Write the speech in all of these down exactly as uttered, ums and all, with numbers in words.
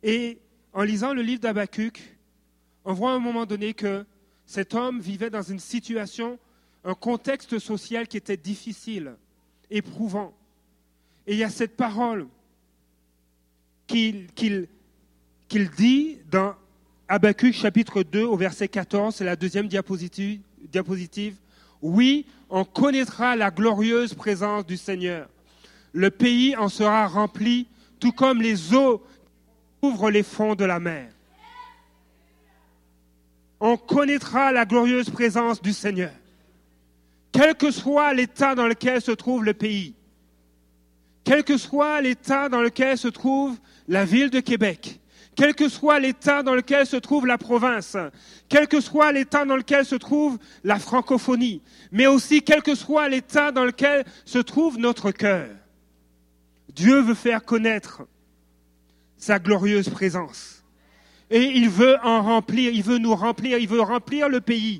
Et en lisant le livre d'Habakkuk, on voit à un moment donné que cet homme vivait dans une situation, un contexte social qui était difficile, éprouvant. Et il y a cette parole qu'il, qu'il, qu'il dit dans Habakkuk chapitre deux au verset quatorze, c'est la deuxième diapositive, diapositive. Oui, on connaîtra la glorieuse présence du Seigneur. Le pays en sera rempli, tout comme les eaux couvrent les fonds de la mer. On connaîtra la glorieuse présence du Seigneur. Quel que soit l'état dans lequel se trouve le pays, quel que soit l'état dans lequel se trouve la ville de Québec, quel que soit l'état dans lequel se trouve la province, quel que soit l'état dans lequel se trouve la francophonie, mais aussi quel que soit l'état dans lequel se trouve notre cœur, Dieu veut faire connaître sa glorieuse présence. Et il veut en remplir, il veut nous remplir, il veut remplir le pays.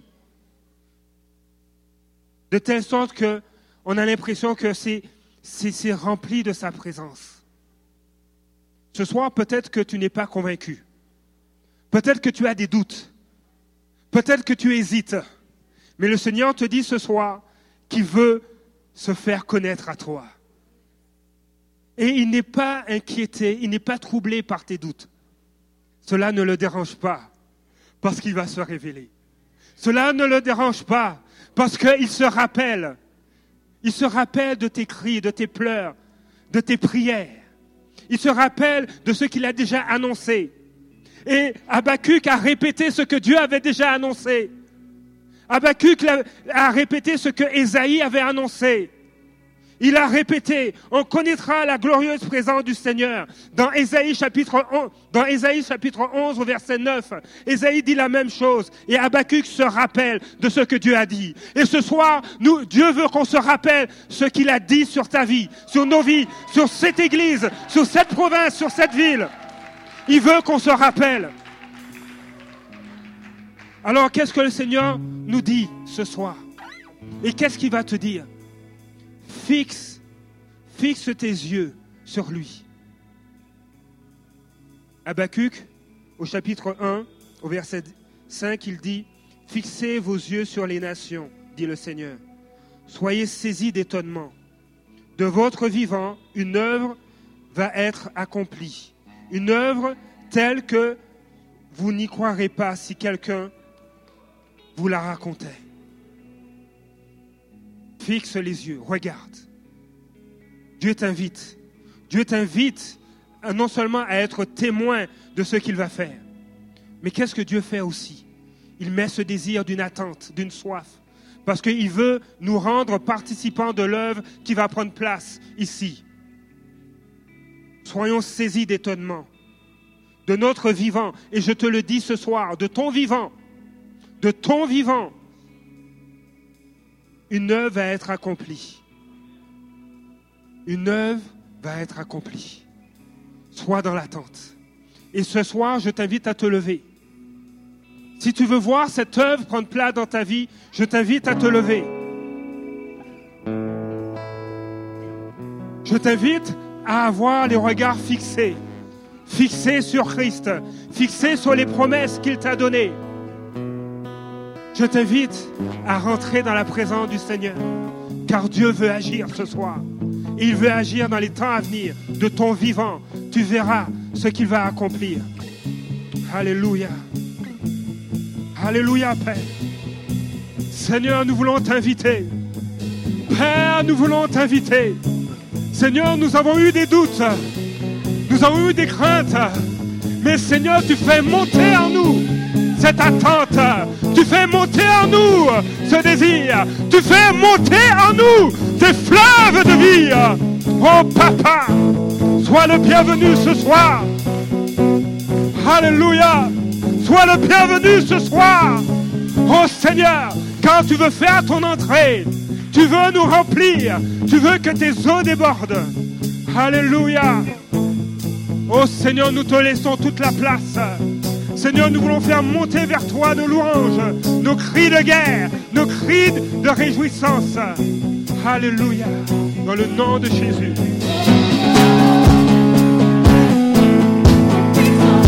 De telle sorte qu'on a l'impression que c'est, c'est, c'est rempli de sa présence. Ce soir, peut-être que tu n'es pas convaincu. Peut-être que tu as des doutes. Peut-être que tu hésites. Mais le Seigneur te dit ce soir qu'il veut se faire connaître à toi. Et il n'est pas inquiété, il n'est pas troublé par tes doutes. Cela ne le dérange pas, parce qu'il va se révéler. Cela ne le dérange pas, parce qu'il se rappelle. Il se rappelle de tes cris, de tes pleurs, de tes prières. Il se rappelle de ce qu'il a déjà annoncé. Et Habakkuk a répété ce que Dieu avait déjà annoncé. Habakkuk a répété ce que Ésaïe avait annoncé. Il a répété, on connaîtra la glorieuse présence du Seigneur. Dans Ésaïe chapitre onze, dans Ésaïe chapitre onze au verset neuf, Ésaïe dit la même chose. Et Habakkuk se rappelle de ce que Dieu a dit. Et ce soir, nous, Dieu veut qu'on se rappelle ce qu'il a dit sur ta vie, sur nos vies, sur cette église, sur cette province, sur cette ville. Il veut qu'on se rappelle. Alors, qu'est-ce que le Seigneur nous dit ce soir? Et qu'est-ce qu'il va te dire? Fixe, fixe tes yeux sur lui. Habakkuk, au chapitre un, au verset cinq, il dit « Fixez vos yeux sur les nations, dit le Seigneur. Soyez saisis d'étonnement. De votre vivant, une œuvre va être accomplie. Une œuvre telle que vous n'y croirez pas si quelqu'un vous la racontait. » Fixe les yeux, regarde. Dieu t'invite. Dieu t'invite à non seulement à être témoin de ce qu'il va faire, mais qu'est-ce que Dieu fait aussi? Il met ce désir d'une attente, d'une soif, parce qu'il veut nous rendre participants de l'œuvre qui va prendre place ici. Soyons saisis d'étonnement de notre vivant, et je te le dis ce soir, de ton vivant, de ton vivant, une œuvre va être accomplie. Une œuvre va être accomplie. Sois dans l'attente. Et ce soir, je t'invite à te lever. Si tu veux voir cette œuvre prendre place dans ta vie, je t'invite à te lever. Je t'invite à avoir les regards fixés. Fixés sur Christ. Fixés sur les promesses qu'il t'a données. Je t'invite à rentrer dans la présence du Seigneur, car Dieu veut agir ce soir. Et il veut agir dans les temps à venir, de ton vivant. Tu verras ce qu'il va accomplir. Alléluia. Alléluia, Père. Seigneur, nous voulons t'inviter. Père, nous voulons t'inviter. Seigneur, nous avons eu des doutes. Nous avons eu des craintes. Mais Seigneur, tu fais monter en nous cette attente. Tu fais monter en nous ce désir. Tu fais monter en nous des fleuves de vie. Oh Papa, sois le bienvenu ce soir. Alléluia. Sois le bienvenu ce soir. Oh Seigneur, quand tu veux faire ton entrée, tu veux nous remplir. Tu veux que tes eaux débordent. Alléluia. Oh Seigneur, nous te laissons toute la place. Seigneur, nous voulons faire monter vers toi nos louanges, nos cris de guerre, nos cris de réjouissance. Alléluia. Dans le nom de Jésus.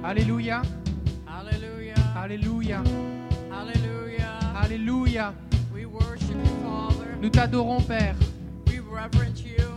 Alléluia. Hallelujah. Alléluia. Hallelujah. Alléluia. We worship you, Father. Nous t'adorons, Père. We reverence you.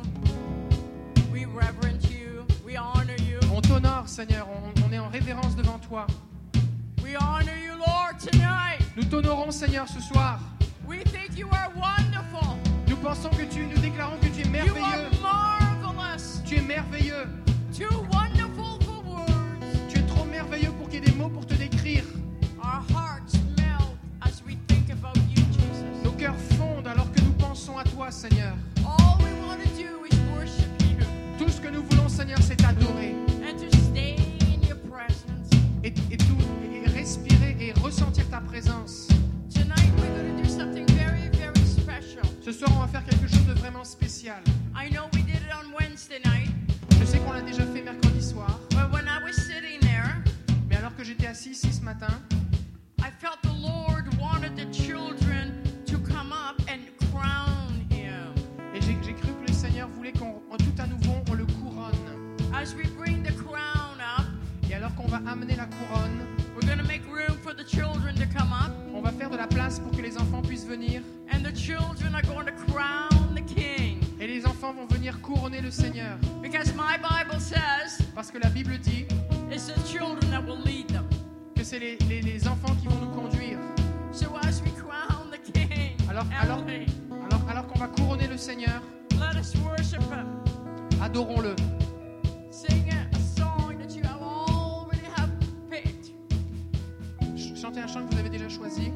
We reverence you. We honor you. On t'honore, Seigneur. On, on est en révérence devant toi. We honor you, Lord, tonight. Nous t'honorons, Seigneur, ce soir. We think you are wonderful. Nous pensons que tu, nous déclarons que tu es You merveilleux. are marvelous. Tu es merveilleux. Too wonderful for words. Tu es trop merveilleux pour qu'il y ait des mots pour te décrire. Our hearts melt as we think about you, Jesus. Nos cœurs fondent alors que nous pensons à toi, Seigneur. All we want to do is worship you Tout ce que nous voulons, Seigneur, c'est t'adorer. and to stay in your presence. Et, et, tout, et respirer et ressentir ta présence. Tonight we're going to do something very, very special. Ce soir, on va faire quelque chose de vraiment spécial. I know we did it on Wednesday night, Je sais qu'on l'a déjà fait mercredi soir, but when I was sitting there, mais alors que j'étais assis ici ce matin, I felt the Lord wanted the children to come up and crown him. et j'ai, j'ai cru que le Seigneur voulait qu'on, en tout à nouveau, on le couronne. As we bring the crown up, Et alors qu'on va amener la couronne, we're going to make room for the children to come up, on va faire de la place pour que les enfants puissent venir. and the children are going to crown the king. Et les enfants vont venir couronner le Seigneur. Because my Bible says Parce que la Bible dit it's the children that will lead them. que c'est les, les, les enfants qui vont nous conduire. So as we crown the king, Alors, alors, Emily, alors, alors qu'on va couronner le Seigneur, let us worship him. adorons-le. Sing a song that you have already have picked. Ch- Chantez un chant que vous avez déjà choisi.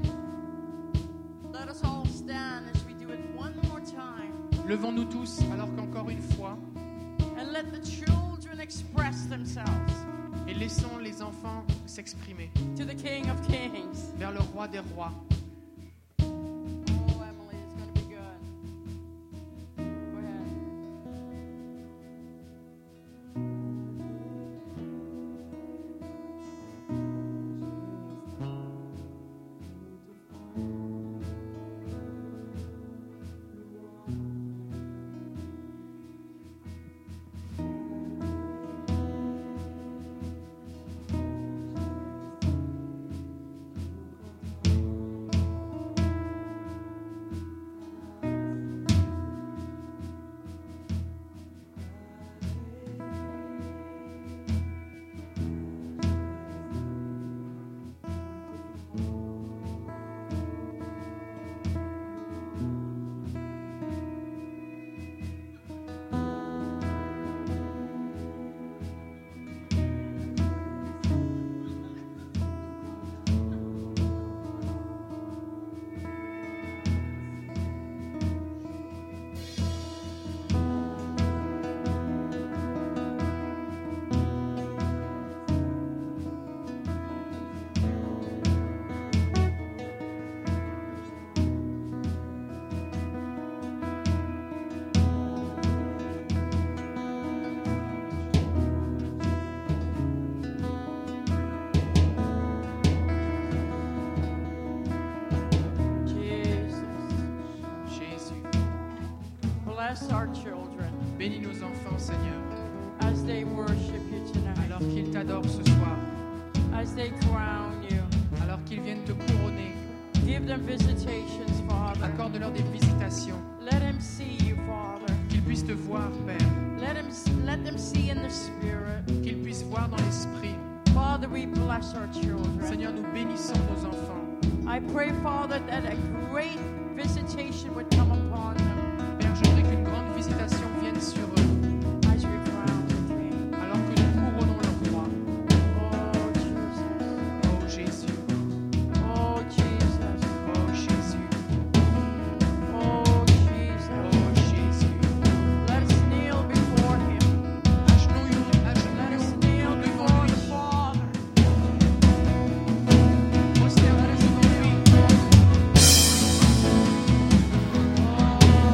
Let us all stand as we do it one more time. Levons-nous tous, alors qu'encore une fois, And let the children express themselves et laissons les enfants s'exprimer to the King of Kings. vers le roi des rois. Oh, Emily, it's going to be good. Go ahead. Bless our children Bénis nos enfants, Seigneur, as they worship you tonight, alors qu'ils t'adorent ce soir, as they crown you. alors qu'ils viennent te couronner. Give them visitations, Father. Accorde-leur des visitations, Let them see you, Father. qu'ils puissent te voir, Père, Let them, let them see in the Spirit. qu'ils puissent voir dans l'esprit. Father, we bless our children. Seigneur, nous bénissons nos enfants. I pray, Father, that a great visitation would come upon them Père, je prie qu'une grande visitation vienne sur eux, as we crown the King. alors que nous couronnons le roi. Oh, Jesus. Oh Jésus, Oh, Jesus. oh Jésus, Oh, oh Jesus. Jésus. Let us kneel before Him. Agenouillons, Let us agenouillons kneel devant before lui. the Father. Prosternons devant lui. Oh,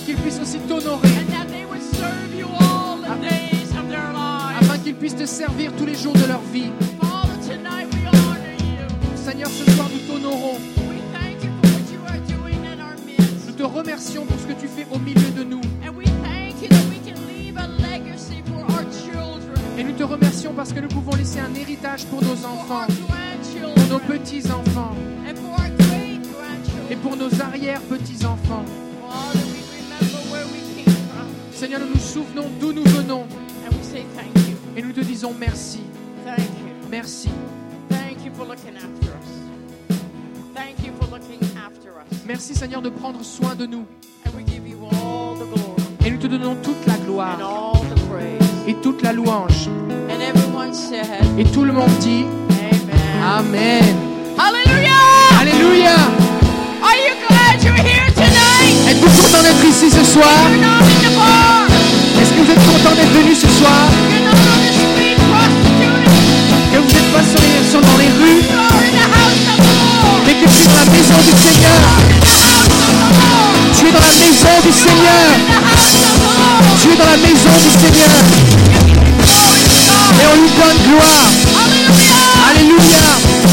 qu'ils puissent aussi t'honorer, and that they would serve you all the days of their lives. afin qu'ils puissent te servir tous les jours de leur vie. Father, tonight we honor you. Seigneur, ce soir, nous t'honorons. We thank you for what you are doing in our midst. Nous te remercions pour ce que tu fais au milieu de nous. And we thank you that we can leave a legacy for our children, Et nous te remercions parce que nous pouvons laisser un héritage pour nos for our enfants, pour nos grandchildren, petits-enfants and for our great grandchildren. et pour nos arrière-petits-enfants. Father, we remember where we came from, Seigneur, nous nous souvenons d'où nous venons and we say thank you. et nous te disons merci. Thank you. Merci. Thank you for looking after us. Thank you for looking after us. Merci, Seigneur, de prendre soin de nous. And we give you all the glory Et nous te donnons toute la and gloire all the praise. et toute la louange. And everyone said, Et tout le monde dit Amen. Amen. Hallelujah! Alléluia. Are you glad you're here tonight? Êtes-vous content d'être ici ce soir? You're not in the bar. Est-ce que vous êtes content d'être venu ce soir? You're not on the street prostituting. Que vous n'êtes pas sur les, sur dans les rues, You're in the house of the Lord. mais que tu es dans la maison du Seigneur. In the house of the Lord. Tu es dans la maison du Seigneur. In the house of the Lord. Tu es dans la maison du Seigneur. Glory to God. Et on lui donne gloire. Hallelujah! Alléluia.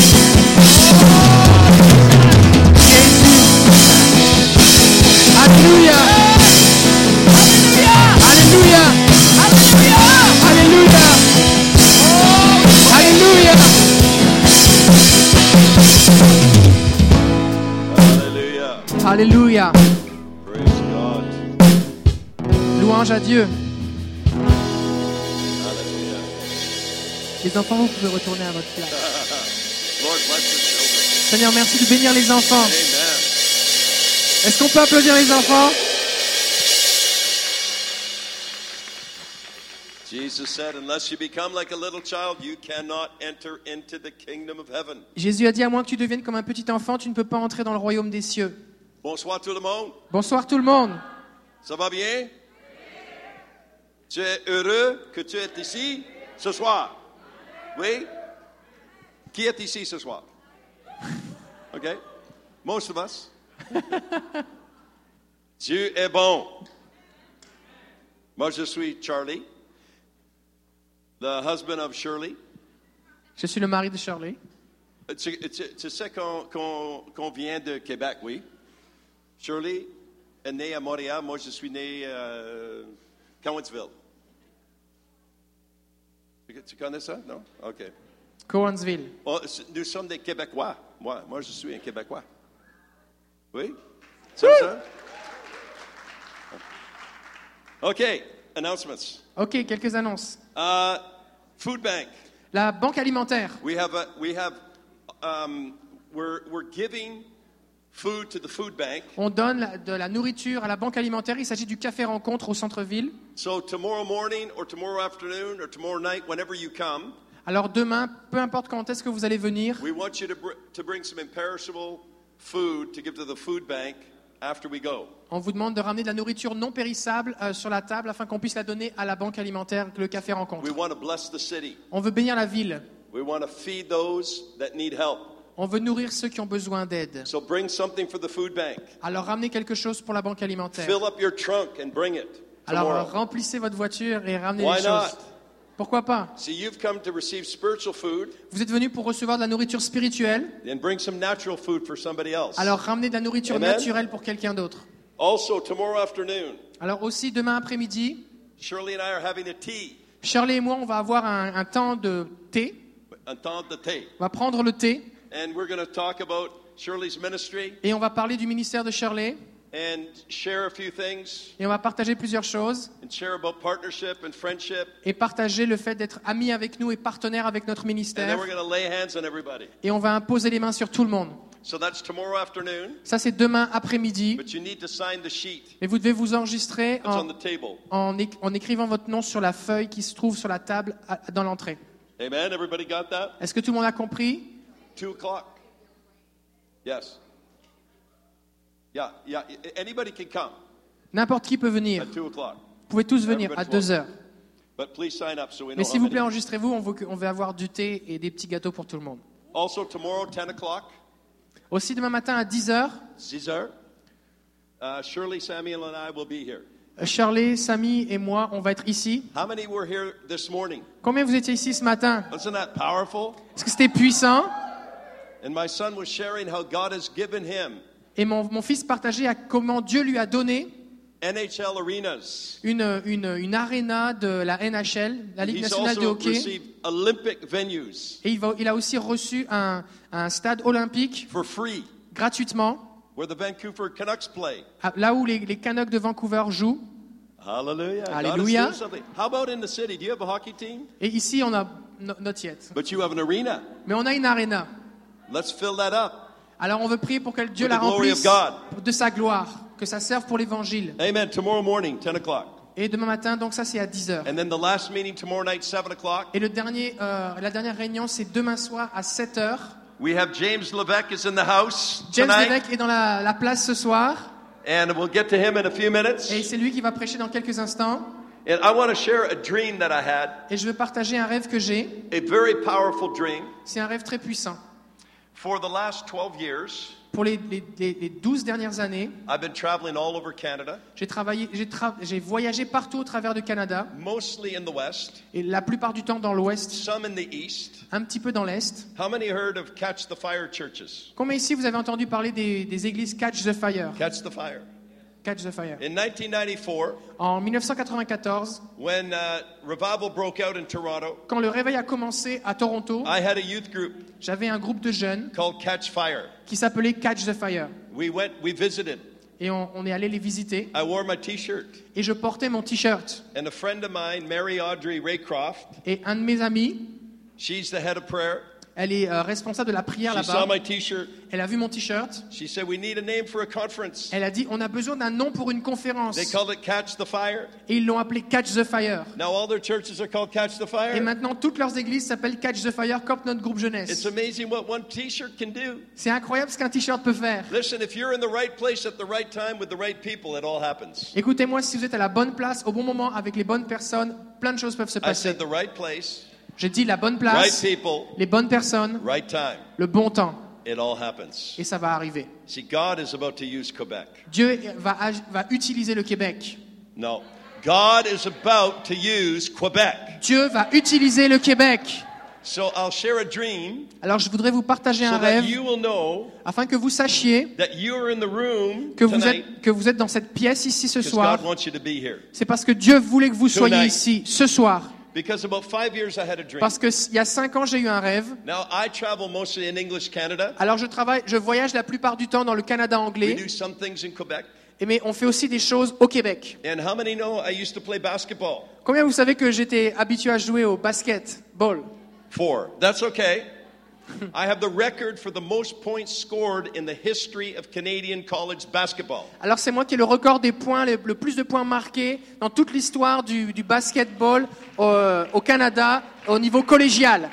Jésus. Alléluia. Hallelujah! Alléluia. Hallelujah! Alléluia. Alléluia. Hallelujah. Alléluia. Praise God. Louange à Dieu. Hallelujah. Les enfants, vous pouvez retourner à votre place. Lord bless the children. Seigneur, merci de bénir les enfants. Amen. Est-ce qu'on peut applaudir les enfants? Jesus said, unless you become like a little child, you cannot enter into the kingdom of heaven. Jésus a dit, à moins que tu deviennes comme un petit enfant, tu ne peux pas entrer dans le royaume des cieux. Bonsoir tout le monde. Bonsoir tout le monde. Ça va bien? Tu es heureux que tu es ici ce soir? Oui? Qui est ici ce soir? OK? Most of us. Dieu est bon. Moi, je suis Charlie, the husband of Shirley. Je suis le mari de Shirley. Tu, tu- tu sais qu'on, qu'on- qu'on vient de Québec, oui? Shirley est née à Montréal. Moi, je suis né à Cowansville. Tu- Tu connais ça? Non? OK. Cowansville. Oh, c- nous sommes des Québécois. Moi, moi, je suis un Québécois. Oui? C'est ça? OK. Announcements. Ok, quelques annonces. Uh, food bank. La banque alimentaire. We have a, we have, um, we're, we're giving food to the food bank. On donne la- de la nourriture à la banque alimentaire. Il s'agit du café rencontre au centre-ville. So tomorrow morning or tomorrow afternoon or tomorrow night, whenever you come, Alors demain, peu importe quand est-ce que vous allez venir, we want you to, br- to bring some imperishable food to give to the food bank after we go. on vous demande de ramener de la nourriture non périssable euh, sur la table afin qu'on puisse la donner à la banque alimentaire, le café We rencontre. want to bless the city. On veut bénir la ville. We want to feed those that need help. On veut nourrir ceux qui ont besoin d'aide. So bring something for the food bank. Alors ramenez quelque chose pour la banque alimentaire. Fill up your trunk and bring it Alors tomorrow. remplissez votre voiture et ramenez Why les choses. not? Pourquoi pas? See, you've come to receive spiritual food, Vous êtes venus pour recevoir de la nourriture spirituelle. then bring some natural food for somebody else. Alors ramenez de la nourriture Amen. naturelle pour quelqu'un d'autre. Also, tomorrow afternoon, Alors aussi demain après-midi, Shirley and I are having a tea, Shirley et moi, on va avoir un, un temps de thé. a temps de thé. On va prendre le thé And we're going to talk about Shirley's ministry et on va parler du ministère de Shirley and share a few things et on va partager plusieurs choses and share about partnership and friendship. et partager le fait d'être amis avec nous et partenaires avec notre And then ministère we're going to lay hands on everybody. et on va imposer les mains sur tout le monde. So that's tomorrow afternoon, Ça, c'est demain après-midi. but you need to sign the sheet Mais vous devez vous enregistrer that's on en, the table. en, é- en écrivant votre nom sur la feuille qui se trouve sur la table à- dans l'entrée. Amen? Everybody got that? Est-ce que tout le monde a compris? Two o'clock. Yes. Yeah, yeah. Anybody can come N'importe qui peut venir. at two o'clock. Vous pouvez tous venir à deux heures. But please sign up so we know Mais how s'il vous plaît, many. enregistrez-vous. On veut, que- on veut avoir du thé et des petits gâteaux pour tout le monde. Also tomorrow, ten o'clock, Aussi demain matin à dix heures, Caesar, Uh, Shirley, Samuel, and I will be here. Shirley, Samy et moi, on va être ici. How many were here this morning? Combien vous étiez ici ce matin? Wasn't that powerful? Est-ce que c'était puissant? And my son was sharing how God has given him Et mon, mon fils partageait à comment Dieu lui a donné N H L arenas. une, une, une aréna de la N H L, la Ligue He's nationale de also hockey. received Olympic venues Et il, va, il a aussi reçu un, un stade olympique for free, gratuitement, where the Vancouver Canucks play. à- là où les, les Canucks de Vancouver jouent. Hallelujah. God is Hallelujah. doing something. How about in the city? Do you have a hockey team? Et ici, on a no, not yet. But you have an arena. Mais on a une aréna. Let's fill that up. Alors on veut prier pour que Dieu With la the glory of remplisse God. de sa gloire, que ça serve pour l'évangile. Amen. Tomorrow morning, ten o'clock. Et demain matin, donc ça c'est à dix heures. And then the last meeting tomorrow night, seven o'clock. Et le dernier, euh, la dernière réunion, c'est demain soir à sept heures. We have James Levesque is in the house James tonight. Levesque est dans la, la place ce soir. And we'll get to him in a few minutes. Et c'est lui qui va prêcher dans quelques instants. And I want to share a dream that I had, Et je veux partager un rêve que j'ai. a very powerful dream. C'est un rêve très puissant. For the last twelve years, Pour les, les, les, les douze dernières années, I've been traveling all over Canada, j'ai travaillé, j'ai, tra- j'ai voyagé partout au travers du Canada. mostly in the West, Et la plupart du temps dans l'Ouest, some in the East. un petit peu dans l'Est. How many heard of Catch the Fire churches? Combien ici vous avez entendu parler des, des églises Catch the Fire? Catch the Fire. Catch the Fire. In nineteen ninety-four, En dix-neuf cent quatre-vingt-quatorze, when uh, revival broke out in Toronto, quand le réveil a commencé à Toronto, I had a youth group j'avais un groupe de jeunes called Catch Fire. qui s'appelait Catch the Fire. We went, we visited. Et on, on est allé les visiter. I wore my T-shirt. Et je portais mon t-shirt. And a friend of mine, Mary Audrey Raycroft, Et un de mes amis, she's the head of prayer. elle est euh, responsable de la prière She saw là-bas. my T-shirt. Elle a vu mon t-shirt. She said, we need a name for a conference. Elle a dit, on a besoin d'un nom pour une conférence. They called it Catch the Fire. Et ils l'ont appelé Catch the Fire. Now all their churches are called Catch the Et Fire. maintenant, toutes leurs églises s'appellent Catch the Fire comme notre groupe It's jeunesse. amazing what one T-shirt can do. C'est incroyable ce qu'un t-shirt peut faire. Listen, if you're in the right place at the right time with the right people, it all happens. Écoutez-moi, si vous êtes à la bonne place, au bon moment, avec les bonnes personnes, plein de choses peuvent se I passer. said the right place, J'ai dit la bonne right place, people, les bonnes personnes, right time. le bon temps. It all happens. Et ça va arriver. See, God is about to use Quebec. Dieu va, ag- va utiliser le Québec. No. God is about to use Quebec. Dieu va utiliser le Québec. So I'll share a dream Alors je voudrais vous partager so un that rêve you will know afin que vous sachiez that you are in the room que vous tonight êtes, que vous êtes dans cette pièce ici ce because soir. God wants you to be here. C'est parce que Dieu voulait que vous soyez Tonight. ici ce soir. Because about five years I had a dream. Parce qu'il y a cinq ans, j'ai eu un rêve. Now I travel mostly in English Canada. Alors je travaille, je voyage la plupart du temps dans le Canada We anglais, do some things in Quebec. et mais on fait aussi des choses au Québec. And how many know I used to play basketball? Combien vous savez que j'étais habitué à jouer au basketball? Four. That's okay. I have the record for the most points scored in the history of Canadian college basketball. Alors c'est moi qui ai le record des points, le, le plus de points marqués dans toute l'histoire du, du basketball au, au Canada au niveau collégial.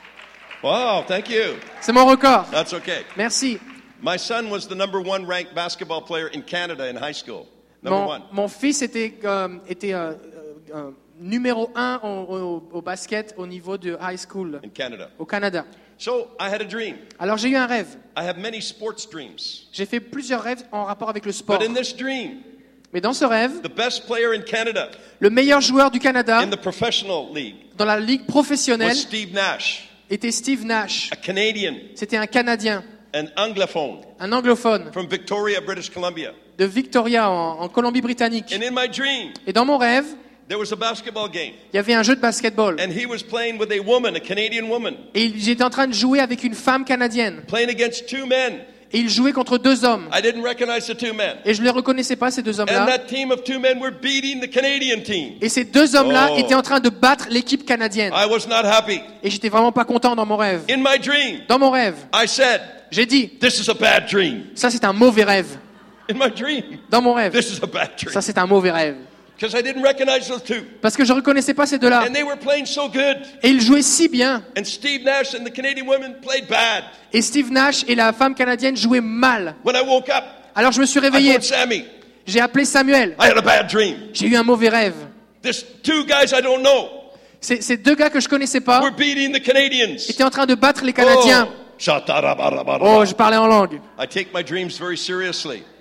Wow, thank you. C'est mon record. That's okay. Merci. My son was the number one ranked basketball player in Canada in high school. Number Mon, one. mon fils était, euh, était euh, euh, numéro un au, au, au basket au niveau de high school In Canada. au Canada. So I had a dream. Alors j'ai eu un rêve. I have many sports dreams. J'ai fait plusieurs rêves en rapport avec le sport. But in this dream, Mais dans ce rêve, the best player in Canada le meilleur joueur du Canada in the professional league dans la ligue professionnelle was Steve Nash, était Steve Nash. a Canadian, C'était un Canadien, an anglophone un anglophone from Victoria, British Columbia. de Victoria en, en Colombie-Britannique. And in my dream, Et dans mon rêve, there was a basketball game. il y avait un jeu de basketball. And he was playing with a woman, a Canadian woman, Et il- j'étais en train de jouer avec une femme canadienne. playing against two men. Et il jouait contre deux hommes. I didn't recognize the two men. Et je ne les reconnaissais pas, ces deux And hommes-là. that team of two men were beating the Canadian team. Et ces deux hommes-là Oh. étaient en train de battre l'équipe canadienne. I was not happy. Et j'étais vraiment pas content dans mon rêve. In my dream, Dans mon rêve, I said, j'ai dit, this is a bad dream. ça c'est un mauvais rêve. In my dream, Dans mon rêve, this is a bad dream. ça c'est un mauvais rêve. Because I didn't recognize those two. Parce que je reconnaissais pas ces deux-là. And they were playing so good. Et ils jouaient si bien. And Steve Nash and the Canadian women played bad. Et Steve Nash et la femme canadienne jouaient mal. When I woke up, Alors je me suis I réveillé. phoned Sammy. J'ai appelé Samuel. I had a bad dream. J'ai eu un mauvais rêve. This two guys I don't know Ces, ces deux gars que je connaissais pas were beating the Canadians. étaient en train de battre les Canadiens. Oh. Shatarabarabaraba. Oh, je parlais en langue. I take my dreams very seriously.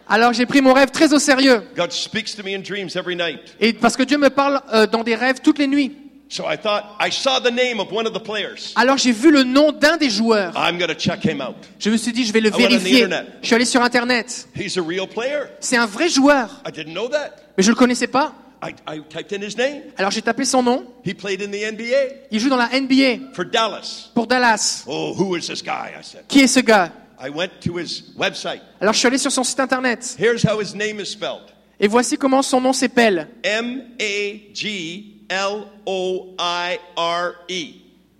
Alors j'ai pris mon rêve très au sérieux. God speaks to me in dreams every night. Et parce que Dieu me parle euh, dans des rêves toutes les nuits. So I thought, I saw the name of one of the players. Alors j'ai vu le nom d'un des joueurs. I'm going to check him out. Je me suis dit, je vais le I went on the vérifier. internet. Je suis allé sur Internet. He's a real player. C'est un vrai joueur. I didn't know that. Mais je le connaissais pas. I, I typed in his name. Alors j'ai tapé son nom. He played in the N B A Il joue dans la N B A for Dallas. pour Dallas. Oh, who is this guy? I said. Qui est ce gars? I went to his website. Alors je suis allé sur son site internet. Here's how his name is spelled. Et voici comment son nom s'appelle. M A G L O I R E.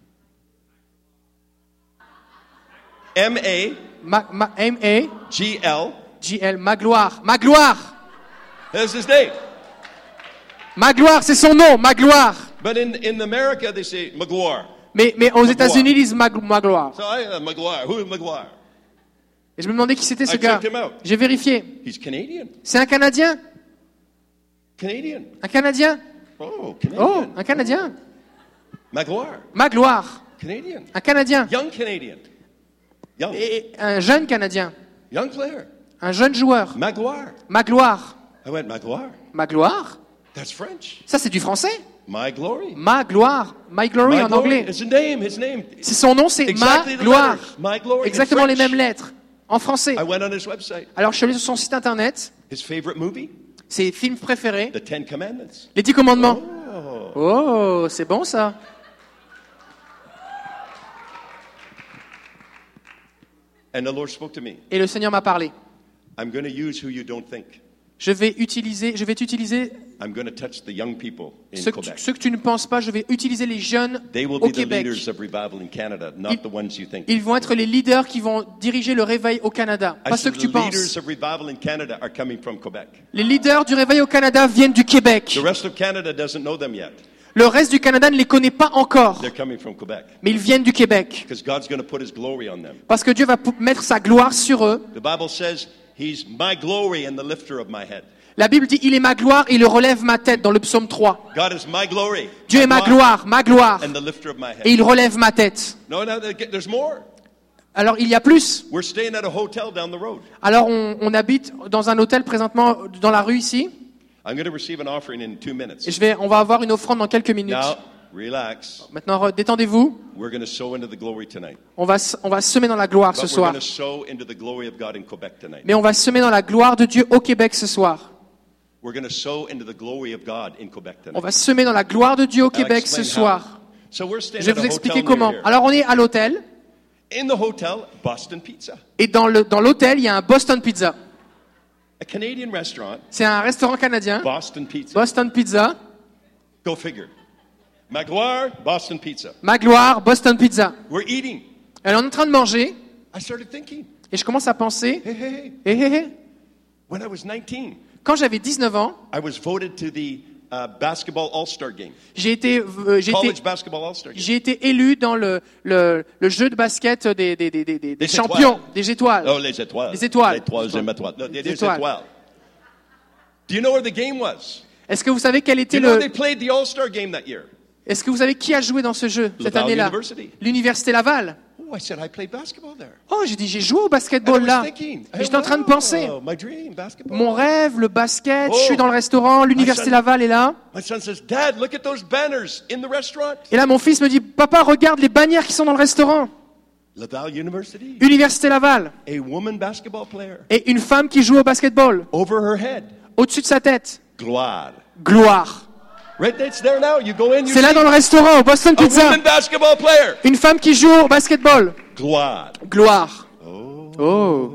M A Ma, ma, M A G L. G L. Magloire. Magloire. That's his name. Magloire, c'est son nom. Magloire. But in, in America, they say Maguire. Mais, mais aux Magloire. États-Unis, ils disent Mag- Magloire. So I, uh, Maguire. Who is Maguire? Et je me demandais qui c'était ce I gars. checked him out. J'ai vérifié. He's Canadian. C'est un Canadien. Canadian. Un Canadien. Oh, Canadian. Oh, un Canadien. Maguire. Magloire. Canadian. Un Canadien. Young Canadian. Young. Et un jeune Canadien. Young player. Un jeune joueur. Maguire. Magloire. I went, Maguire? Magloire. That's French. Ça, c'est du français. My glory. Ma gloire. My glory My en glory. anglais. It's a name, his name. C'est son nom, c'est Exactly Ma the gloire. letters. My glory. in Exactement les French. mêmes lettres. En français. I went on his website. Alors, je suis allé sur son site internet. His favorite movie? Ses films préférés. The Ten Commandments. Les Dix Commandements. Oh. Oh, c'est bon ça. And the Lord spoke to me. Et le Seigneur m'a parlé. I'm going to use who you don't think. Je vais utiliser, je vais t'utiliser I'm going to touch the young people in ceux que, tu, Quebec. ceux que tu ne penses pas. Je vais utiliser les jeunes They will au be the Québec. leaders of revival in Canada, not Ils- the ones you think. Ils vont être les leaders qui vont diriger le réveil au Canada, I pas ceux said que tu the penses. leaders of revival in Canada are coming from Quebec. Les leaders du réveil au Canada viennent du Québec. The rest of Canada doesn't know them yet. Le reste du Canada ne les connaît pas encore, They're coming from Quebec. mais ils viennent du Québec. Because God's going to put his glory on them. Parce que Dieu va pou- mettre sa gloire sur eux. The Bible says, he's my glory and the lifter of my head. La Bible dit, il est ma gloire et il relève ma tête dans le psaume trois. God is my glory. Dieu est ma gloire, ma gloire, And the lifter of my head. et il relève ma tête. No, no, there's more. Alors il y a plus. We're staying at a hotel down the road. Alors on, on habite dans un hôtel présentement dans la rue ici. I'm going to receive an offering in two minutes. Et je vais, on va avoir une offrande dans quelques minutes. Now, relax. Maintenant, re- détendez-vous. We're going to sow into the glory tonight. On va, s- on va semer dans la gloire ce But we're soir. going to sow into the glory of God in Quebec tonight. Mais on va semer dans la gloire de Dieu au Québec ce soir. We're going to sow into the glory of God in Quebec On tonight. va semer dans la gloire de Dieu au I'll Québec ce explain how. soir. So we're staying Je vais at a vous expliquer hotel comment. near here. Alors on est à l'hôtel. In the hotel, Boston Pizza, Et dans le dans l'hôtel, il y a un Boston Pizza. a Canadian restaurant. C'est un restaurant canadien. Boston Pizza. Boston Pizza. Go figure. Magloire, Boston Pizza. Ma gloire, Boston Pizza. We're eating. Alors on est en train de manger. I started thinking, Et je commence à penser. hey, hey, hey. Hé hé hé. When I was nineteen, Quand j'avais dix-neuf ans, I was voted to the uh, basketball All-Star game, j'ai été, euh, j'ai college été, basketball All-Star game. j'ai été élu dans le, le, le jeu de basket des, des, des, des, des Des champions, étoiles. des étoiles. Oh, les étoiles. Les étoiles. Les troisième étoile. No, les Les étoiles. étoiles. Do you know where the game was? Est-ce que vous savez quel Do était you know le, they played the All-Star game that year? est-ce que vous savez qui a joué dans ce jeu cette Laval année-là? University. L'université Laval. Oh, I said I played basketball there. Oh, j'ai dit, j'ai joué au And I basketball was là. thinking, Et j'étais en train de penser. oh, my dream, basketball. Mon rêve, le basket, je Oh. suis dans le restaurant, l'université son- Laval est là. My son says, Dad, look at those banners in the restaurant. Et là, mon fils me dit, papa, regarde les bannières qui sont dans le restaurant. Laval University. Université Laval. A woman basketball player. Et une femme qui joue au basketball. Over her head. Au-dessus de sa tête. Gloire. Gloire. Right, it's there now. You go in, you C'est là see dans le restaurant, au Boston a Pizza. woman basketball player. Une femme qui joue au basketball. Gloire. Gloire. Oh. Oh.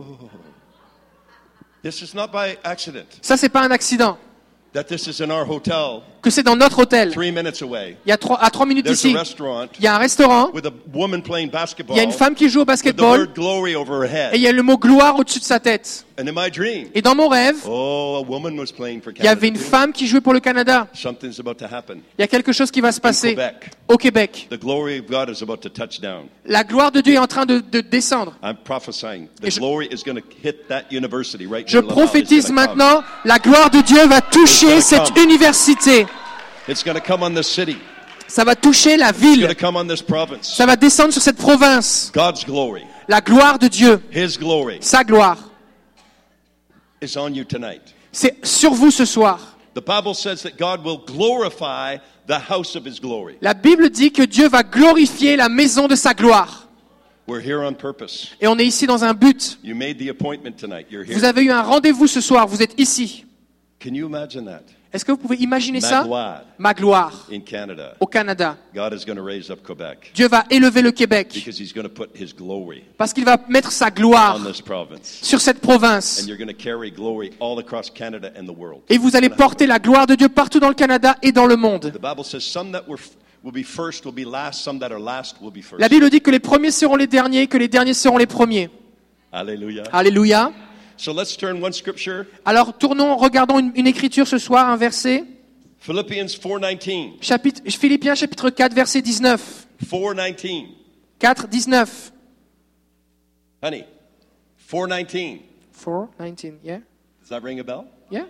This is not by accident Ça, c'est pas un accident. that this is in our hotel, Que c'est dans notre hôtel. three minutes away. Il y a trois, à trois minutes There's d'ici. a restaurant Il y a un restaurant. with a woman playing basketball Il y a une femme qui joue au with the basketball. word glory over her Et il head. y a le mot gloire au-dessus de sa tête. And in my dream, Et dans mon rêve, oh, a woman was playing for il y avait Canada. une too. femme qui jouait pour le Canada. Something's about to happen. Il y a quelque chose qui va se passer Quebec. au Québec. The glory of God is about to touch down. La gloire de Dieu est en train de, de descendre. I'm prophesying. The Et je- glory is going to hit that university right Je near Laval. It's prophétise gonna come. maintenant, la gloire de Dieu va toucher gonna cette come. université. It's going to come on this city. Ça va toucher la It's going ville. to come on this province. Ça va descendre sur cette province. God's glory, La gloire de Dieu. His glory. Sa gloire. is on you tonight. C'est sur vous ce soir. The Bible says that God will glorify the house of his glory. La Bible dit que Dieu va glorifier la maison de sa gloire. We're here on purpose. Et on est ici dans un but. You made the appointment tonight. You're here. Vous avez eu un rendez-vous ce soir, vous êtes ici. Can you imagine that? Est-ce que vous pouvez imaginer Ma ça? gloire Ma gloire in Canada. au Canada. God is going to raise up Quebec Dieu va élever le Québec because he's going to put his glory parce qu'il va mettre sa gloire on this province. sur cette province. And you're going to carry glory all across Canada and the world. Et vous allez porter la gloire de Dieu partout dans le Canada et dans le monde. The Bible says some that were will be first will be last, some that are last will be first. La Bible dit que les premiers seront les derniers, que les derniers seront les premiers. Hallelujah. Alléluia. So let's turn one scripture, Alors tournons, regardons une, une écriture ce soir, un verset. Philippians four nineteen. Chapitre, Philippiens chapitre quatre, verset dix-neuf. four nineteen. quatre, dix-neuf. Honey, four nineteen. four, nineteen, yeah? Does that ring a bell? Yeah?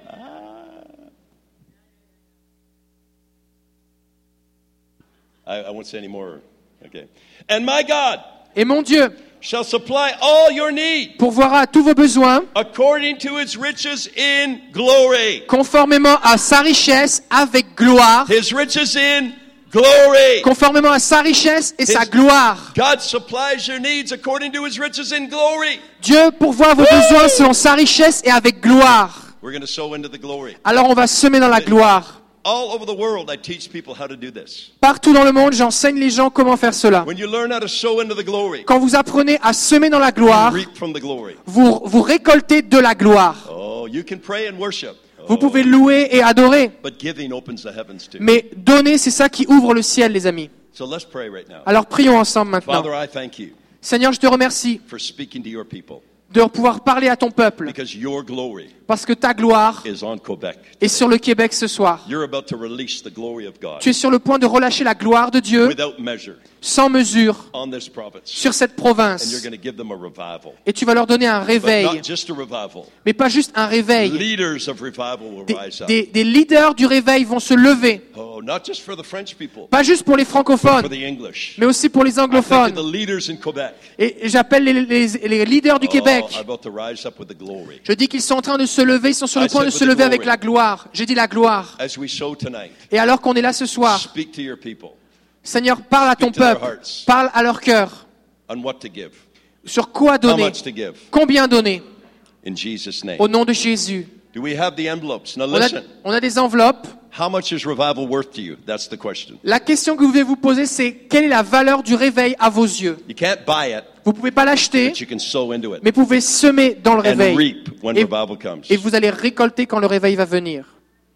I, I won't say any more. Okay. And my God Et mon Dieu shall supply all your need pourvoira à tous vos besoins according to his riches in glory. conformément à sa richesse avec gloire. His riches in glory. Conformément à sa richesse et sa His- gloire. God supplies your needs according to his riches in glory. Dieu pourvoit vos besoins selon sa richesse et avec gloire. We're going to sow into the glory. Alors on va semer dans la gloire. All over the world, I teach people how to do this. Partout dans le monde, j'enseigne les gens comment faire cela. When you learn how to sow into the glory, Quand vous apprenez à semer dans la you gloire, reap from the glory. vous, vous récoltez de la gloire. Oh, you can pray and worship. Vous Oh, pouvez louer et adorer. but giving opens the heavens too. Mais donner, c'est ça qui ouvre le ciel, les amis. So let's pray right now. Alors prions ensemble maintenant. Father, I thank you Seigneur, je te remercie for speaking to your people de pouvoir parler à ton peuple. because your glory Parce que ta gloire is on Quebec. est sur le Québec ce soir. You're about to release the glory of God Tu es sur le point de relâcher la gloire de Dieu without measure sans mesure on this province. sur cette And you're province. going to give them a revival. Et tu vas leur donner un But réveil. not just a revival. Mais pas juste un réveil. Leaders of revival will Des, rise up. des- des leaders du réveil vont se lever. Oh, not just for the French people, Pas juste pour les but for francophones, the English. mais aussi pour les I think of anglophones. the leaders in Quebec. Et j'appelle les, les- les leaders du Oh, Québec. are about to rise up with the glory. Je dis qu'ils sont en train de se lever, ils sont sur le I point de said se with the lever avec glory. la gloire. J'ai dit la gloire. As we sow tonight, Et alors qu'on est là ce soir, speak to your people Seigneur, parle à ton Speak to their peuple, hearts. parle à leur cœur. on what to give, Sur quoi how donner, much to give, combien donner, in Jesus' name. au nom de Jésus. Do we have the envelopes? Now On a, listen, on a des enveloppes. how much is revival worth to you? That's the question. La question que vous devez vous poser, c'est quelle est la valeur du réveil à vos yeux? You can't buy it, Vous ne pouvez pas l'acheter, but you can sow into it mais vous pouvez semer dans le and réveil. reap when Et, revival comes. et vous allez récolter quand le réveil va venir.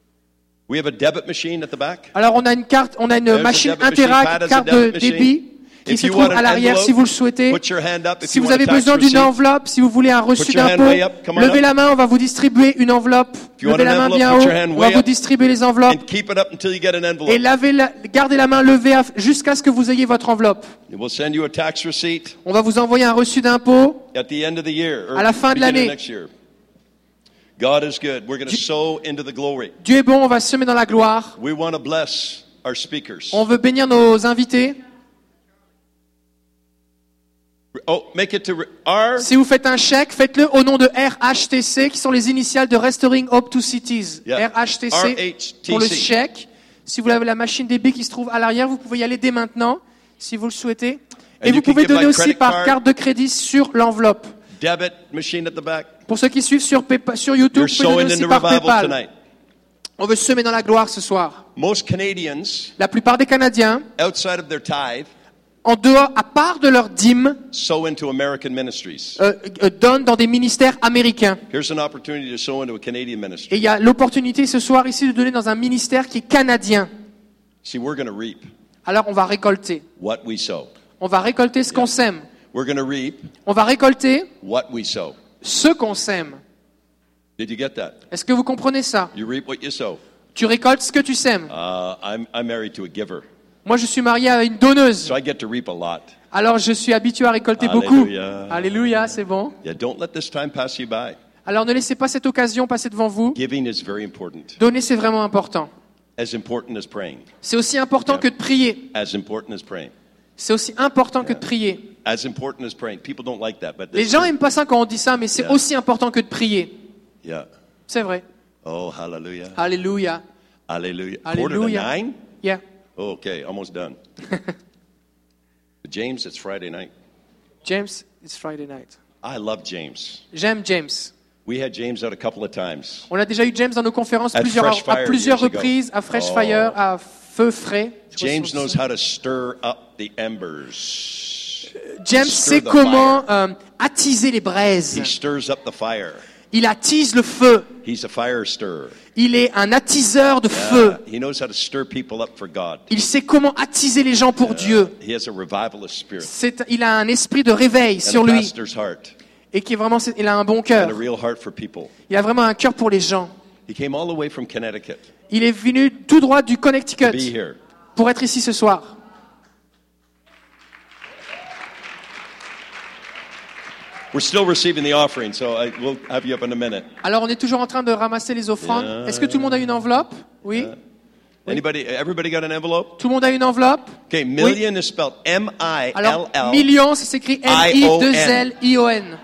We have a debit machine at the back. Alors on a une carte, on a une There's a machine debit machine. Pat Interact, has a carte de debit machine. débit qui If se you trouve want an à l'arrière envelope, si vous le souhaitez. Put your hand up if Si you vous want a avez tax besoin d'une receipt. enveloppe, si vous voulez un reçu Put your hand d'impôt, way up. Come on levez up. la main, on va vous distribuer une enveloppe. you want Levez an la main envelope, bien put haut, your hand on way va vous up. distribuer les enveloppes. And keep it up until you get an envelope. Et lavez la- gardez la main levée à- jusqu'à ce que vous ayez votre enveloppe. We'll send you a tax receipt On va vous envoyer un reçu d'impôt. at the end of the year or À la fin de beginning l'année. next year. God is good. We're going to sow into the glory. Dieu est bon, on va semer dans la gloire. We want to bless our speakers. On veut bénir nos invités. Oh, make it to re- R. Si vous faites un chèque, faites-le au nom de R H T C, qui sont les initiales de Restoring Hope to Cities. Yeah. R H T C R H T C. pour le chèque. Si vous avez la machine débit qui se trouve à l'arrière, vous pouvez y aller dès maintenant, si vous le souhaitez. Et And vous you can pouvez give donner by aussi credit par card. carte de crédit sur l'enveloppe. Debit machine at the back. Pour ceux qui suivent sur, Paypa- sur YouTube, You're vous pouvez donner sowing aussi into par revival PayPal. tonight. On veut semer dans la gloire ce soir. Most Canadians, La plupart des Canadiens, outside of their tithe, en dehors, à part de leur dîme, sow into American ministries. euh, euh, donnent dans des ministères américains. Here's an opportunity to sow into a Canadian ministry. Et il y a l'opportunité ce soir ici de donner dans un ministère qui est canadien. See, we're going to reap Alors on va récolter. what we sow. On va récolter ce qu'on sème. We're going to reap On va récolter what we sow. ce qu'on sème. Did you get that? Est-ce que vous comprenez ça? You reap what you sow. Tu récoltes ce que tu sèmes. Uh, I'm, I'm married to a giver, Moi, je suis marié à une donneuse. so I get to reap a lot. Alors, je suis habitué à récolter Alléluia. beaucoup. Alléluia, c'est bon. Yeah, don't let this time pass you by. Alors, ne laissez pas cette occasion passer devant vous. Giving is very important. Donner, c'est vraiment important. As important as praying. C'est aussi important Yeah. que de prier. As important as praying. C'est aussi important que de prier. As important as praying. People don't like that, but Les this gens is- n'aiment pas ça quand on dit ça, mais c'est Yeah. aussi important que de prier. Yeah. C'est vrai. Oh, hallelujah. Alléluia. Hallelujah. Quarter to Alléluia. nine? Yeah. Oh, okay, almost done. James, it's Friday night. James, it's Friday night. I love James. J'aime James. We had James out a couple of times. On a déjà eu James dans nos conférences At plusieurs, Fresh Fire à plusieurs years ago. reprises, à Fresh Oh. Fire, à Feu Frais. Je crois James que c'est knows ça. how to stir up the embers. James stir sait the comment euh, attiser les braises. He stirs up the fire. Il attise le feu. He's a fire stirrer. Il est un attiseur de feu. Uh, he knows how to stir people up for God. Il sait comment attiser les gens pour Dieu. He has a revivalist spirit C'est, il a un esprit de réveil and sur a lui pastor's heart et qui est vraiment, il a un bon and cœur. a real heart for people. Il a vraiment un cœur pour les gens. He came all the way from Connecticut Il est venu tout droit du to be Connecticut here. pour être ici ce soir. We're still receiving the offering, so I, we'll have you up in a minute. Alors on est toujours en train de ramasser les offrandes. Yeah. Est-ce que tout le monde a une enveloppe? Oui. Anybody? Everybody got an envelope? Tout le monde a une enveloppe? Okay, million is spelled M I L Alors, L. million, ça s'écrit M I deux L I O N.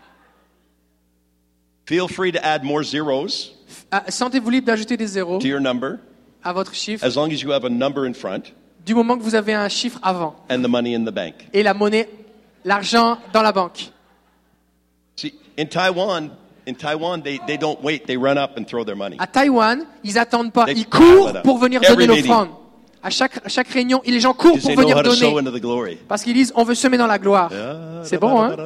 Feel free to add more zeros Ah, sentez-vous libre d'ajouter des zéros to your number, à votre chiffre, as long as you have a number in front du moment que vous avez un chiffre avant. and the money in the bank. Et la monnaie, l'argent dans la banque. See, in Taiwan, in Taiwan, they, they don't wait; they run up and throw their money. À Taïwan, ils attendent pas, They ils pile courent it up. pour venir Every donner meeting. l'offrande. À chaque, à chaque réunion, et les gens courent Because pour they know venir how to sow donner. into the glory. Parce qu'ils disent, on veut semer dans la gloire. C'est bon, hein?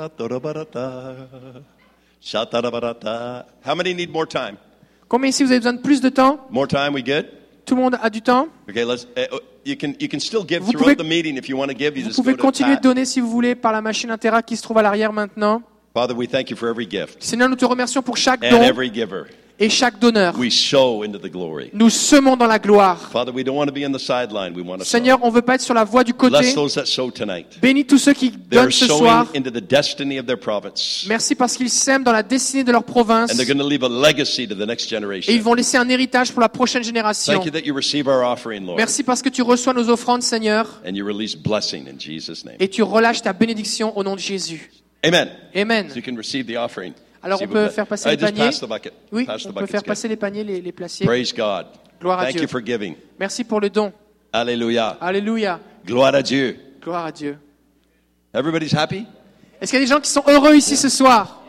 How many need more time? Combien ici vous avez besoin de plus de temps? More time, we good? Tout le monde a du temps? Okay, let's. Uh, you can you can still give Vous throughout pouvez- the meeting if you want to give. You Vous just pouvez go to continuer de Pat. donner si vous voulez par la machine Interact qui se trouve à l'arrière maintenant. Father, we thank you for every gift Seigneur, nous te remercions pour chaque and don every giver. et chaque donneur. We sow into the glory. Nous semons dans la gloire. Father, we don't want to be on the sideline. We want to Seigneur, sow. on ne veut pas être sur la voie du côté. Bless those that sow tonight. Bénis tous ceux qui They're donnent ce sowing soir. into the destiny of their province, Merci parce qu'ils sèment dans la destinée de leur province. and they're going to leave a legacy to the next Et ils generation. vont laisser un héritage pour la prochaine génération. Thank you that you receive our offering, Lord, Merci parce que tu reçois nos offrandes, Seigneur, and you release blessing in Jesus' name. et tu relâches ta bénédiction au nom de Jésus. Amen. Amen. So you can receive the offering. Alors S'il on vous peut plaît. faire passer I les just paniers. pass the bucket. Oui, Pass the on peut buckets, faire good. passer les paniers, les, les placiers. Praise God. Gloire à Thank Dieu. you for giving. Merci pour le don. Alléluia. Alléluia. Gloire à Dieu. Gloire à Dieu. Everybody's happy? Est-ce qu'il y a des gens qui sont heureux ici ce soir?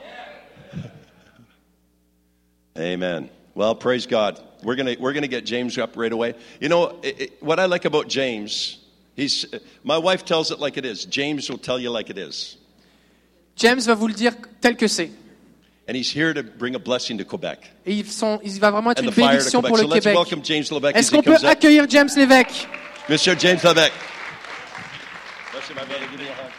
Amen. Well, praise God. We're gonna we're gonna get James up right away. You know it, it, what I like about James. He's my wife tells it like it is. James will tell you like it is, James va vous le dire tel que c'est. and he's here to bring a blessing to Quebec Et ils sont, il va vraiment être and une the fire to bénédiction Quebec. pour So le let's Québec. welcome James Levesque as Est-ce he qu'on peut comes up. accueillir James Lévesque? Monsieur James Levesque. Bless you, my brother. Give me a hug.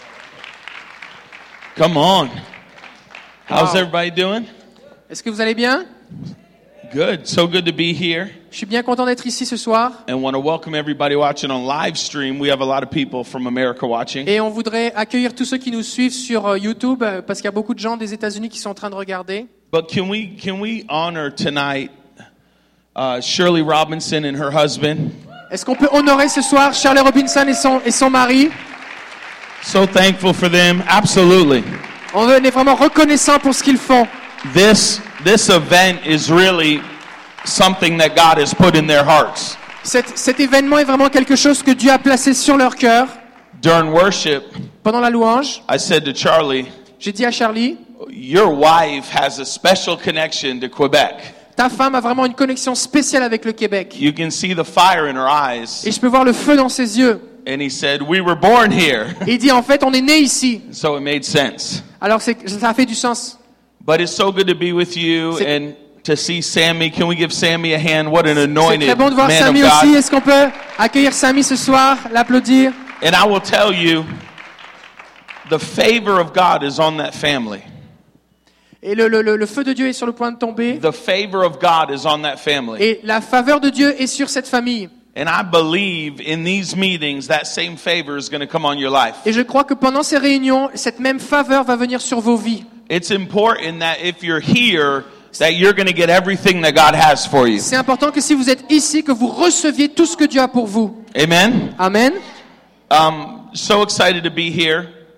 Come on. How's Wow. everybody doing? Est-ce que vous allez bien? Good. So good to be here. Je suis bien content d'être ici ce soir. And want to welcome everybody watching on live stream. We have a lot of people from America watching. Et on voudrait accueillir tous ceux qui nous suivent sur euh, YouTube, euh, parce qu'il y a beaucoup de gens des États-Unis qui sont en train de regarder. But can we can we honor tonight uh, Shirley Robinson and her husband? Est-ce qu'on peut honorer ce soir Shirley Robinson et son, et son mari? So thankful for them. Absolutely. On est vraiment reconnaissant pour ce qu'ils font. This this event is really something that God has put in their hearts. Cet, cet événement est vraiment quelque chose que Dieu a placé sur leur cœur. During worship, Pendant la louange, I said to Charlie, j'ai dit à Charlie, your wife has a special connection to Quebec. ta femme a vraiment une connexion spéciale avec le Québec. You can see the fire in her eyes. Et je peux voir le feu dans ses yeux. And he said, we were born here. Et il dit, en fait, on est né ici. So it made sense. Alors c'est, ça a fait du sens. But it's so good to be with you C'est- and to see Sammy. Can we give Sammy a hand? What an C'est anointed très bon de voir man of Samy aussi. God. Est-ce qu'on peut accueillir Samy ce soir, l'applaudir? And I will tell you, the favor of God is on that family. Et le, le, le, le feu de Dieu est sur le point de tomber. The favor of God is on that family. Et la faveur de Dieu est sur cette famille. And I believe in these meetings, that same favor is going to come on your life. Et je crois que pendant ces réunions, cette même faveur va venir sur vos vies. It's important that if you're here, that you're going to get everything that God has for you. C'est important que si vous êtes ici, que vous receviez tout ce que Dieu a pour vous. Amen? Amen. Um, so excited to be here.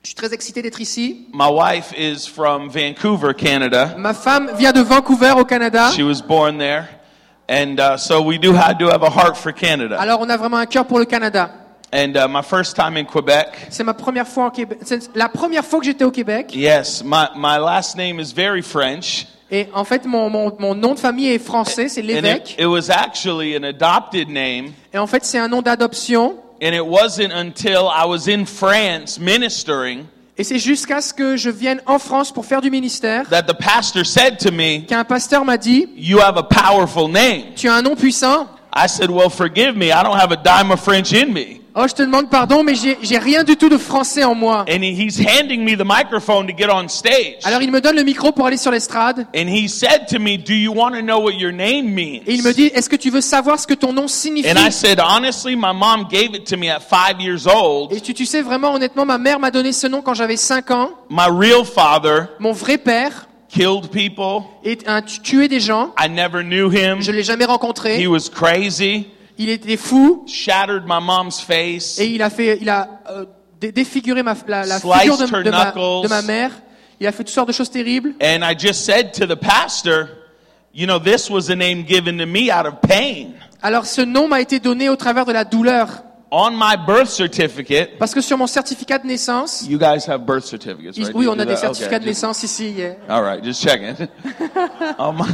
Je suis très excité d'être ici. My wife is from Vancouver, Canada. Ma femme vient de Vancouver au Canada. She was born there. And uh, so we do have to have a heart for Canada. Alors on a vraiment un cœur pour le Canada. And uh, my first time in Quebec. C'est ma première fois au Québec. C'est la première fois que j'étais au Québec. Yes, my my last name is very French. Et en fait, mon, mon, mon nom de famille est français, c'est And l'évêque. it, it was actually an adopted name. Et en fait, c'est un nom d'adoption. And it wasn't until I was in France ministering Et c'est jusqu'à ce que je vienne en France pour faire du ministère that the pastor said to me, qu'un pasteur m'a dit, "You have a powerful name." tu as un nom puissant. I said, "Well, forgive me. I don't have a dime of French in me." Oh, je te demande pardon, mais j'ai, j'ai rien du tout de français en moi. And he, he's handing me the microphone to get on stage. Alors il me donne le micro pour aller sur l'estrade. And he said to me, "Do you want to know what your name means?" Et il me dit, est-ce que tu veux savoir ce que ton nom signifie? And I said, "Honestly, my mom gave it to me at five years old. Et tu, tu sais vraiment, honnêtement, ma mère m'a donné ce nom quand j'avais cinq ans. My real father Mon vrai père killed people. est un tu- tué des gens. I never knew him. Je l'ai jamais rencontré. He was crazy. Il était fou Shattered my mom's face. et il a fait, il a euh, dé- défiguré ma, la, la Sliced figure de, her de, ma, knuckles. de ma mère. Il a fait toutes sortes de choses terribles. And I just said to the pastor, you know, this was a name given to me out of pain. Alors ce nom m'a été donné au travers de la douleur. On my birth certificate, Parce que sur mon certificat de naissance, you guys have birth certificates, ils- right? oui, You on do a des that? certificats Okay, de just- naissance ici. yeah. All right, just checking. on, my,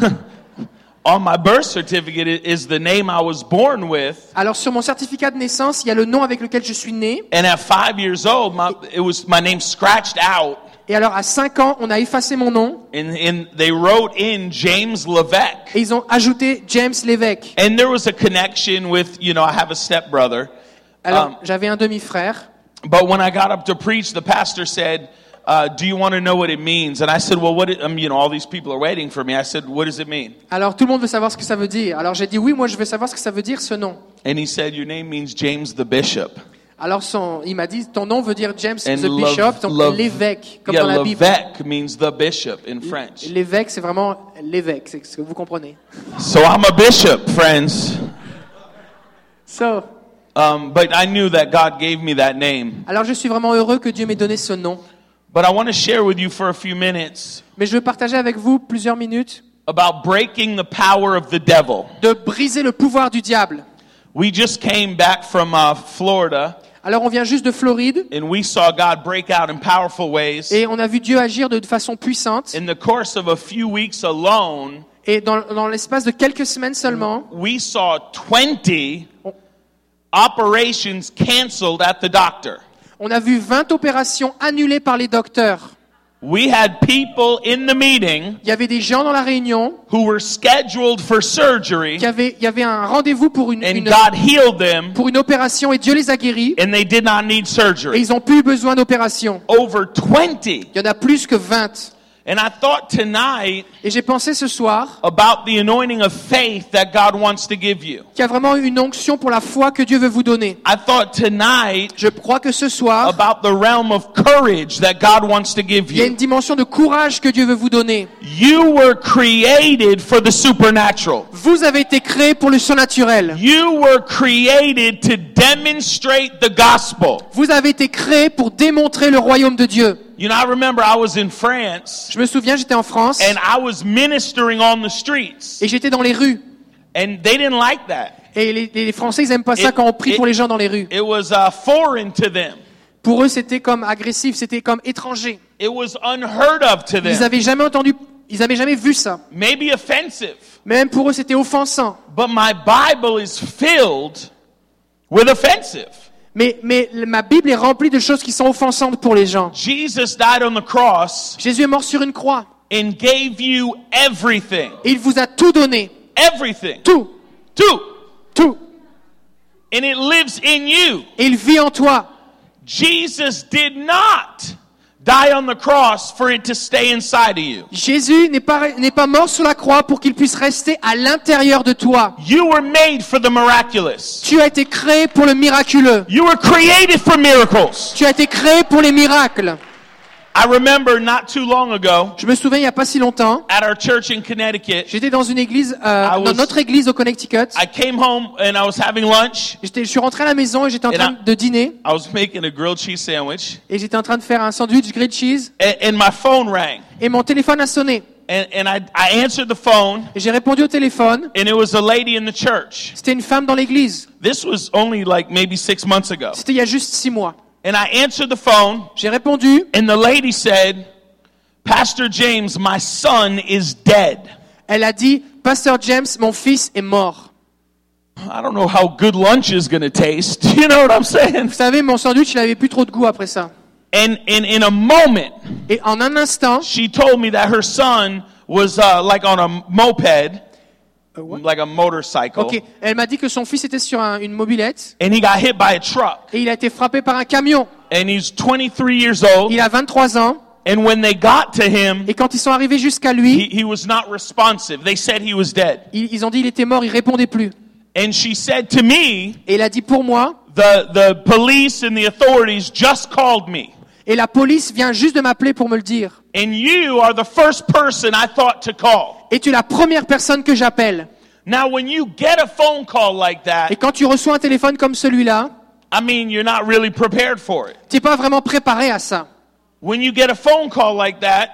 on my birth certificate is the name I was born with. Alors sur mon certificat de naissance, il y a le nom avec lequel je suis né. And at five years old, my, it was my name scratched out. Et alors à cinq ans, on a effacé mon nom And, and they wrote in James Levesque. et ils ont ajouté James l'évêque. And there was a connection with, you know, I have a stepbrother. Alors Um, j'avais un demi-frère. But when I got up to preach, the pastor said, uh, "Do you want to know what it means?" And I said, "Well, what? It, um, you know, all these people are waiting for me." I said, "What does it mean?" Alors tout le monde veut savoir ce que ça veut dire. Alors j'ai dit oui, moi je veux savoir ce que ça veut dire ce nom. And he said, "Your name means James the Bishop." Alors son, il m'a dit ton nom veut dire James And the Lev- Bishop, donc Lev- l'évêque, comme yeah, dans la Bible. Levesque means the bishop in French. L'évêque, c'est vraiment l'évêque, c'est ce que vous comprenez. So I'm a bishop, friends. So, Um, but I knew that God gave me that name. alors je suis vraiment heureux que Dieu m'ait donné ce nom. But I want to share with you for a few minutes Mais je veux partager avec vous plusieurs minutes about breaking the power of the devil. de briser le pouvoir du diable. We just came back from uh, Florida, Alors on vient juste de Floride and we saw God break out in powerful ways. et on a vu Dieu agir de façon puissante. In the course of a few weeks alone, Et dans, dans l'espace de quelques semaines seulement, we saw twenty operations canceled at the doctor. on a vu vingt opérations annulées par les docteurs. We had people in the meeting Il y avait des gens dans la réunion who were scheduled for surgery, qui avaient, il y avait un rendez-vous pour une, and une, God healed them, pour une opération et Dieu les a guéris and they did not need et surgery. ils ont plus besoin d'opération. Over twenty. Il y en a plus que vingt. And I thought tonight Et j'ai pensé ce soir about the anointing of faith that God wants to give you. qu'il y a vraiment une onction pour la foi que Dieu veut vous donner. I thought tonight Je crois que ce soir, about the realm of courage that God wants to give il y a une you. dimension de courage que Dieu veut vous donner. You were created for the supernatural. Vous avez été créés pour le surnaturel. You were created to demonstrate the gospel. Vous avez été créés pour démontrer le royaume de Dieu. You know, I remember I was in France Je me souviens, j'étais en France and I was ministering on the streets, et j'étais dans les rues. and they didn't like that. Et les, les Français, ils aiment pas ça It- quand on prie it- pour les gens dans les rues. It was uh, foreign to them. Pour eux, c'était comme agressif, c'était comme étranger. It was unheard of to Ils them. avaient jamais entendu, ils avaient jamais vu ça. Maybe offensive. Même pour eux, c'était offensant. But my Bible is filled with offensive. Mais, mais ma Bible est remplie de choses qui sont offensantes pour les gens. Jesus died on the cross Jésus est mort sur une croix and gave you everything. et il vous a tout donné. Everything. Tout. Two. Tout. And it lives in you. Et il vit en toi. Jesus did not die on the cross for it to stay inside of you. Jésus n'est pas, n'est pas mort sur la croix pour qu'il puisse rester à l'intérieur de toi. You were made for the miraculous. Tu as été créé pour le miraculeux. You were created for miracles. Tu as été créé pour les miracles. I remember not too long ago Je me souviens, il n'y a pas si longtemps, at our church in Connecticut, j'étais dans une église, euh, I was- dans notre église au Connecticut. I came home and I was having lunch. J'étais, je suis rentré à la maison et j'étais en Et train là- de dîner. I was making a grilled cheese sandwich, Et j'étais en train de faire un sandwich grilled cheese. and, and my phone rang. Et mon téléphone a sonné. And, and I, I answered the phone, Et j'ai répondu au téléphone. and it was a lady in the church. C'était une femme dans l'église. This was only like maybe six months ago. C'était il y a juste six mois. And I answered the phone, J'ai répondu. and the lady said, Pastor James, my son is dead. Elle a dit, Pasteur James, mon fils est mort. I don't know how good lunch is going to taste. You know what I'm saying? Vous savez, mon sandwich, il avait plus trop de goût après ça. And, and in a moment, Et en un instant, she told me that her son was uh, like on a moped, like a motorcycle, ok, elle m'a dit que son fils était sur un- une mobilette and he got hit by a truck. et il a été frappé par un camion. And he's twenty-three years old. Il a vingt-trois ans And when they got to him, et quand ils sont arrivés jusqu'à lui, he, he was not responsive. They said he was dead. ils, ils ont dit il était mort, il répondait plus. And she said to me, Et il a dit pour moi, the, the police and the authorities just called me. et la police vient juste de m'appeler pour me le dire. And you are the first person I thought to call. Et tu es la première personne que j'appelle. Now, when you get a phone call like Et that, quand tu reçois un téléphone comme celui-là, I mean, you're not really prepared for it. tu n'es pas vraiment préparé à ça. When you get a phone call like that,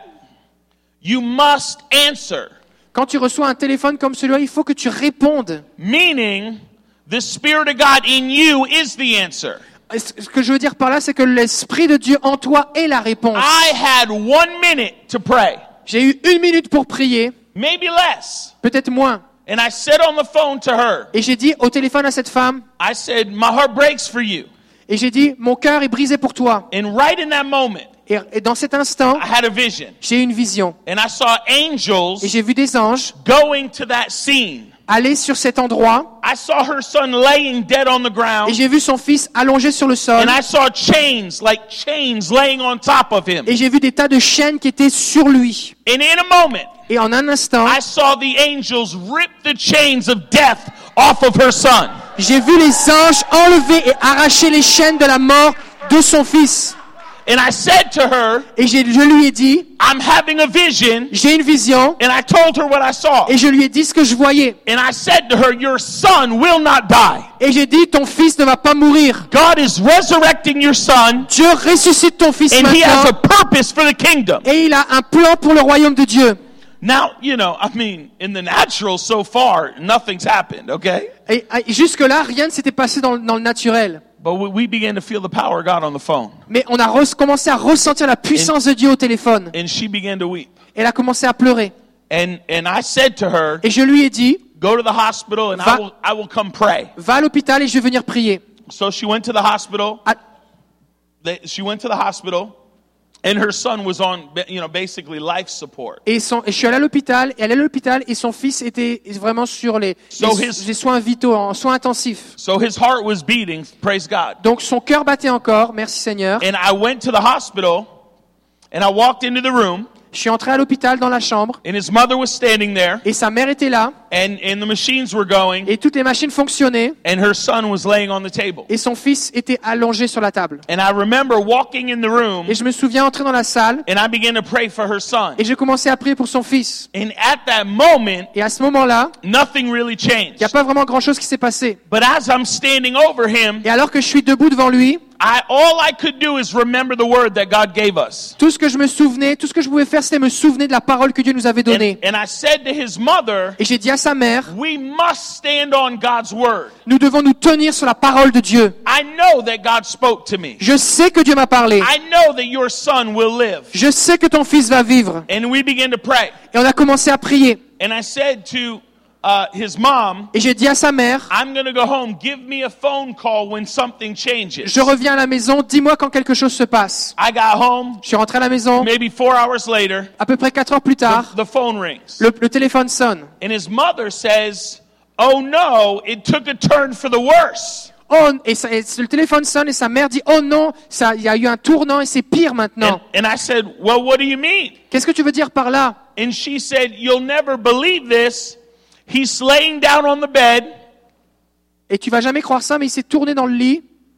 you must answer. Quand tu reçois un téléphone comme celui-là, il faut que tu répondes. Meaning, the Spirit of God in you is the answer. Et Ce ce que je veux dire par là, c'est que l'Esprit de Dieu en toi est la réponse. I had one minute to pray, J'ai eu une minute pour prier, maybe less. peut-être moins. And I said on the phone to her, Et j'ai dit au téléphone à cette femme, I said, my heart breaks for you. et j'ai dit, mon cœur est brisé pour toi. And right in that moment, Et, et dans cet instant, I had a vision. j'ai eu une vision. And I saw angels Et j'ai vu des anges going to that scene. aller sur cet endroit. I saw her son laying dead on the ground. Et j'ai vu son fils allongé sur le sol. And I saw chains, like chains laying on top of him. Et j'ai vu des tas de chaînes qui étaient sur lui. And in a moment, Et en un instant, I saw the angels rip the chains of death off of her son. j'ai vu les anges enlever et arracher les chaînes de la mort de son fils. And I said to her, Et j'ai- je lui ai dit, I'm having a vision. j'ai une vision. And I told her what I saw. Et je lui ai dit ce que je voyais. And I said to her, your son will not die. Et j'ai dit, ton fils ne va pas mourir. God is resurrecting your son, Dieu ressuscite ton fils and he has a maintenant. purpose for the kingdom. Et il a un plan pour le royaume de Dieu. Now, you know, I mean, in the natural so far, nothing's happened, okay? Et, et jusque-là, rien ne s'était passé dans, le- dans le naturel. But we, we began to feel the power of God on the phone. Mais on a re- commencé à ressentir la puissance de Dieu au téléphone. And she began to weep. Elle a commencé à pleurer. And, and I said to her, Et je lui ai dit, go to the hospital and Va- I will, I will come pray. va à l'hôpital et je vais venir prier. So she went to the hospital. À- They, she went to the hospital, and her son was on, you know, basically life support. Et, son, et je suis allé à l'hôpital, et elle est allée à l'hôpital, et son fils était vraiment sur les, So les, his- les soins vitaux, en soins intensifs. So his heart was beating, praise God. Donc son cœur battait encore, merci Seigneur. And I went to the hospital, and I walked into the room, Je suis entré à l'hôpital dans la chambre, and his mother was standing there, et sa mère était là, and, and the machines were going, et toutes les machines fonctionnaient, and her son was laying on the table. et son fils était allongé sur la table. And I remember walking in the room, Et je me souviens entrer dans la salle, and I began to pray for her son. et j'ai commencé à prier pour son fils. And at that moment, Et à ce moment-là, nothing really il n'y changed. a pas vraiment grand-chose qui s'est passé. But as I'm standing over him, Et alors que je suis debout devant lui, I, all I could do is remember the word that God gave us. tout ce que je me souvenais, tout ce que je pouvais faire, c'était me souvenir de la parole que Dieu nous avait And, donnée. and I said to his mother, Et j'ai dit à sa mère, we must stand on God's word. nous devons nous tenir sur la parole de Dieu. I know that God spoke to me. Je sais que Dieu m'a parlé. I know that your son will live. Je sais que ton fils va vivre. And we began to pray. Et on a commencé à prier. And I said to uh, his mom, Et j'ai dit à sa mère, I'm going to go home. Give me a phone call when something changes. je reviens à la maison, dis-moi quand quelque chose se passe. I got home. Je suis rentré à la maison, Maybe four hours later, à peu près quatre heures plus tard, the phone rings. le, le téléphone sonne. And his mother says, oh no, it took a turn for the worse. Oh, et, ça- et le téléphone sonne et sa mère dit, oh non, ça, il y a eu un tournant et c'est pire And, maintenant. and I said, well, what do you mean? Qu'est-ce que tu veux dire par là? And she said, you'll never believe this. He's laying down on the bed Et tu vas jamais croire ça, mais il s'est tourné dans le lit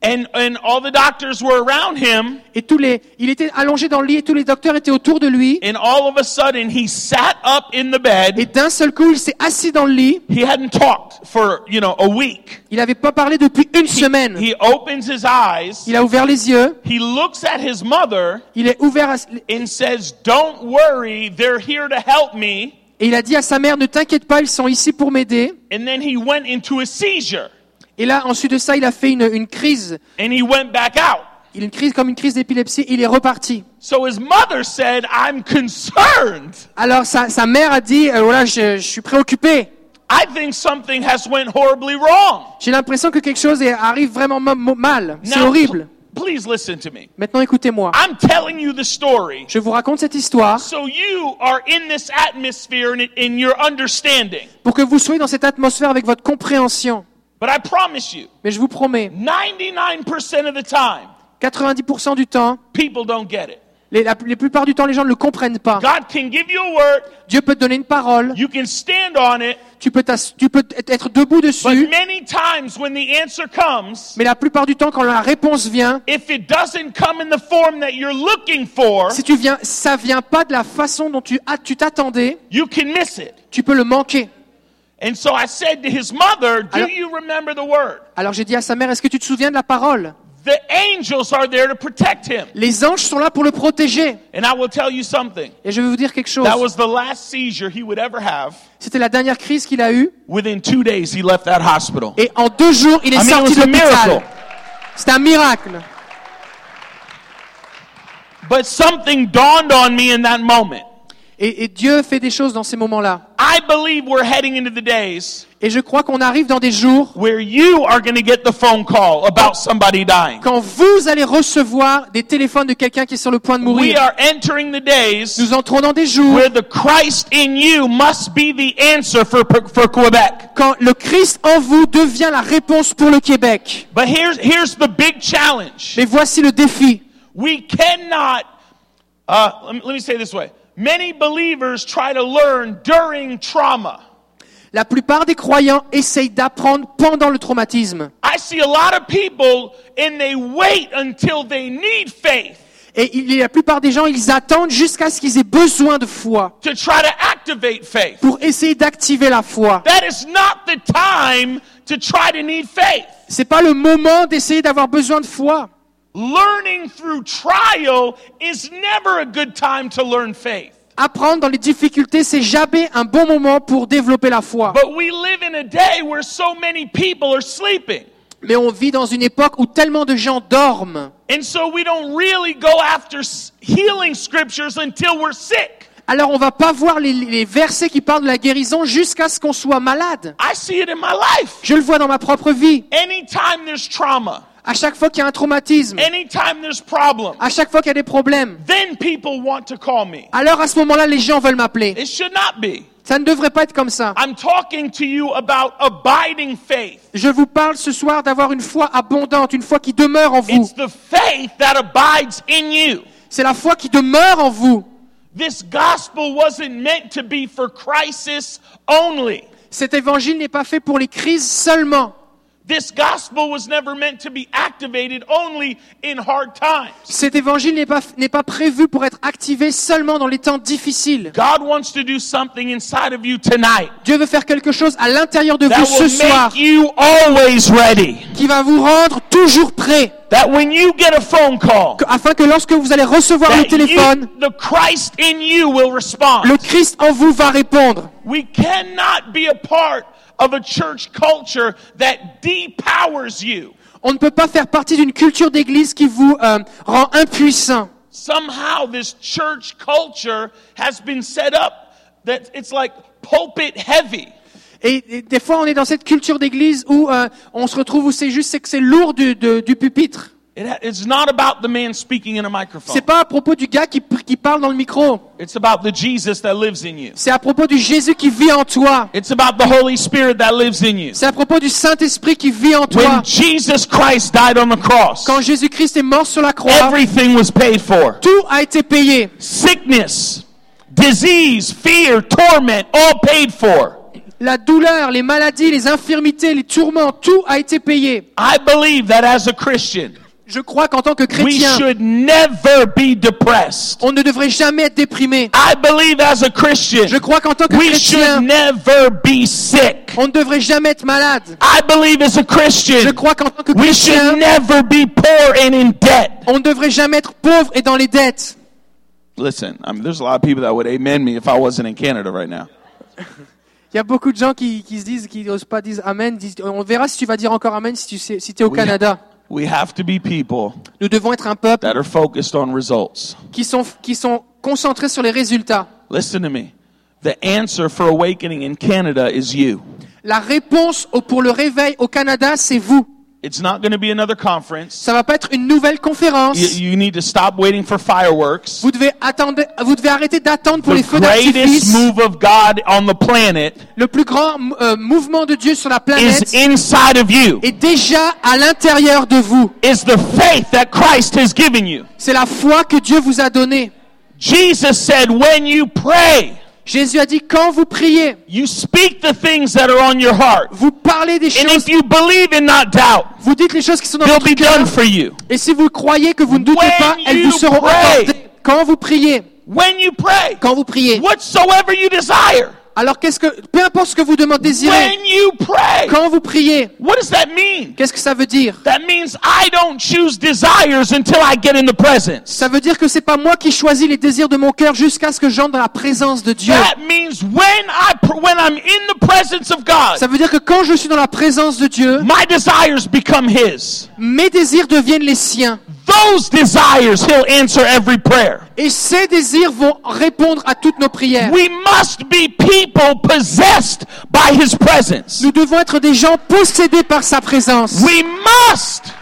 And and all the doctors were around him. Et tous les, il était allongé dans le lit et tous les docteurs étaient autour de lui. And all of a sudden, he sat up in the Et bed. d'un seul coup, il s'est assis dans le lit. He hadn't talked for, you know, a week. Il n'avait pas parlé depuis une semaine. He opens his eyes. Il a ouvert les yeux. He looks at his mother Il est ouvert à, and says, "Don't worry, they're here to help me." et il a dit à sa mère, ne t'inquiète pas, ils sont ici pour m'aider. And then he went into a seizure. Et là, ensuite de ça, il a fait une, une crise. And he went back out. Il a une crise comme une crise d'épilepsie. Il est reparti. So his mother said, "I'm concerned. Alors sa, sa mère a dit, euh, voilà, je, je suis préoccupé. I think something has went horribly wrong." J'ai l'impression que quelque chose est- arrive vraiment ma- ma- mal. C'est Now, horrible. pl- please listen to me. Maintenant, écoutez-moi. I'm telling you the story Je vous raconte cette histoire so you are in this atmosphere and in your understanding. pour que vous soyez dans cette atmosphère avec votre compréhension. But I promise you, Mais je vous promets, ninety-nine percent of the time, quatre-vingt-dix pour cent du temps, people don't get it. les, la, la plupart du temps, les gens ne le comprennent pas. God can give you a word, Dieu peut te donner une parole, you can stand on it, tu peux, t'ass- tu peux être debout but dessus, many times when the answer comes, mais la plupart du temps, quand la réponse vient, if it doesn't come in the form that you're looking for, si tu viens, ça vient pas de la façon dont tu ah, tu t'attendais, you can miss it. tu peux le manquer. And so I said to his mother, "Do Alors- you remember the word?" Alors j'ai dit à sa mère, est-ce que tu te souviens de la parole? The angels are there to protect him. Les anges sont là pour le protéger. And I will tell you something. Et je vais vous dire quelque chose. That was the last seizure he would ever have. C'était la dernière crise qu'il a eue. Within two days, he left that hospital. Et en deux jours, il est I mean, it sorti was de a l'hôpital. miracle. C'est un miracle. But something dawned on me in that moment. Et, et Dieu fait des choses dans ces moments-là. I believe we're heading into the days Et je crois qu'on arrive dans des jours where you are going to get the phone call about somebody dying. quand vous allez recevoir des téléphones de quelqu'un qui est sur le point de We mourir. are entering the days Nous entrons dans des jours where the Christ in you must be the answer for, for Quebec. quand le Christ en vous devient la réponse pour le Québec. But here's, here's the big challenge. Mais voici le défi. We cannot, uh, let me, let me say it this way. Many believers try to learn during trauma. La plupart des croyants essayent d'apprendre pendant le traumatisme. I see a lot of people and they wait until they need faith Et il- la plupart des gens, ils attendent jusqu'à ce qu'ils aient besoin de foi to try to activate faith. pour essayer d'activer la foi. That is not the time to try to need faith. C'est pas le moment d'essayer d'avoir besoin de foi. Learning through trial is never a good time to learn faith. Apprendre dans les difficultés, c'est jamais un bon moment pour développer la foi. But we live in a day where so many people are sleeping. Mais on vit dans une époque où tellement de gens dorment. And so we don't really go after s- healing scriptures until we're sick. Alors on va pas voir les, les versets qui parlent de la guérison jusqu'à ce qu'on soit malade. I see it in my life. Je le vois dans ma propre vie. Anytime there's trauma, À chaque fois qu'il y a un traumatisme, anytime there's problem, à chaque fois qu'il y a des problèmes, then people want to call me. alors à ce moment-là, les gens veulent m'appeler. It should not be. Ça ne devrait pas être comme ça. I'm talking to you about abiding faith. Je vous parle ce soir d'avoir une foi abondante, une foi qui demeure en vous. It's the faith that abides in you. C'est la foi qui demeure en vous. This gospel wasn't meant to be for crisis only. Cet évangile n'est pas fait pour les crises seulement. This gospel was never meant to be activated only in hard times. Cet évangile n'est pas, n'est pas prévu pour être activé seulement dans les temps difficiles. God wants to do something inside of you tonight Dieu veut faire quelque chose à l'intérieur de that vous ce will soir make you always ready. qui va vous rendre toujours prêt. That when you get a phone call, Que- afin que lorsque vous allez recevoir le that you, téléphone, the Christ in you will respond. le Christ en vous va répondre. We cannot be a part of a church culture that depowers you. On ne peut pas faire partie d'une culture d'église qui vous euh, rend impuissant. Somehow this church culture has been set up that it's like pulpit heavy. Et, et des fois, on est dans cette culture d'église où euh, on se retrouve où c'est juste c'est que c'est lourd du, de- du pupitre. It ha- it's not about the man speaking in a microphone. C'est pas à propos du gars qui, qui parle dans le micro. It's about the Jesus that lives in you. C'est à propos du Jésus qui vit en toi. It's about the Holy Spirit that lives in you. C'est à propos du Saint-Esprit qui vit en toi. When Jesus Christ died on the cross, Quand Jésus-Christ est mort sur la croix, everything was paid for. tout a été payé. Sickness, disease, fear, torment, all paid for. La douleur, les maladies, les infirmités, les tourments, tout a été payé. I believe that as a Christian, Je crois qu'en tant que we chrétien, should never be depressed. on ne devrait jamais être déprimé. I believe as a Christian, Je crois qu'en tant que we should chrétien, never be sick. on ne devrait jamais être malade. I believe as a Je Christian, crois qu'en tant que we should chrétien, never be poor and in debt. on ne devrait jamais être pauvre et dans les dettes. Listen, I mean, there's a lot of people that would amen me if I wasn't in Canada right now. Il y a beaucoup de gens qui, qui se disent, qui n'osent pas dire Amen. Disent, on verra si tu vas dire encore Amen si tu sais, si t'es au We- Canada. We have to be people Nous devons être un peuple that are focused on results. qui sont, qui sont concentrés sur les résultats. Listen to me. The answer for awakening in Canada is you. La réponse au- pour le réveil au Canada, c'est vous. It's not going to be another conference. Ça va pas être une nouvelle conférence. You, you need to stop waiting for fireworks. Vous devez attendre, vous devez arrêter d'attendre pour The les feux greatest d'artifice. move of God on the planet Le plus grand euh, mouvement de Dieu sur la is planète inside of you. est déjà à l'intérieur de vous. Is the faith that Christ has given you. C'est la foi que Dieu vous a donnée. Jesus said, when you pray, Jésus a dit, quand vous priez, you speak the things that are on your heart. vous parlez des And choses, if you believe and not doubt, vous dites les choses qui sont dans they'll votre be cœur. done for you. Et si vous croyez que vous ne doutez When pas, elles you vous seront pray. accordées. Quand vous priez, When you pray, quand vous priez. whatsoever you desire. Alors qu'est-ce que, peu importe ce que vous demandez, désirez, When you pray, quand vous priez, what does that mean? qu'est-ce que ça veut dire? That means I don't choose desires until I get in the presence. Ça veut dire que c'est pas moi qui choisis les désirs de mon cœur jusqu'à ce que j'entre dans la présence de Dieu. That means when I pr- when I'm in the presence of God, Ça veut dire que quand je suis dans la présence de Dieu, my desires become His. mes désirs deviennent les siens. Those desires, He'll answer every prayer. Et ces désirs vont répondre à toutes nos prières. We must be people possessed by His presence. Nous devons être des gens possédés par sa présence. We must.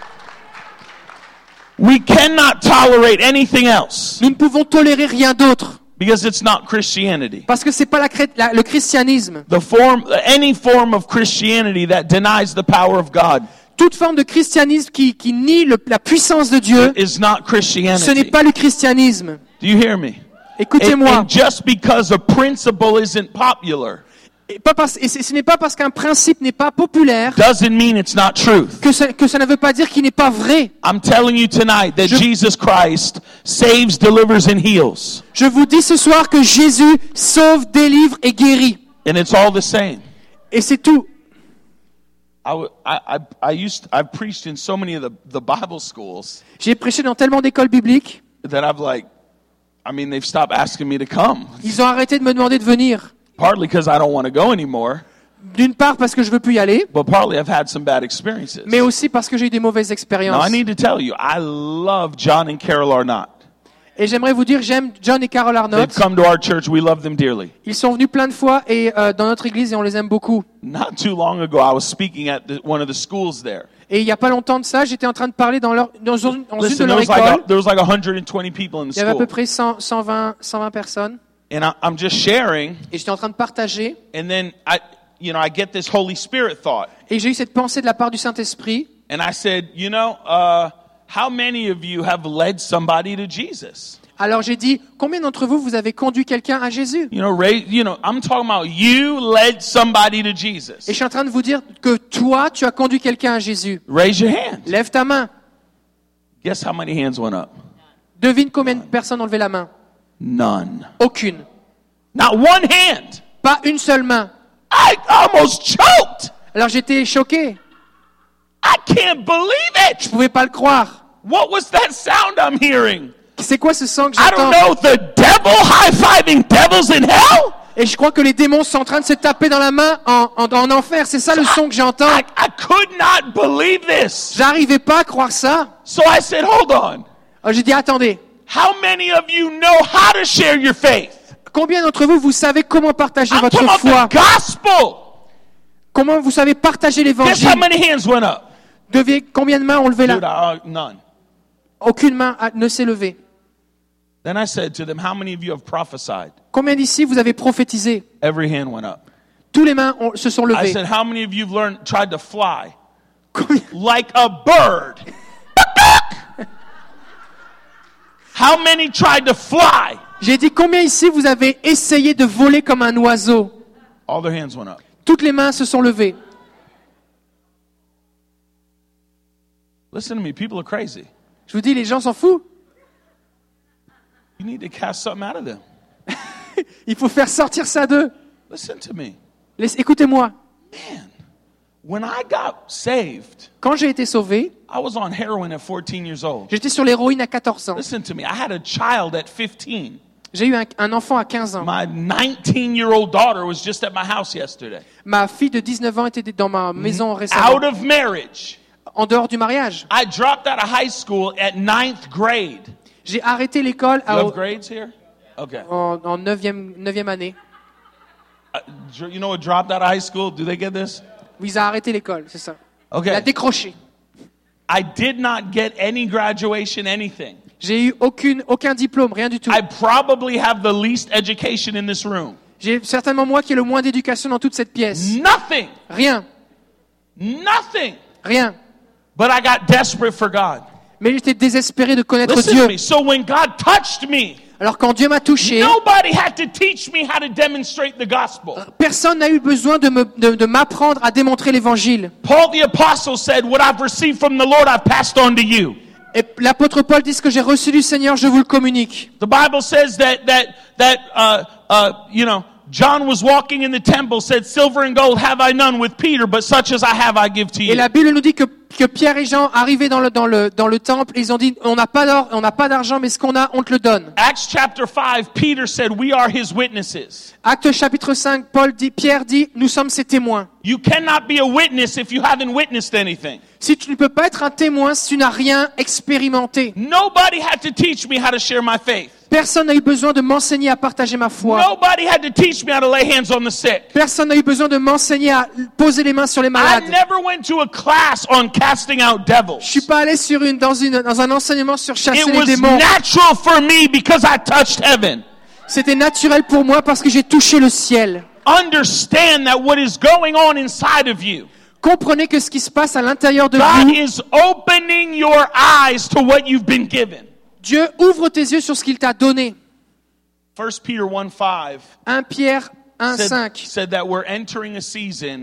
We cannot tolerate anything else Nous ne pouvons tolérer rien d'autre because it's not Christianity. parce que c'est pas la, chré- la- le christianisme. The form, any form of Christianity that denies the power of God Toute forme de christianisme qui, qui nie le- la puissance de Dieu, is not ce n'est Christianity. pas le christianisme. Do you hear me? And, Écoutez-moi. and just because a principle isn't popular Et, pas parce- et ce ce n'est pas parce qu'un principe n'est pas populaire doesn't mean it's not truth. que ça, que ça ne veut pas dire qu'il n'est pas vrai. I'm telling you tonight that Je- Jesus Christ saves, delivers, and heals. Je vous dis ce soir que Jésus sauve, délivre et guérit. And it's all the same. Et c'est tout. I, w- I, I, I used, I've preached in so many of the, the Bible schools J'ai prêché dans tellement d'écoles bibliques, that I've like, I mean, they've stopped asking me to come. ils ont arrêté de me demander de venir. Partly because I don't want to go anymore, D'une part parce que je veux plus y aller, but partly I've had some bad experiences. mais aussi parce que j'ai eu des mauvaises Now, expériences. I need to tell you, I love John and Carol Arnott. Et j'aimerais vous dire, j'aime John et Carol They've Arnott. come to our church. We love them dearly. Ils sont venus plein de fois et euh, dans notre église et on les aime beaucoup. Not too long ago, I was speaking at the, one of the schools there. Et il y a pas longtemps de ça, j'étais en train de parler dans, leur, dans une, dans une de Listen, there leurs was, like écoles. a, there was like one hundred twenty people in the Il y avait à peu school. près cent, cent vingt, cent vingt personnes. And I, I'm just sharing, Et j'étais en train de partager. and then I, you know, I get this Holy Spirit thought. Et j'ai eu cette pensée de la part du Saint-Esprit. And I said, you know, uh, how many of you have led somebody to Jesus? Alors j'ai dit, combien d'entre vous, vous avez conduit quelqu'un à Jésus? You know, raise, you know, I'm talking about you led somebody to Jesus. Et je suis en train de vous dire que toi, tu as conduit quelqu'un à Jésus. Raise your hand. Lève ta main. Guess how many hands went up? Devine combien de personnes ont levé la main? None. Aucune. Not one hand. Pas une seule main. I almost choked. Alors j'étais choqué. I can't believe Je it. pouvais pas le croire. What was that sound I'm hearing? C'est quoi ce son que I don't j'entends? know, the devil high-fiving devils in hell? Et je crois que les démons sont en train de se taper dans la main en, en, en enfer. C'est ça le son que j'entends. I, I could not believe this. J'arrivais pas à croire ça. So I said, hold on. Alors j'ai dit, attendez. How many of you know how to share your faith? Combien d'entre vous, vous savez comment partager I'm votre talking about foi? the gospel. Comment vous savez partager Guess l'évangile? how many hands went up? Devez, combien de mains ont levé Dude, là? I, uh, none. Aucune main a- ne s'est levée. Then I said to them, how many of you have prophesied? Combien d'ici vous avez prophétisé? Every hand went up. Tous les mains ont- se sont I levées. said, how many of you have learned, tried to fly Combien- like a bird? How many tried to fly? J'ai dit, combien ici vous avez essayé de voler comme un oiseau? All their hands went up. Toutes les mains se sont levées. Listen to me, people are crazy. Je vous dis, les gens s'en foutent. You need to cast something out of them. Il faut faire sortir ça d'eux. Listen to me. Laisse- Écoutez-moi. Man, when I got saved, Quand j'ai été sauvé, I was on heroin at fourteen years old. j'étais sur l'héroïne à quatorze ans. Listen to me, I had a child at fifteen. J'ai eu un, un enfant à quinze ans. My nineteen-year-old daughter was just at my house yesterday. Ma fille de dix-neuf ans était dans ma maison Out récemment. of marriage. En dehors du mariage. I dropped out of high school at ninth grade. J'ai arrêté l'école You à- have grades here? Okay. en, en neuvième, neuvième année. Uh, dr- you know what dropped out of high school? Do they get this? Oui, il a arrêté l'école, c'est ça. Il a Okay. décroché. I did not get any graduation, anything. J'ai eu aucune, aucun diplôme, rien du tout. I probably have the least education in this room. J'ai certainement moi qui ai le moins d'éducation dans toute cette pièce. Nothing. Rien, Nothing. rien. But I got desperate for God. Mais j'étais désespéré de connaître Listen Dieu. to me. So when God touched me, Alors quand Dieu m'a touché, nobody had to teach me how to demonstrate the gospel. personne n'a eu besoin de me, de, de m'apprendre à démontrer l'évangile. Paul the apostle said, "What I've received from the Lord, I've passed on to you." Et l'apôtre Paul dit ce que j'ai reçu du Seigneur, je vous le communique. The Bible says that that that uh, uh, you know, John was walking in the temple, said, "Silver and gold have I none with Peter, but such as I have I give to Et you." la Bible nous dit que, que Pierre et Jean arrivaient dans le, dans le, dans le temple et ils ont dit, on n'a pas d'or, on n'a pas d'argent, mais ce qu'on a, on te le donne. Acts chapter five, Peter said, "We are his witnesses." Acte chapitre cinq, Paul dit, Pierre dit, nous sommes ses témoins. You cannot be a witness if you haven't witnessed anything. Si tu ne peux pas être un témoin si tu n'as rien expérimenté. Nobody had to teach me how to share my faith. Personne n'a eu besoin de m'enseigner à partager ma foi. Nobody had to teach me how to lay hands on the sick. Personne n'a eu besoin de m'enseigner à poser les mains sur les I malades. never went to a class on casting out devils. Je suis pas allé sur une, dans une, dans un enseignement sur chasser It les was démons. natural for me because I touched heaven. C'était naturel pour moi parce que j'ai touché le ciel. Understand that what is going on inside of you, Comprenez que ce qui se passe à l'intérieur de God vous, is opening your eyes to what you've been given. Dieu ouvre tes yeux sur ce qu'il t'a donné. First Peter one five un Pierre un said, cinq. said that we're entering a season,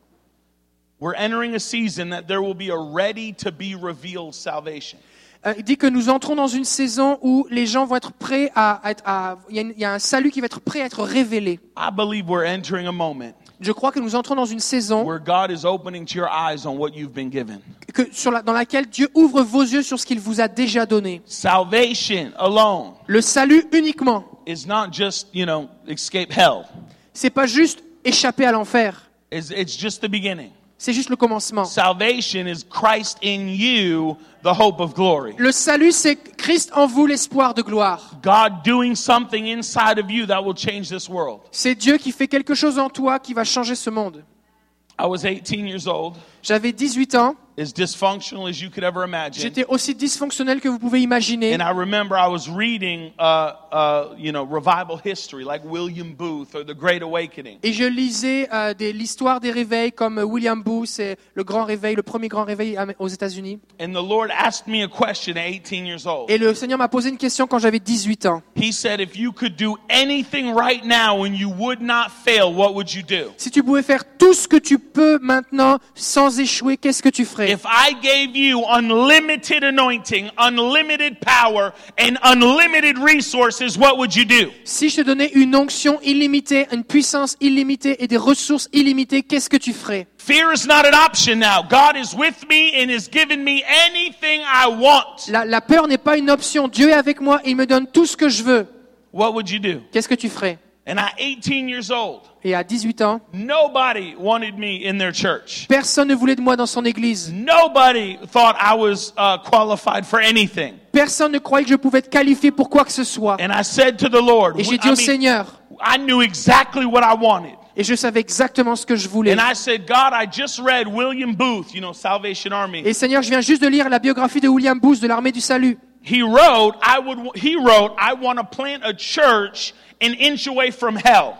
we're entering a season that there will be a ready to be revealed salvation. Euh, il dit que nous entrons dans une saison où les gens vont être prêts à être, à, il y a une- il y a un salut qui va être prêt à être révélé. I believe we're entering a moment Je crois que nous entrons dans une saison where God is opening to your eyes on what you've been given. que, sur la, dans laquelle Dieu ouvre vos yeux sur ce qu'il vous a déjà donné. Salvation alone Le salut uniquement. is not just, you know, escape hell. C'est pas juste échapper à l'enfer. It's, it's just the beginning. C'est juste le commencement. Salvation is Christ in you, the hope of glory. Le salut, c'est Christ en vous, l'espoir de gloire. God doing something inside of you that will change this world. C'est Dieu qui fait quelque chose en toi qui va changer ce monde. I was eighteen years old, J'avais dix-huit ans. as dysfunctional as you could ever imagine. J'étais aussi dysfonctionnel que vous pouvez imaginer. And I remember I was reading, uh, uh, you know, revival history like William Booth or the Great Awakening. Et je lisais euh, des, l'histoire des réveils comme William Booth et le grand réveil, le premier grand réveil am- aux États-Unis. And the Lord asked me a question at eighteen years old. Et le Seigneur m'a posé une question quand j'avais dix-huit ans. He said, if you could do anything right now and you would not fail, what would you do? Si tu pouvais faire tout ce que tu peux maintenant sans échouer, qu'est-ce que tu ferais? If I gave you unlimited anointing, unlimited power, and unlimited resources, what would you do? Si je te donnais une onction illimitée, une puissance illimitée et des ressources illimitées, qu'est-ce que tu ferais? Fear is not an option now. God is with me and has given me anything I want. La, la peur n'est pas une option. Dieu est avec moi et il me donne tout ce que je veux. What would you do? Qu'est-ce que tu ferais? And at eighteen years old, Et à dix-huit ans, nobody wanted me in their church. personne ne voulait de moi dans son église. Nobody thought I was uh, qualified for anything. Personne ne croyait que je pouvais être qualifié pour quoi que ce soit. And I said to the Lord, Et j'ai I dit au mean, Seigneur, I knew exactly what I wanted. et je savais exactement ce que je voulais. And I said, God, I just read William Booth, you know, Salvation Army. Et Seigneur, je viens juste de lire la biographie de William Booth de l'armée du salut. He wrote, I would, he wrote, I want to plant a church an inch away from hell.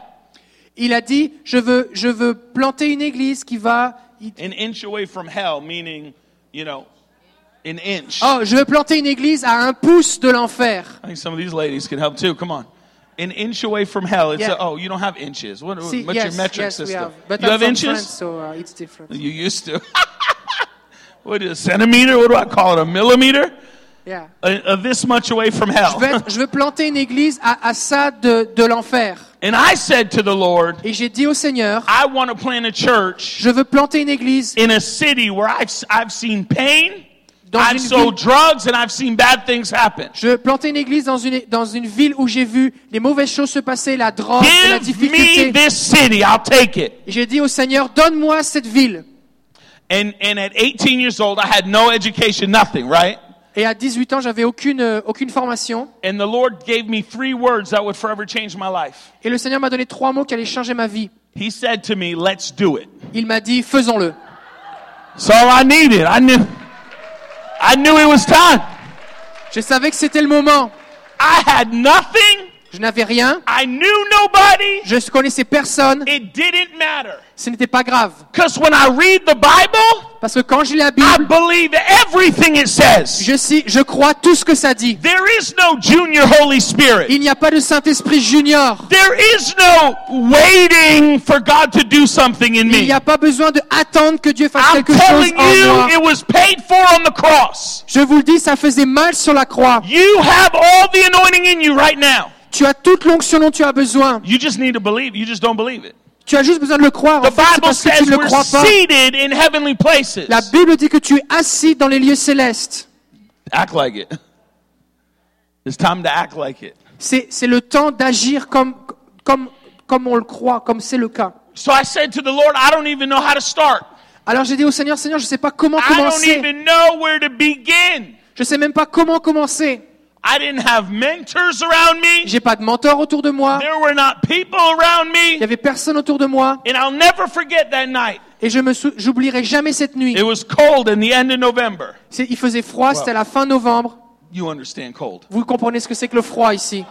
Il a dit, je veux, je veux planter une église qui va... An inch away from hell, meaning, you know, an inch. Oh, je veux planter une église à un pouce de l'enfer. I think some of these ladies can help too. Come on. An inch away from hell. It's Yeah. a, oh, you don't have inches. What, See, what's yes, your metric yes, we system? have. But you I'm have from inches? France, so uh, it's different. You used to. What is it, a centimeter? What do I call it? A millimeter? Yeah. Uh, uh, this much away from hell. Je veux, être- je veux planter une église à, à ça de, de l'enfer. And I said to the Lord, Et j'ai dit au Seigneur, I want to plant a church je veux planter une église in a city where I've, I've seen pain, dans I've une sold ville. drugs, and I've seen bad things happen. Je veux planter une église dans une, dans une ville où j'ai vu les mauvaises choses se passer, la drogue, et la Give me difficulté. this city, I'll take it. Et j'ai dit au Seigneur, donne-moi cette ville. And, and at eighteen years old, I had no education, nothing, right? Et à dix-huit ans, j'avais aucune, euh, aucune formation. And the Lord gave me three words that would forever change my life. Et le Seigneur m'a donné trois mots qui allaient changer ma vie. He said to me, let's do it. Il m'a dit, faisons-le. That's all I needed. I knew, I knew it was time. Je savais que c'était le moment. I had nothing. Je n'avais rien. I knew nobody. Je ne connaissais personne. It didn't matter. Ce n'était pas grave. Because when I read the Bible, Parce que quand je lis la I Bible, believe everything it says. je, sais, je crois tout ce que ça dit. There is no junior Holy Spirit. Il n'y a pas de Saint-Esprit junior. There is no waiting for God to do something in Il me. n'y a pas besoin d'attendre que Dieu fasse I'm quelque chose telling en moi. you, it was paid for on the cross. Je vous le dis, ça faisait mal sur la croix. You have all the anointing in you right now. Tu as toute l'onction dont tu as besoin. You just need to believe. You just don't believe it. Tu as juste besoin de le croire. En The fait, c'est Bible parce que tu says ne le we're crois pas. seated in heavenly places. La Bible dit que tu es assis dans les lieux célestes. Act like it. It's time to act like it. C'est, c'est le temps d'agir comme, comme, comme on le croit, comme c'est le cas. So I said to the Lord, I don't even know how to start. Alors j'ai dit au Seigneur, Seigneur, je ne sais pas comment I don't commencer. even know where to begin. Je ne sais même pas comment commencer. I didn't have mentors around me. J'ai pas de mentor autour de moi. There were not people around Il y me. avait personne autour de moi. And I'll never forget that night. Et je me sou- j'oublierai jamais cette nuit. It was cold in the end of November. C'est- il faisait froid, c'était à la fin novembre. You understand cold. Vous comprenez ce que c'est que le froid ici.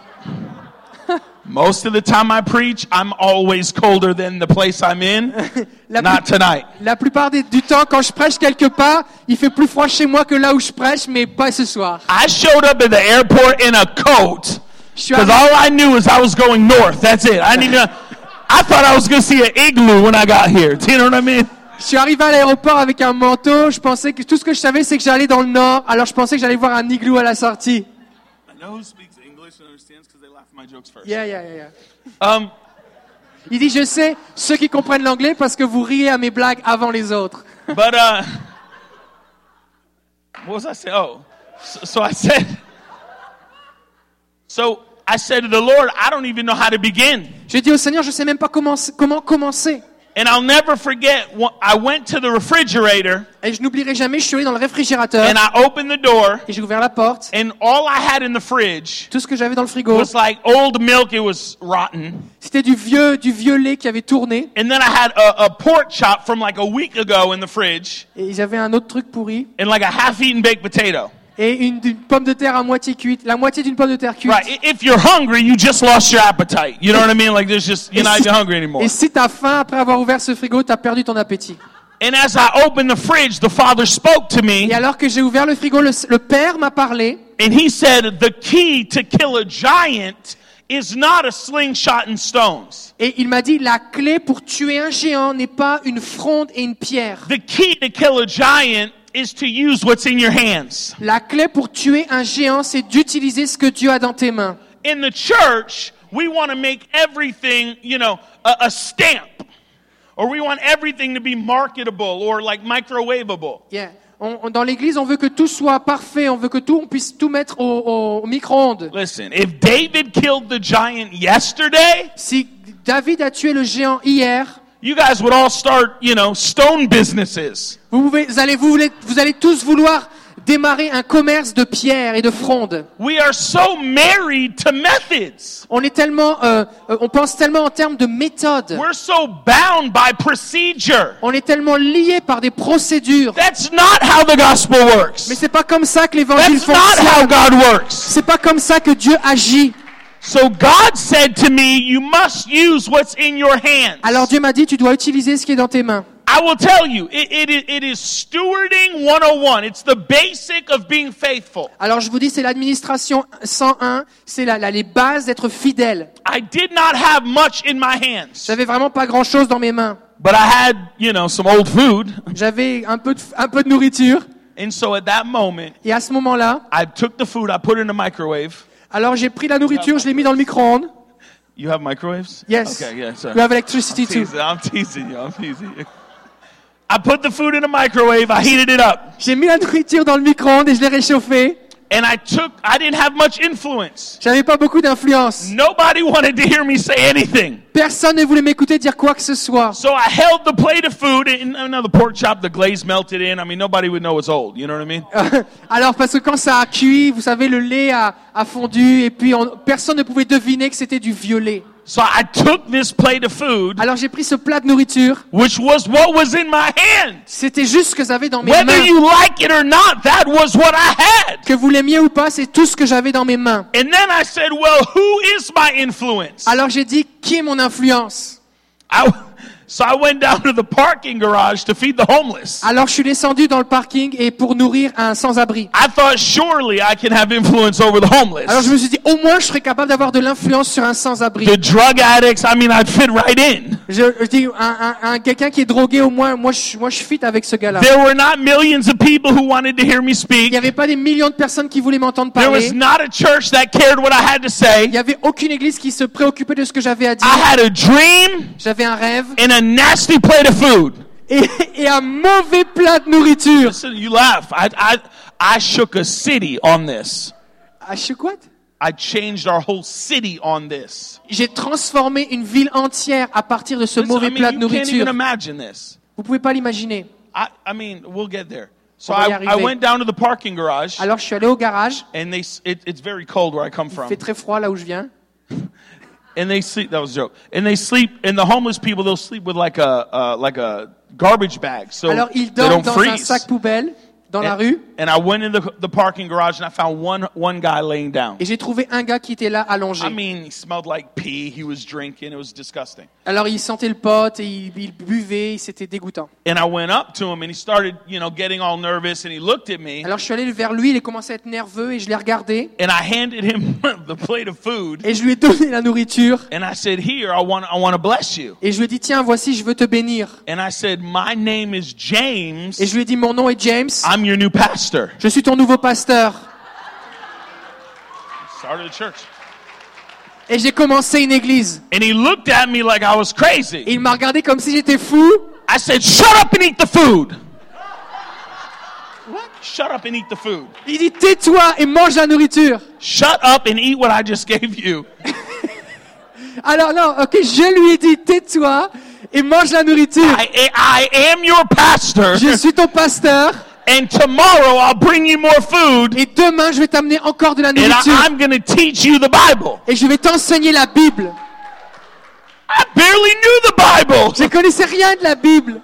Most of the time I preach, I'm always colder than the place I'm in. La, Not plus- tonight. la plupart des- du temps, quand je prêche quelque part, il fait plus froid chez moi que là où je prêche, mais pas ce soir. I showed up at the airport in a coat Je suis because arrivé, all I knew is I was going north. That's it. I didn't even, I thought I was going to see an igloo when I got here. Do you know what I mean? je suis arrivé à l'aéroport avec un manteau. Je pensais que tout ce que je savais, c'est que j'allais dans le nord. Alors je pensais que j'allais voir un igloo à la sortie. I know who speaks English and understands because they laugh at my jokes first. Yeah, yeah, yeah, yeah. Um, Il dit, je sais, ceux qui comprennent l'anglais parce que vous riez à mes blagues avant les autres. but uh, what was I saying? Oh, so, so I said. So I said to the Lord, I don't even know how to begin. J'ai dit au Seigneur, je sais même pas comment, comment commencer. And I'll never forget, wh- I went to the refrigerator Et je n'oublierai jamais, je suis allé dans le réfrigérateur and I opened the door, et j'ai ouvert la porte. and all I had in the fridge Tout ce que j'avais dans le frigo, was like old milk. It was rotten. c'était du vieux, du vieux lait qui avait tourné. And then I had a, a pork chop from like a week ago in the fridge, Et ils avaient un autre truc pourri. and like a half-eaten baked potato. Et une, une pomme de terre à moitié cuite. La moitié d'une pomme de terre cuite. Right. I- If you're hungry, you just lost your appetite. You know what I mean? Like there's just, you're Et not si- even hungry anymore. Et si t'as faim après avoir ouvert ce frigo, t'as perdu ton appétit. And as I opened the fridge, the Father spoke to Et me, alors que j'ai ouvert le frigo, le, le père m'a parlé. and He said, the key to kill a giant is not a slingshot and stones. Et il m'a dit, la clé pour tuer un géant n'est pas une fronde et une pierre. The key to kill a giant is to use what's in your hands. La clé pour tuer un géant, c'est d'utiliser ce que Dieu a dans tes mains. In the church, we want to make everything, you know, a, a stamp. Or we want everything to be marketable or like microwavable. Yeah. On- on- dans l'église, on veut que tout soit parfait. On veut que tout, on puisse tout mettre au, au micro-ondes. Listen, if David killed the giant yesterday, Si David a tué le géant hier, you guys would all start, you know, stone businesses. vous, pouvez, vous, allez, vous, voulez- vous allez tous vouloir démarrer un commerce de pierres et de frondes. We are so married to methods. On est tellement, euh, euh, on pense tellement en termes de méthode. We're so bound by procedure. On est tellement liés par des procédures. That's not how the gospel works. Mais c'est pas comme ça que l'évangile That's not how fonctionne. God works. C'est pas comme ça que Dieu agit. So God said to me, you must use what's in your hands. Alors Dieu m'a dit, tu dois utiliser ce qui est dans tes mains. I will tell you, it, it, is- it is stewarding one oh one. It's the basic of being faithful. Alors je vous dis, c'est l'administration cent un, c'est la, la- les bases d'être fidèle. I did not have much in my hands, J'avais vraiment pas grand-chose dans mes mains. but I had, you know, some old food. J'avais un peu de, un peu de nourriture. And so at that moment, Et à ce moment-là, I took the food, I put it in the microwave. alors j'ai pris la nourriture, je l'ai mis dans le micro-ondes. You have microwaves? Yes. Okay, yeah, sorry. We have electricity I'm too. teasing, I'm teasing you. I'm teasing you. I put the food in the microwave. I heated it up. J'ai mis la nourriture dans le micro-ondes et je l'ai réchauffée. And I took, I didn't have much influence. J'avais pas beaucoup d'influence. Nobody wanted to hear me say anything. Personne ne voulait m'écouter dire quoi que ce soit. So I held the plate of food, and you know, the pork chop, the glaze melted in. I mean, nobody would know it's old. You know what I mean? Alors parce que quand ça a cuit, vous savez, le lait a, a fondu et puis on- personne ne pouvait deviner que c'était du violet. So I took this plate of food, Alors j'ai pris ce plat de nourriture. which was what was in my hand. C'était juste ce que j'avais dans mes Whether mains. you like it or not, that was what I had. Que vous l'aimiez ou pas, c'est tout ce que j'avais dans mes mains. And then I said, well, who is my influence? Alors j'ai dit, qui est mon influence? I, so I went down to the parking garage to feed the homeless. Alors je suis descendu dans le parking et pour nourrir un sans-abri. I thought surely I can have influence over the homeless. Alors je me suis dit, au moins je serais capable d'avoir de l'influence sur un sans-abri. The drug addicts, I mean, I'd fit right in. Je, je dis, un, un, un quelqu'un qui est drogué, au moins, moi je, moi je fit avec ce gars-là. There were not millions of people who wanted to hear me Il speak. n'y avait pas des millions de personnes qui voulaient m'entendre There parler. was not a church that cared what I had to say. Il n'y avait aucune église qui se préoccupait de ce que j'avais à dire. I had a dream J'avais un rêve and a nasty plate of food. et, et un mauvais plat de nourriture. Listen, you laugh. I, I, I shook a city on this. Ah, je sais quoi? I changed our whole city on this. J'ai transformé une ville entière à partir de ce Listen, mauvais I mean, plat de you can't even nourriture. imagine this. Vous pouvez pas l'imaginer. I, I mean, we'll get there. So On va y I, I arriver. went down to the parking garage, Alors je suis allé au garage. and they s- it, it's very cold where I come Il from. fait très froid là où je viens. And they sleep. That was a joke. And they sleep. And the homeless people, they'll sleep with like a uh, like a garbage bag, so Alors ils they dorment don't dans un freeze. sac poubelle dans la And, rue. and I went in the, the parking garage and I found one one guy laying down. Et j'ai trouvé un gars qui était là allongé. I mean, he smelled like pee. He was drinking. It was disgusting. Alors il sentait le pote et il, il buvait, c'était dégoûtant. And I went up to him and he started, you know, getting all nervous and he looked at me Alors je suis allé vers lui, il a commencé à être nerveux et je l'ai regardé and I handed him the plate of food et je lui ai donné la nourriture and I said, "Here, I want I want to bless you." et je lui ai dit tiens voici je veux te bénir. And I said, "My name is James. Et je lui ai dit mon nom est James, I'm your new pastor." je suis ton nouveau pasteur. Started a church. Et j'ai commencé une église. And he looked at me like I was Et crazy. il m'a regardé comme si j'étais fou. I said, "Shut up and eat the food." What? Shut up and eat the food. Il dit tais-toi et mange la nourriture. Shut up and eat what I just gave you. Alors non, ok, je lui ai dit tais-toi et mange la nourriture. I, I am your pastor, Je suis ton pasteur and tomorrow I'll bring you more food, et demain je vais t'amener encore de la and I, nourriture I'm going to teach you the Bible. et je vais t'enseigner la Bible. I barely knew the Bible. Je connaissais rien de la Bible.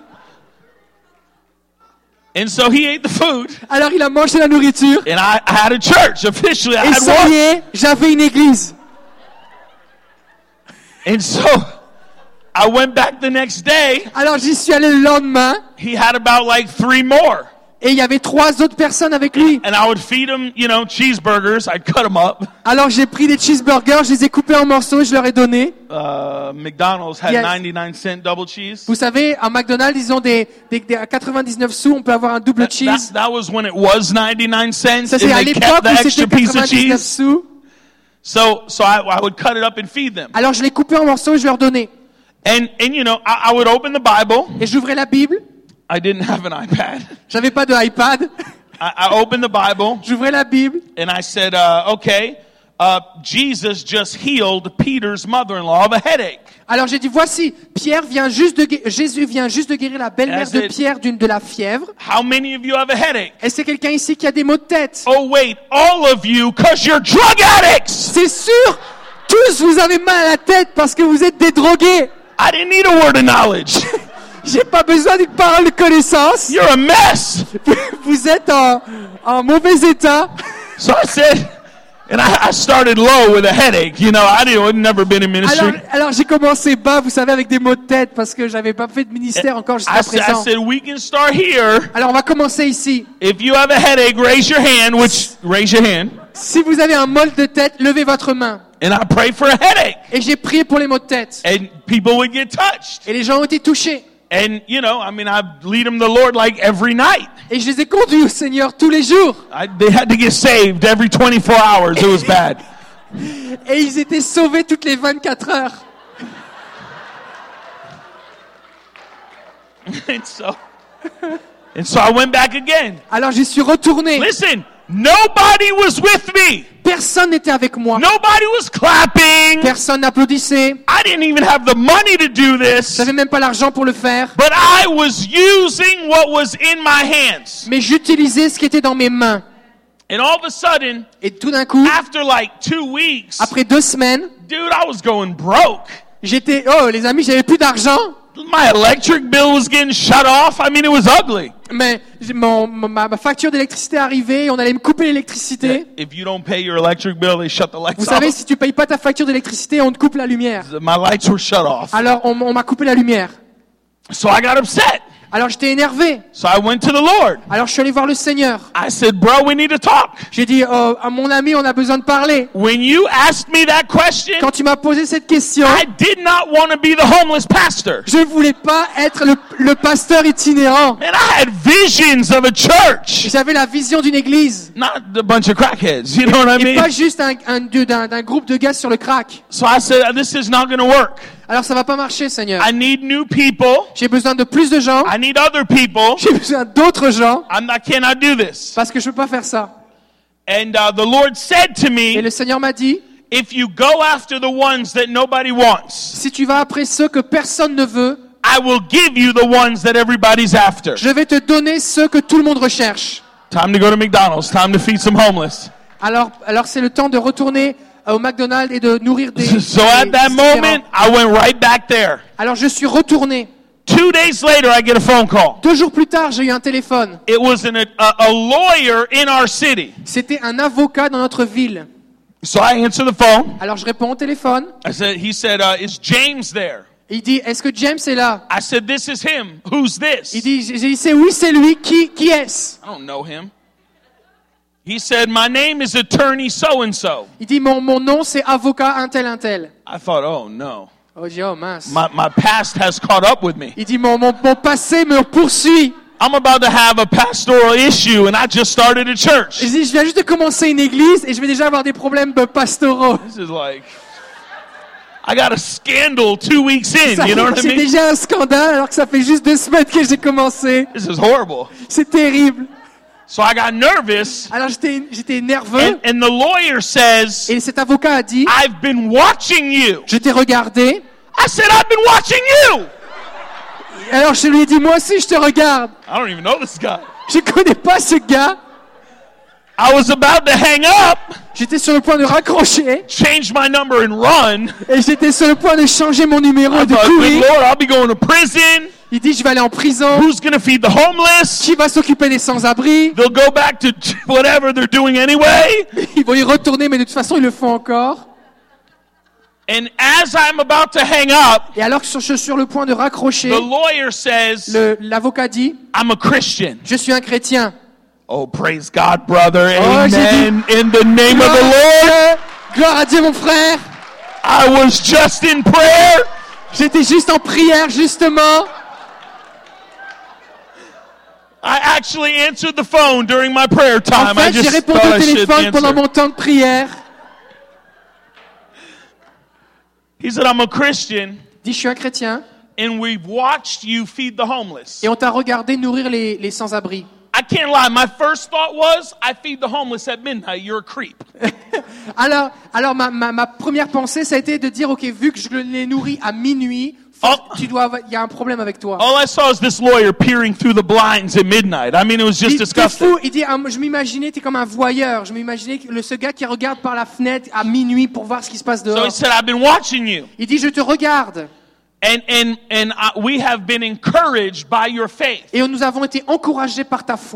And so he ate the food, Alors il a mangé la nourriture and I, I had a church. Officially, I et had ça y one. est, j'avais une église. And so I went back the next day. Alors j'y suis allé le lendemain He had about like three more. et il y avait trois autres personnes avec lui. And I would feed him, you know, cheeseburgers. I'd cut them up. Alors j'ai pris des cheeseburgers, je les ai coupés en morceaux et je leur ai donné. Uh, McDonald's had Yes. ninety-nine cent double cheese. Vous savez, à McDonald's, ils ont des, des, des à quatre-vingt-dix-neuf sous, on peut avoir un double That, cheese. that was when it was ninety-nine cents, Ça and c'est à they l'époque kept the où extra c'était piece of quatre-vingt-dix-neuf cheese. sous. So, so I, I would cut it up and feed them. Alors je les coupais en morceaux et je leur donnais. And, and you know, I, I would open the Bible. Et j'ouvrais la Bible. I didn't have an iPad. J'avais pas de iPad. I, I opened the Bible J'ouvrais la Bible. and I said, uh, okay, uh, Jesus just healed Peter's mother-in-law of a headache. Alors j'ai dit voici, Pierre vient juste de gué- Jésus vient juste de guérir la belle-mère As de it- Pierre d'une de la fièvre. How many of you have a headache? Est-ce qu'il y a quelqu'un ici qui a des maux de tête? Oh wait, all of you, cause you're drug addicts. C'est sûr, tous vous avez mal à la tête parce que vous êtes des drogués. I didn't need a word of knowledge. J'ai pas besoin d'une parole de connaissance. You're a mess. Vous êtes en, en mauvais état. So I said, And I, I started low with a headache. You know, I didn't, I'd never been in ministry. Alors, alors j'ai commencé bas, vous savez, avec des maux de tête parce que j'avais pas fait de ministère encore I, jusqu'à said- I présent. said, we can start here. Alors on va commencer ici. If you have a headache, raise your hand, which, raise your hand. Si vous avez un mal de tête, levez votre main. And I pray for a headache. Et j'ai prié pour les maux de tête. And people would get touched. Et les gens ont été touchés. And, you know, I mean, I lead them to the Lord like every night. Et je les ai conduits au Seigneur tous les jours. I, they had to get saved every twenty-four hours. It was bad. Et ils étaient sauvés toutes les vingt-quatre heures. and so, and so I went back again. Alors j'y suis retourné. Listen, nobody was with me. Personne n'était avec moi. Nobody was clapping. Personne n'applaudissait. I didn't even have the money to do this. J'avais même pas l'argent pour le faire. But I was using what was in my hands. Mais j'utilisais ce qui était dans mes mains. And all of a sudden, Et tout d'un coup, after like two weeks, après deux semaines, dude, I was going broke. j'étais... Oh, les amis, j'avais plus d'argent. My electric bill was getting shut off. I mean, it was ugly. Mais j'ai- mon, ma, ma facture d'électricité arrivait et on allait me couper l'électricité. If you don't pay your electric bill, they shut the lights Vous savez, off. si tu payes pas ta facture d'électricité, on te coupe la lumière. My lights were shut off. Alors, on, on m'a coupé la lumière. So I got upset. Alors, j'étais énervé. So I went to the Lord. Alors, je suis allé voir le Seigneur. I said, bro, we need to talk. J'ai dit, oh, à mon ami, on a besoin de parler. When you asked me that question, Quand tu m'as posé cette question, I did not want to be the homeless pastor. je voulais pas être le, le pasteur itinérant. Man, I had visions of a church, J'avais la vision d'une église. not a bunch of crackheads. You know what I Et pas mean? juste un, un, d'un, d'un groupe de gars sur le crack. So I said, this is not going to work. Alors, ça va pas marcher, Seigneur. I need new people. J'ai besoin de plus de gens. I need other people. J'ai besoin d'autres gens. I'm not, I cannot do this. Parce que je peux pas faire ça. And uh, the Lord said to Et me, le Seigneur m'a dit, if you go after the ones that nobody wants, si tu vas après ceux que personne ne veut, I will give you the ones that everybody's after. je vais te donner ceux que tout le monde recherche. Time to go to McDonald's. Time to feed some homeless. Alors, alors c'est le temps de retourner au McDonald's et de nourrir des... So des at that itinérants. moment, I went right back there. Alors je suis retourné. Two days later, I get a phone call. Deux jours plus tard, j'ai eu un téléphone. It was an, a, a lawyer in our city. C'était un avocat dans notre ville. So I answer the phone. Alors je réponds au téléphone. I said, he said, uh, is James there? Et il dit, est-ce que James est là? I said, this is him. Who's this? Il dit, j'ai dit, c'est oui, c'est lui. Qui, qui est-ce? I don't know him. He said, my name is attorney so-and-so. Il dit, mon, mon nom, c'est avocat un tel, un tel. I thought, oh no. Oh, j'ai dit, oh mince. My, my past has caught up with me. Il dit, mon, mon, mon passé me poursuit. I'm about to have a pastoral issue and I just started a church. Il dit, je viens juste de commencer une église et je vais déjà avoir des problèmes pastoraux. This is like, I got a scandal two weeks in, Ça, you know what I c'est mean? déjà un scandale alors que ça fait juste deux semaines que j'ai commencé. This is horrible. C'est terrible. So I got nervous, Alors j'étais, j'étais nerveux and, and the lawyer says, et cet avocat a dit, I've been watching you. je t'ai regardé. I said, I've been watching you. Alors je lui ai dit, moi aussi je te regarde. I don't even know this guy. Je connais pas ce gars. I was about to hang up, J'étais sur le point de raccrocher change my number and run. et j'étais sur le point de changer mon numéro I et de thought, good courir. Lord, I'll be going to prison. Il dit, je vais aller en prison. Who's going to feed the homeless? Qui va s'occuper des sans-abri? They'll go back to whatever they're doing anyway. Ils vont y retourner, mais de toute façon, ils le font encore. And as I'm about to hang up, Et alors que je suis sur le point de raccrocher, the lawyer says, le, l'avocat dit, I'm a Christian. je suis un chrétien. Oh, praise God, brother. Oh, j'ai Amen. In the name of the Lord. Gloire à Dieu, mon frère. I was just in prayer. J'étais juste en prière, justement. I actually answered the phone during my prayer En time. I fait, j'ai just répondu thought au I should téléphone pendant answer. mon temps de prière. He said, I'm a Christian, Il dit, je suis un chrétien. and we've watched you feed the homeless. Et on t'a regardé nourrir les, les sans-abri. I can't lie. My first thought was, I feed the homeless at midnight. You're a creep. Alors, alors ma, ma, ma première pensée, ça a été de dire, ok, vu que je les nourris à minuit, faut- Oh. tu dois, avoir- il y a un problème avec toi. All I saw is this lawyer peering through the blinds at midnight. I mean, it was Il just dit, t'es disgusting. fou. Il dit, ah, je m'imaginais, t'es comme un voyeur. Je m'imaginais que le, ce gars qui regarde par la fenêtre à minuit pour voir ce qui se passe So he dehors. said, I've been watching you. Il dit, je te regarde. And, and, and uh, we have been encouraged by your faith. Et nous avons été encouragés par ta foi.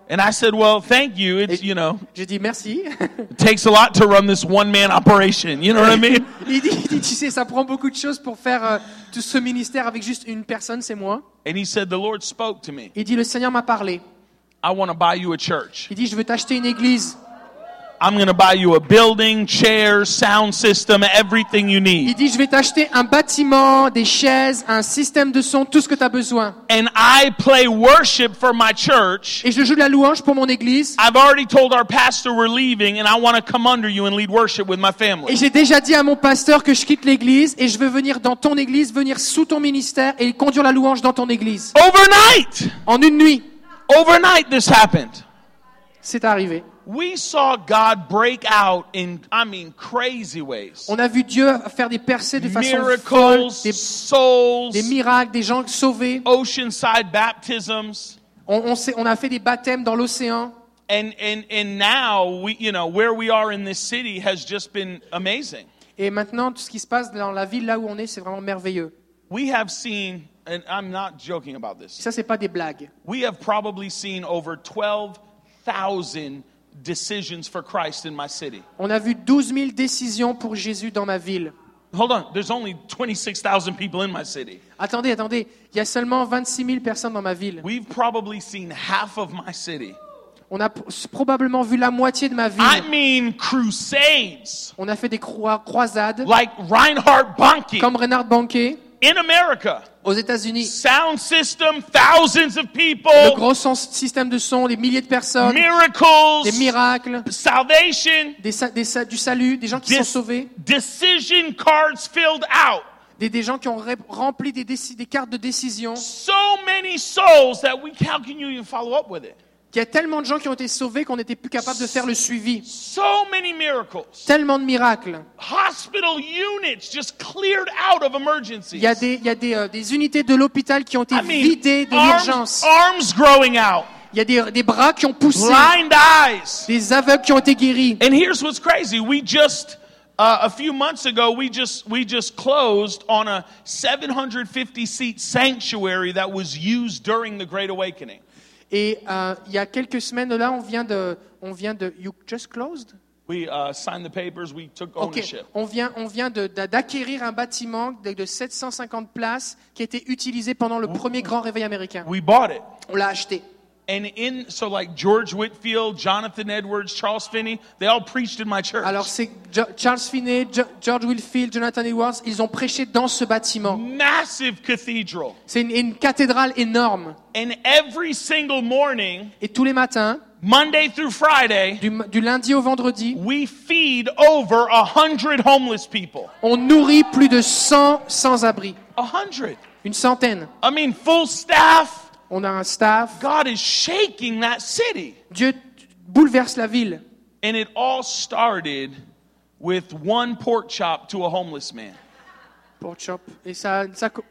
And I said, well, thank you. It's, Et- you know, J'ai dit merci. it takes a lot to run this one-man operation. You know what I mean? il, dit, il dit, tu sais, ça prend beaucoup de choses pour faire euh, tout ce ministère avec juste une personne, c'est moi. And he said, the Lord spoke to me. Il dit, le Seigneur m'a parlé. I want to buy you a church. Il dit, je veux t'acheter une église. I'm going to buy you a building, chairs, sound system, everything you Il need. dit, je vais t'acheter un bâtiment, des chaises, un système de son, tout ce que tu as besoin. And I play worship for my church. Et je joue de la louange pour mon église. I've already told our pastor we're leaving and I want to come under you and lead worship with my Et family. j'ai déjà dit à mon pasteur que je quitte l'église et je veux venir dans ton église, venir sous ton ministère et conduire la louange dans ton église. Overnight! En une nuit, Overnight this happened. c'est arrivé. We saw God break out in, I mean, crazy ways. On a vu Dieu faire des percées de façon folle, Miracles, des, souls, des miracles, des gens sauvés. oceanside baptisms. On, on, s'est- on a fait des baptêmes dans l'océan. And, and, and now, we, you know, where we are in this city has just been amazing. Et maintenant, tout ce qui se passe dans la ville là où on est, c'est vraiment merveilleux. We have seen, and I'm not joking about this, Ça, c'est pas des blagues. we have probably seen over twelve thousand decisions for Christ in my city. On a vu douze mille décisions pour Jésus dans ma ville. Hold on, there's only twenty-six thousand people in my city. Attendez, attendez. Il y a seulement vingt-six mille personnes dans ma ville. We've probably seen half of my city. On a p- probablement vu la moitié de ma ville. I mean crusades, On a fait des croi- croisades, like Reinhard Bonnke comme Reinhard Bonnke, in America. aux États-Unis. Sound system, thousands of Le people, gros son- système de son, des milliers de personnes, des miracles, miracles, salvation, des sa- des sa- du salut, des gens qui sont dis- sauvés, decision cards filled out. des, des gens qui ont ré- rempli des, déci- des cartes de décision. So many souls that we, how can you even follow up with it? Il y a tellement de gens qui ont été sauvés qu'on n'était plus capable de faire le suivi. So many miracles. Tellement de miracles. Hospital units just cleared out of emergencies. Il y a des, il y a des, euh, des unités de l'hôpital qui ont été I mean, vidées de arms, l'urgence. arms growing out, Il y a des, des bras qui ont poussé, blind eyes. des aveugles qui ont été guéris. And here's what's crazy. We just, uh, a few months ago, we just, we just closed on a seven hundred fifty seat sanctuary that was used during the Great Awakening. Et euh, il y a quelques semaines là, on vient de, on vient de, you just closed? We uh, signed the papers, we took Ok. ownership. On vient, on vient de- d'a- d'acquérir un bâtiment de, de sept cent cinquante places qui a été utilisé pendant le premier grand réveil américain. We bought it. On l'a acheté. And in, so like George Whitfield, Jonathan Edwards, Charles Finney, they all preached in my church. Alors c'est Jo- Charles Finney, Jo- George Whitfield, Jonathan Edwards, ils ont prêché dans ce bâtiment. Massive cathedral. C'est une, une cathédrale énorme. And every single morning, Et tous les matins, Monday through Friday, du, du lundi au vendredi, we feed over a hundred homeless people. on nourrit plus de cent sans-abri. A hundred. Une centaine. I mean, full staff. On a un staff. God is shaking that city. Dieu bouleverse la ville. And it all started with one pork chop to a homeless man. Pork chop. Et ça, ça, co-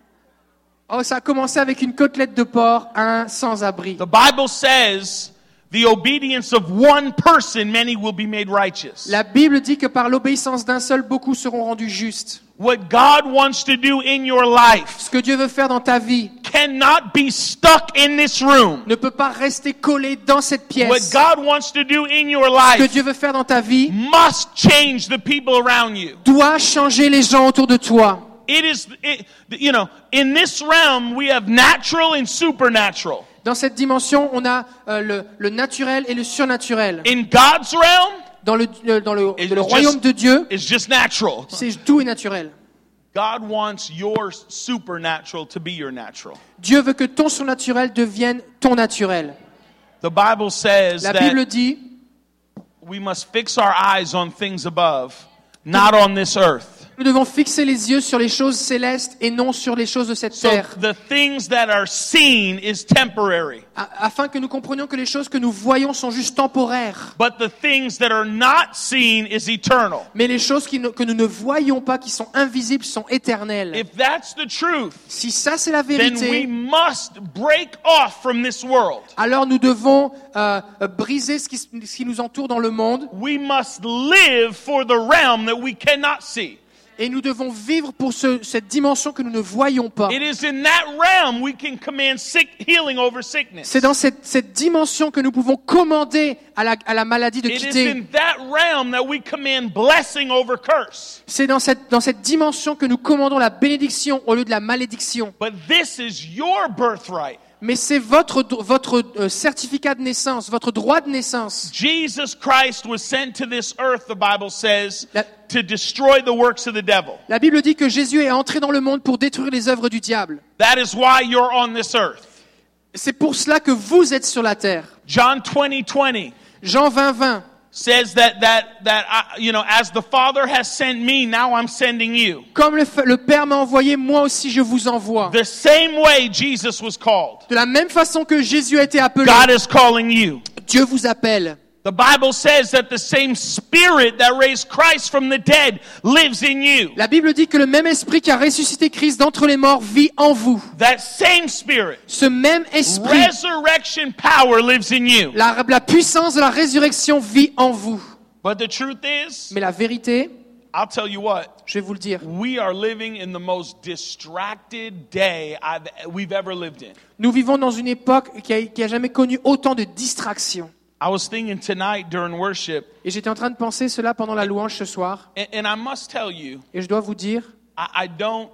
oh, ça a commencé avec une côtelette de porc, un sans-abri. The Bible says, the obedience of one person, many will be made righteous. La Bible dit que par l'obéissance d'un seul, beaucoup seront rendus justes. What God wants to do in your life Ce que Dieu veut faire dans ta vie cannot be stuck in this room. ne peut pas rester collé dans cette What pièce. God wants to do in your Ce que life Dieu veut faire dans ta vie must change the people around you. doit changer les gens autour de toi. It is, it, you know, in this realm we have natural and supernatural. Dans cette dimension, on a euh, le, le naturel et le surnaturel. In God's realm, Dans le, le- dans le, it's le royaume just, de Dieu, it's just natural. c'est tout est naturel. God wants your supernatural to be your natural. Dieu veut que ton surnaturel devienne ton naturel. The Bible says La that Bible dit we must fix our eyes on things above, not on this earth. nous devons fixer les yeux sur les choses célestes et non sur les choses de cette So terre, the things that are seen is temporary, a- afin que nous comprenions que les choses que nous voyons sont juste temporaires. but the things that are not seen is eternal. Mais les choses qui ne- que nous ne voyons pas, qui sont invisibles, sont éternelles. If that's the truth, Si ça c'est la then we vérité, must break off from this world. alors nous devons euh, euh, briser ce qui, ce qui nous entoure dans le monde We must live for the realm that we cannot see. Et nous devons vivre pour ce, cette dimension que nous ne voyons pas. It is in that realm we can command sick, healing over sickness. C'est dans cette, cette dimension que nous pouvons commander à la, à la maladie de It is quitter. in that realm that we command blessing over curse. C'est dans cette, dans cette dimension que nous commandons la bénédiction au lieu de la malédiction. But this is your birthright. Mais c'est votre, votre euh, certificat de naissance, votre droit de naissance. Jesus Christ was sent to this earth, the Bible says, La- to destroy the works of the devil. La Bible dit que Jésus est entré dans le monde pour détruire les œuvres du diable. That is why you're on this earth. C'est pour cela que vous êtes sur la terre. John twenty twenty Jean vingt vingt says that that that I, you know, as the Father has sent me, now I'm sending you. Comme le, le Père m'a envoyé, moi aussi je vous envoie. The same way Jesus was called, De la même façon que Jésus a été appelé, God is calling you. Dieu vous appelle. The Bible says that the same Spirit that raised Christ from the dead lives in you. La Bible dit que le même esprit qui a ressuscité Christ d'entre les morts vit en vous. That same Spirit, Ce même esprit, resurrection power lives in you. la, la puissance de la résurrection vit en vous. But the truth is, Mais la vérité, I'll tell you what, je vais vous le dire, we are living in the most distracted day I've, we've ever lived in. nous vivons dans une époque qui a, qui a jamais connu autant de distractions. I was thinking tonight during worship, Et j'étais en train de penser cela pendant la louange ce soir. and, and I must tell you, Et je dois vous dire, I, I don't,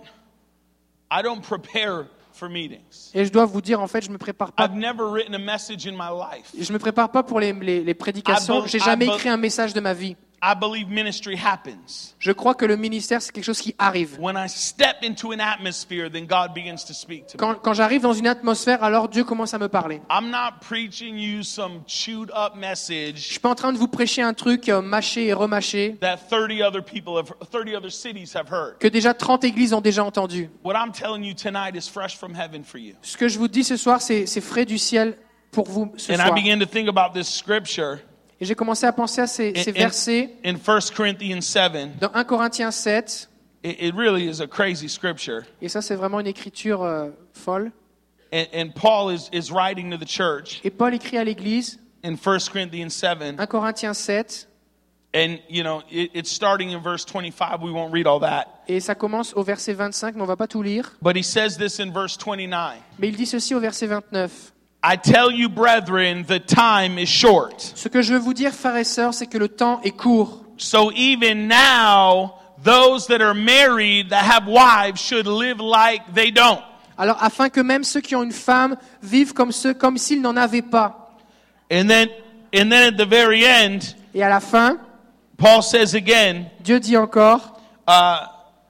I don't prepare for meetings. et je dois vous dire, en fait, je me prépare pas. I've never written a message in my life. Je me prépare pas pour les, les, les prédications. I be- J'ai jamais I be- écrit un message de ma vie. I believe ministry happens. Je crois que le ministère, c'est quelque chose qui arrive. When I step into an atmosphere, then God begins to speak to me. Quand, quand j'arrive dans une atmosphère, alors Dieu commence à me parler. I'm not preaching you some chewed up Je message suis pas en train de vous prêcher un truc euh, mâché et remâché that thirty other people have, thirty other cities have heard. que déjà trente églises ont déjà entendu. What I'm telling you tonight is fresh from heaven for you. Ce que je vous dis ce soir, c'est, c'est frais du ciel pour vous ce And I soir. began to think about this scripture Et j'ai commencé à penser à ces, in, ces in, versets in First Corinthians seven. dans un Corinthiens sept. It, it really is a crazy scripture. Et ça, c'est vraiment une écriture euh, folle. And, and Paul is, is writing to the church Et Paul écrit à l'église, in First Corinthians seven. un Corinthiens sept, And, you know, it, it's starting in verse twenty-five. We won't read all that. et ça commence au verset vingt-cinq, mais on va pas tout lire. But he says this in verse twenty-nine. Mais il dit ceci au verset vingt-neuf. I tell you, brethren, the time is short. Ce que je veux vous dire, frères et sœurs, c'est que le temps est court. So even now, those that are married, that have wives, should live like they don't. Alors, afin que même ceux qui ont une femme vivent comme ceux, comme s'ils n'en avaient pas. And then, and then at the very end, Et à la fin, Paul says again, Dieu dit encore, uh,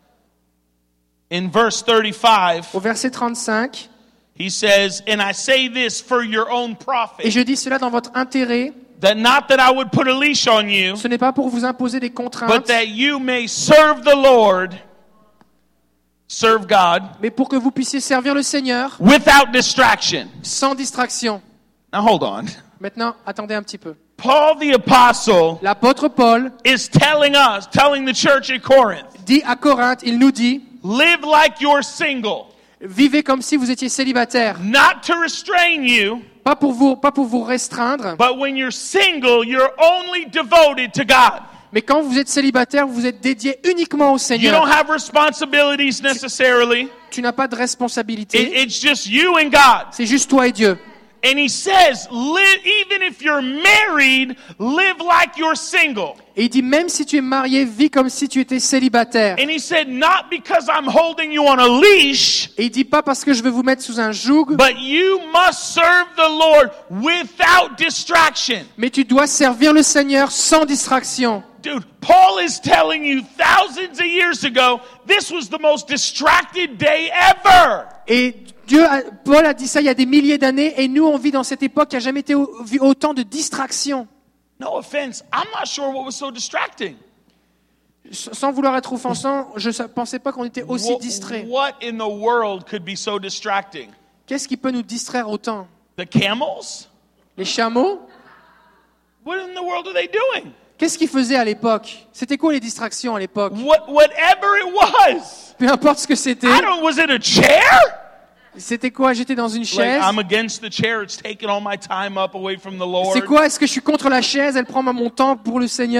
in verse thirty-five, au verset trente-cinq, he says, and I say this for your own et profit, je dis cela dans votre intérêt, that not that I would put a leash on you, ce n'est pas pour vous imposer des but contraintes, that you may serve the Lord, serve God, mais pour que vous puissiez servir le Seigneur without distraction. sans distraction. Now hold on. Maintenant, attendez un petit peu. Paul the apostle L'apôtre Paul is telling us, telling the church at Corinth, dit à Corinthe, il nous dit, live like you're single, vivez comme si vous étiez célibataire. not to restrain you, Pas pour vous, pas pour vous restreindre, but when you're single, you're only devoted to God. mais quand vous êtes célibataire, vous êtes dédié uniquement au You Seigneur. don't have responsibilities necessarily. Tu n'as pas de It, responsabilité. it's just you and God. C'est juste toi et Dieu. And he says, live, even if you're married, live like you're single. Et il dit, même si tu es marié, vis comme si tu étais célibataire. And he said, not because I'm holding you on a leash, Et il dit pas parce que je vais vous mettre sous un joug, but you must serve the Lord without distraction. mais tu dois servir le Seigneur sans distraction. Dude, Paul is telling you thousands of years ago, this was the most distracted day ever. Et Dieu, a- Paul a dit ça il y a des milliers d'années, et nous on vit dans cette époque qui a jamais été au- vu autant de distractions. No offense, I'm not sure what was so distracting. S- Sans vouloir être offensant, je ne pensais pas qu'on était aussi What, distraits. what in the world could be so distracting? Qu'est-ce qui peut nous distraire autant? The camels? Les chameaux? What in the world are they doing? Qu'est-ce qu'ils faisaient à l'époque? C'était quoi les distractions à l'époque? What, whatever it was. Peu importe ce que c'était. I don't, was it a chair? C'était quoi? J'étais dans une Like, chaise. I'm against the chair. It's taking all my time up away from the Lord. C'est quoi? Est-ce que je suis contre la chaise? Elle prend mon temps pour le Seigneur?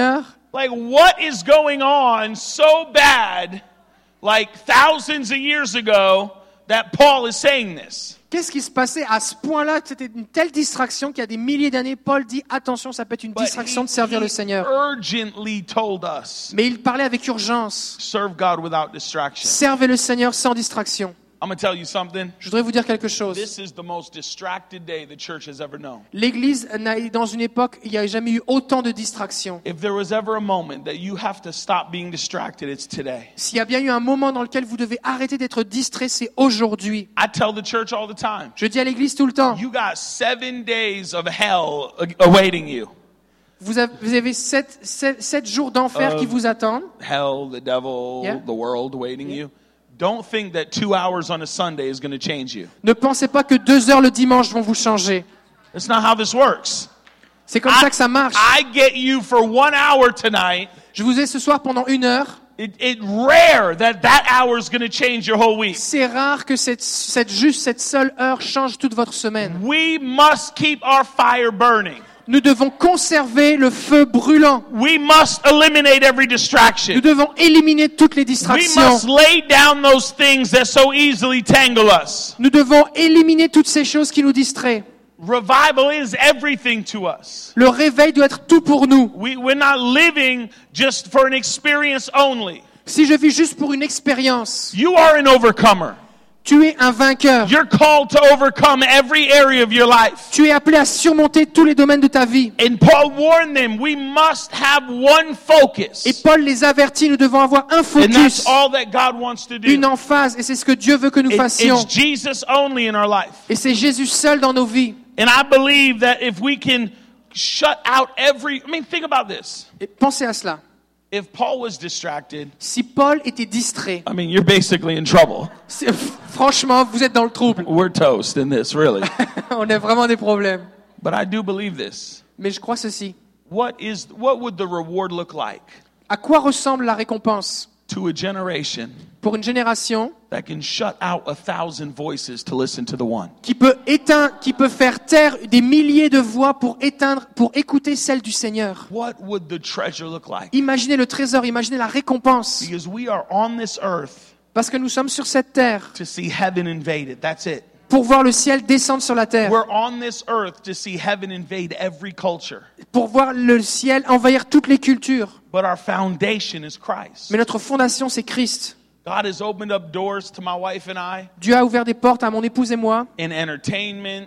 Like, what is going on so bad, like thousands of years ago, that Paul is saying this? Qu'est-ce qui se passait à ce point-là? C'était une telle distraction qu'il y a des milliers d'années, Paul dit attention, ça peut être une But distraction he, de servir he le Seigneur. urgently told us, Mais il parlait avec urgence. serve God without distraction. Servez le Seigneur sans distraction. I'm going to tell you something. Je voudrais vous dire quelque chose. This is the most distracted day the church has ever known. L'Église, n'a- dans une époque, il n'y a jamais eu autant de distractions. If there was ever a moment that you have to stop being distracted, it's today. S'il y a bien eu un moment dans lequel vous devez arrêter d'être distrait, c'est aujourd'hui. I tell the church all the time, Je dis à l'Église tout le temps, you got seven days of hell a- awaiting you. vous avez, vous avez sept, sept, sept jours d'enfer qui vous attendent. Hell, the devil, Yeah. the world waiting you. Don't think that two hours on a Sunday is going to change you. Ne pensez pas que deux heures le dimanche vont vous changer. That's not how this works. C'est comme I, ça que ça marche. I get you for one hour tonight. Je vous ai ce soir pendant une heure. It, it's rare that that hour is going to change your whole week. C'est rare que cette, cette, juste cette seule heure change toute votre semaine. We must keep our fire burning. Nous devons conserver le feu brûlant. We must eliminate every Nous distraction. devons éliminer toutes les We distractions. must lay down those things that so easily tangle us. Nous devons éliminer toutes ces choses qui nous distraient. Revival is everything to us. Le réveil doit être tout pour nous. We, we're not living just for an experience only. Si je vis juste pour une expérience, You are an overcomer. tu es un vainqueur. You're called to overcome every area of your life. Tu es appelé à surmonter tous les domaines de ta vie. And Paul warned them, we must have one focus. Et Paul les avertit, nous devons avoir un And focus, that's all that God wants to do. une emphase, et c'est ce que Dieu veut que nous It- fassions. it's Jesus only in our life. Et c'est Jésus seul dans nos vies. And I believe that if we can shut out every, I mean, think about this. Et pensez à cela. If Paul was distracted, Si Paul était distrait, I mean, you're basically in trouble. c'est- franchement, vous êtes dans le trouble. We're toast in this, really. On a vraiment des problèmes. But I do believe this. Mais je crois ceci. What is, what would the reward look like À quoi ressemble la récompense to a generation pour une génération that can shut out a thousand voices to listen to the one? qui peut éteindre, qui peut faire taire des milliers de voix pour éteindre, pour écouter celle du Seigneur? What would the treasure look like? Imaginez le trésor, imaginez la récompense. Because we are on this earth Parce que nous sommes sur cette terre to see heaven invaded. That's it. pour voir le ciel descendre sur la terre, We're on this earth to see heaven invade every culture. pour voir le ciel envahir toutes les cultures. But our foundation is Christ. Mais notre fondation, c'est Christ. God has opened up doors to my wife and I Dieu a ouvert des portes à mon épouse et moi in entertainment,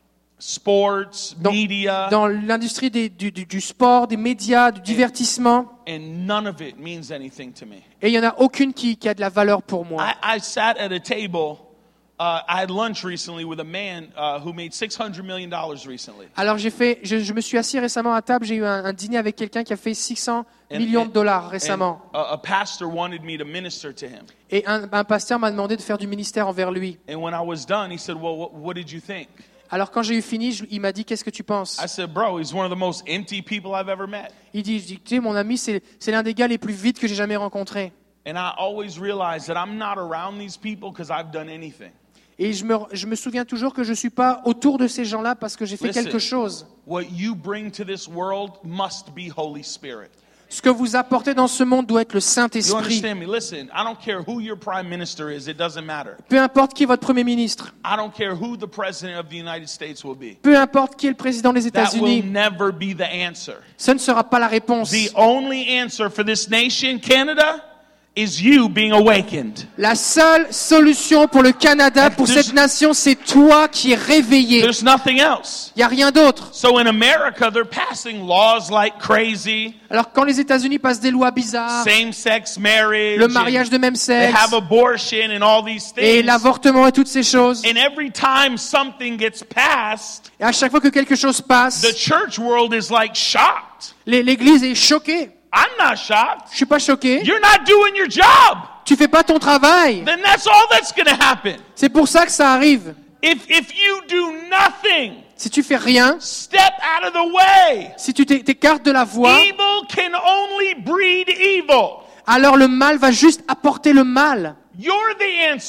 sports, dans, media, dans l'industrie des- du, du- du sport, des médias, du divertissement. and none of it means anything to me. Et il n'y en a aucune qui, qui a de la valeur pour moi. I, I sat at a table. Uh, I had lunch recently with a man uh, who made six hundred million dollars recently. Alors j'ai fait, je, je me suis assis récemment à table, j'ai eu un, un dîner avec quelqu'un qui a fait six cents And- millions de and- dollars and récemment. a, a pastor wanted me to minister to him. Et un, un pasteur m'a demandé de faire du ministère envers lui. And when I was done, he said, well, what, what did you think? Alors quand j'ai eu fini, je- il m'a dit qu'est-ce que tu penses? I said, bro, he's one of the most empty people I've ever met. Il dit, je dis, tu sais, mon ami, c'est c'est l'un des gars les plus vides que j'ai jamais rencontré. And I always realize that I'm not around these people because I've done anything. Et je me, je me souviens toujours que je suis pas autour de ces gens-là parce que j'ai fait Listen. quelque chose. What you bring to this world must be Holy Spirit. Ce que vous apportez dans ce monde doit être le You Saint-Esprit. understand me? Listen, I don't care who your prime minister is, it doesn't matter. Peu importe qui est votre premier ministre, I don't care who the president of the United States will be. peu importe qui est le président des That will États-Unis, never be the answer. ce ne sera pas la réponse. The only answer for this nation, Canada, is you being awakened. La seule solution pour le Canada, pour There's- cette nation, c'est toi qui es réveillé. There's nothing else. Il n'y a rien d'autre. So in America, they're passing laws like crazy, Alors quand les États-Unis passent des lois bizarres, same-sex marriage, le mariage de même and they sexe, have abortion and all these et things. l'avortement et toutes ces choses, And every time something gets passed, et à chaque fois que quelque chose passe, the church world is like shocked. l'é- l'Église est choquée. I'm not shocked. Je suis pas choqué. You're not doing your job. Tu fais pas ton travail. Then that's all that's going to happen. C'est pour ça que ça arrive. If if you do nothing, Si tu fais rien, step out of the way. si tu t'é- t'écartes de la voie, Evil can only breed evil. alors le mal va juste apporter le mal. You're the answer.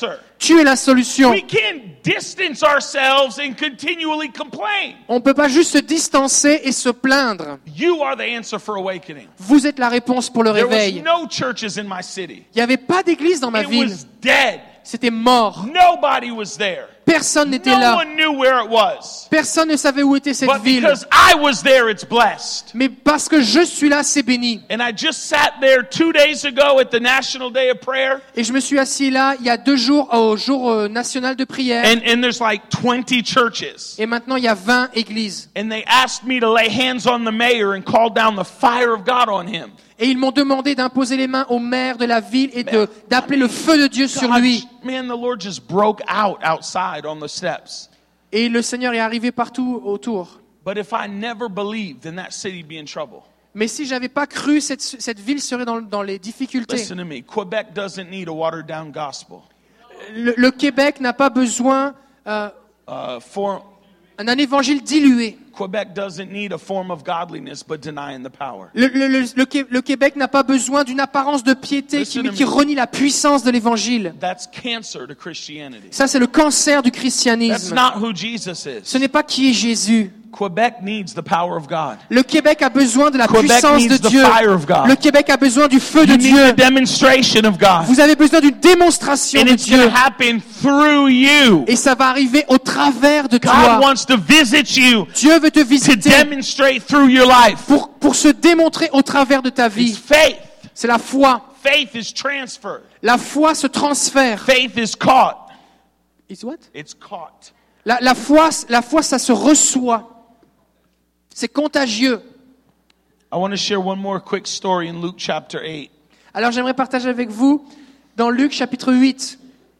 Tu es la solution. We can't distance ourselves and continually complain. On ne peut pas juste se distancer et se plaindre. You are the answer for awakening. Vous êtes la réponse pour le There was réveil. no churches in my city. Il n'y avait pas d'église dans ma It ville. was dead. C'était mort. Nobody was there. Personne n'était No là. one knew where it was. Personne ne savait où était cette But ville. because I was there, it's blessed. Mais parce que je suis là, c'est béni. And I just sat there two days ago at the National Day of Prayer. Et je me suis assis là il y a deux jours au jour euh, national de prière. And, and there's like twenty churches. Et maintenant il y a vingt églises. And they asked me to lay hands on the mayor and call down the fire of God on him. Et ils m'ont demandé d'imposer les mains au maire de la ville et de, d'appeler le feu de Dieu sur God, lui. man, the Lord just broke out outside on the steps. Et le Seigneur est arrivé partout autour. But if I never believed, then that city be in trouble. Mais si j'avais pas cru, cette, cette ville serait dans, dans les difficultés. Listen to me. Quebec doesn't need a watered down gospel. Le, le Québec n'a pas besoin euh, Uh, for, d'un évangile dilué. Quebec doesn't need a form of godliness but denying the power. Le, le, le, le, Qué- le Québec n'a pas besoin d'une apparence de piété qui, Listen to qui me. renie la puissance de l'évangile. That's cancer to Christianity. Ça, c'est le cancer du That's christianisme. not who Jesus is. Ce n'est pas qui est Jésus. Quebec needs the power of God. Le Québec a besoin de la Quebec puissance de needs the Dieu. fire of God. Le Québec a besoin du feu de You need Dieu. a demonstration of God. Vous avez besoin d'une démonstration And de it's going Dieu. to happen through you. Et ça va arriver au travers de God toi. wants to visit you Dieu veut te to visiter demonstrate through your life. pour, pour se démontrer au travers de ta It's vie. faith. C'est la foi. Faith is transferred. La foi se transfère. Faith is caught. It's what? It's caught. La, la foi, la foi, ça se reçoit. C'est contagieux. I want to share one more quick story in Luke chapter eight. Alors j'aimerais partager avec vous dans Luc chapitre huit.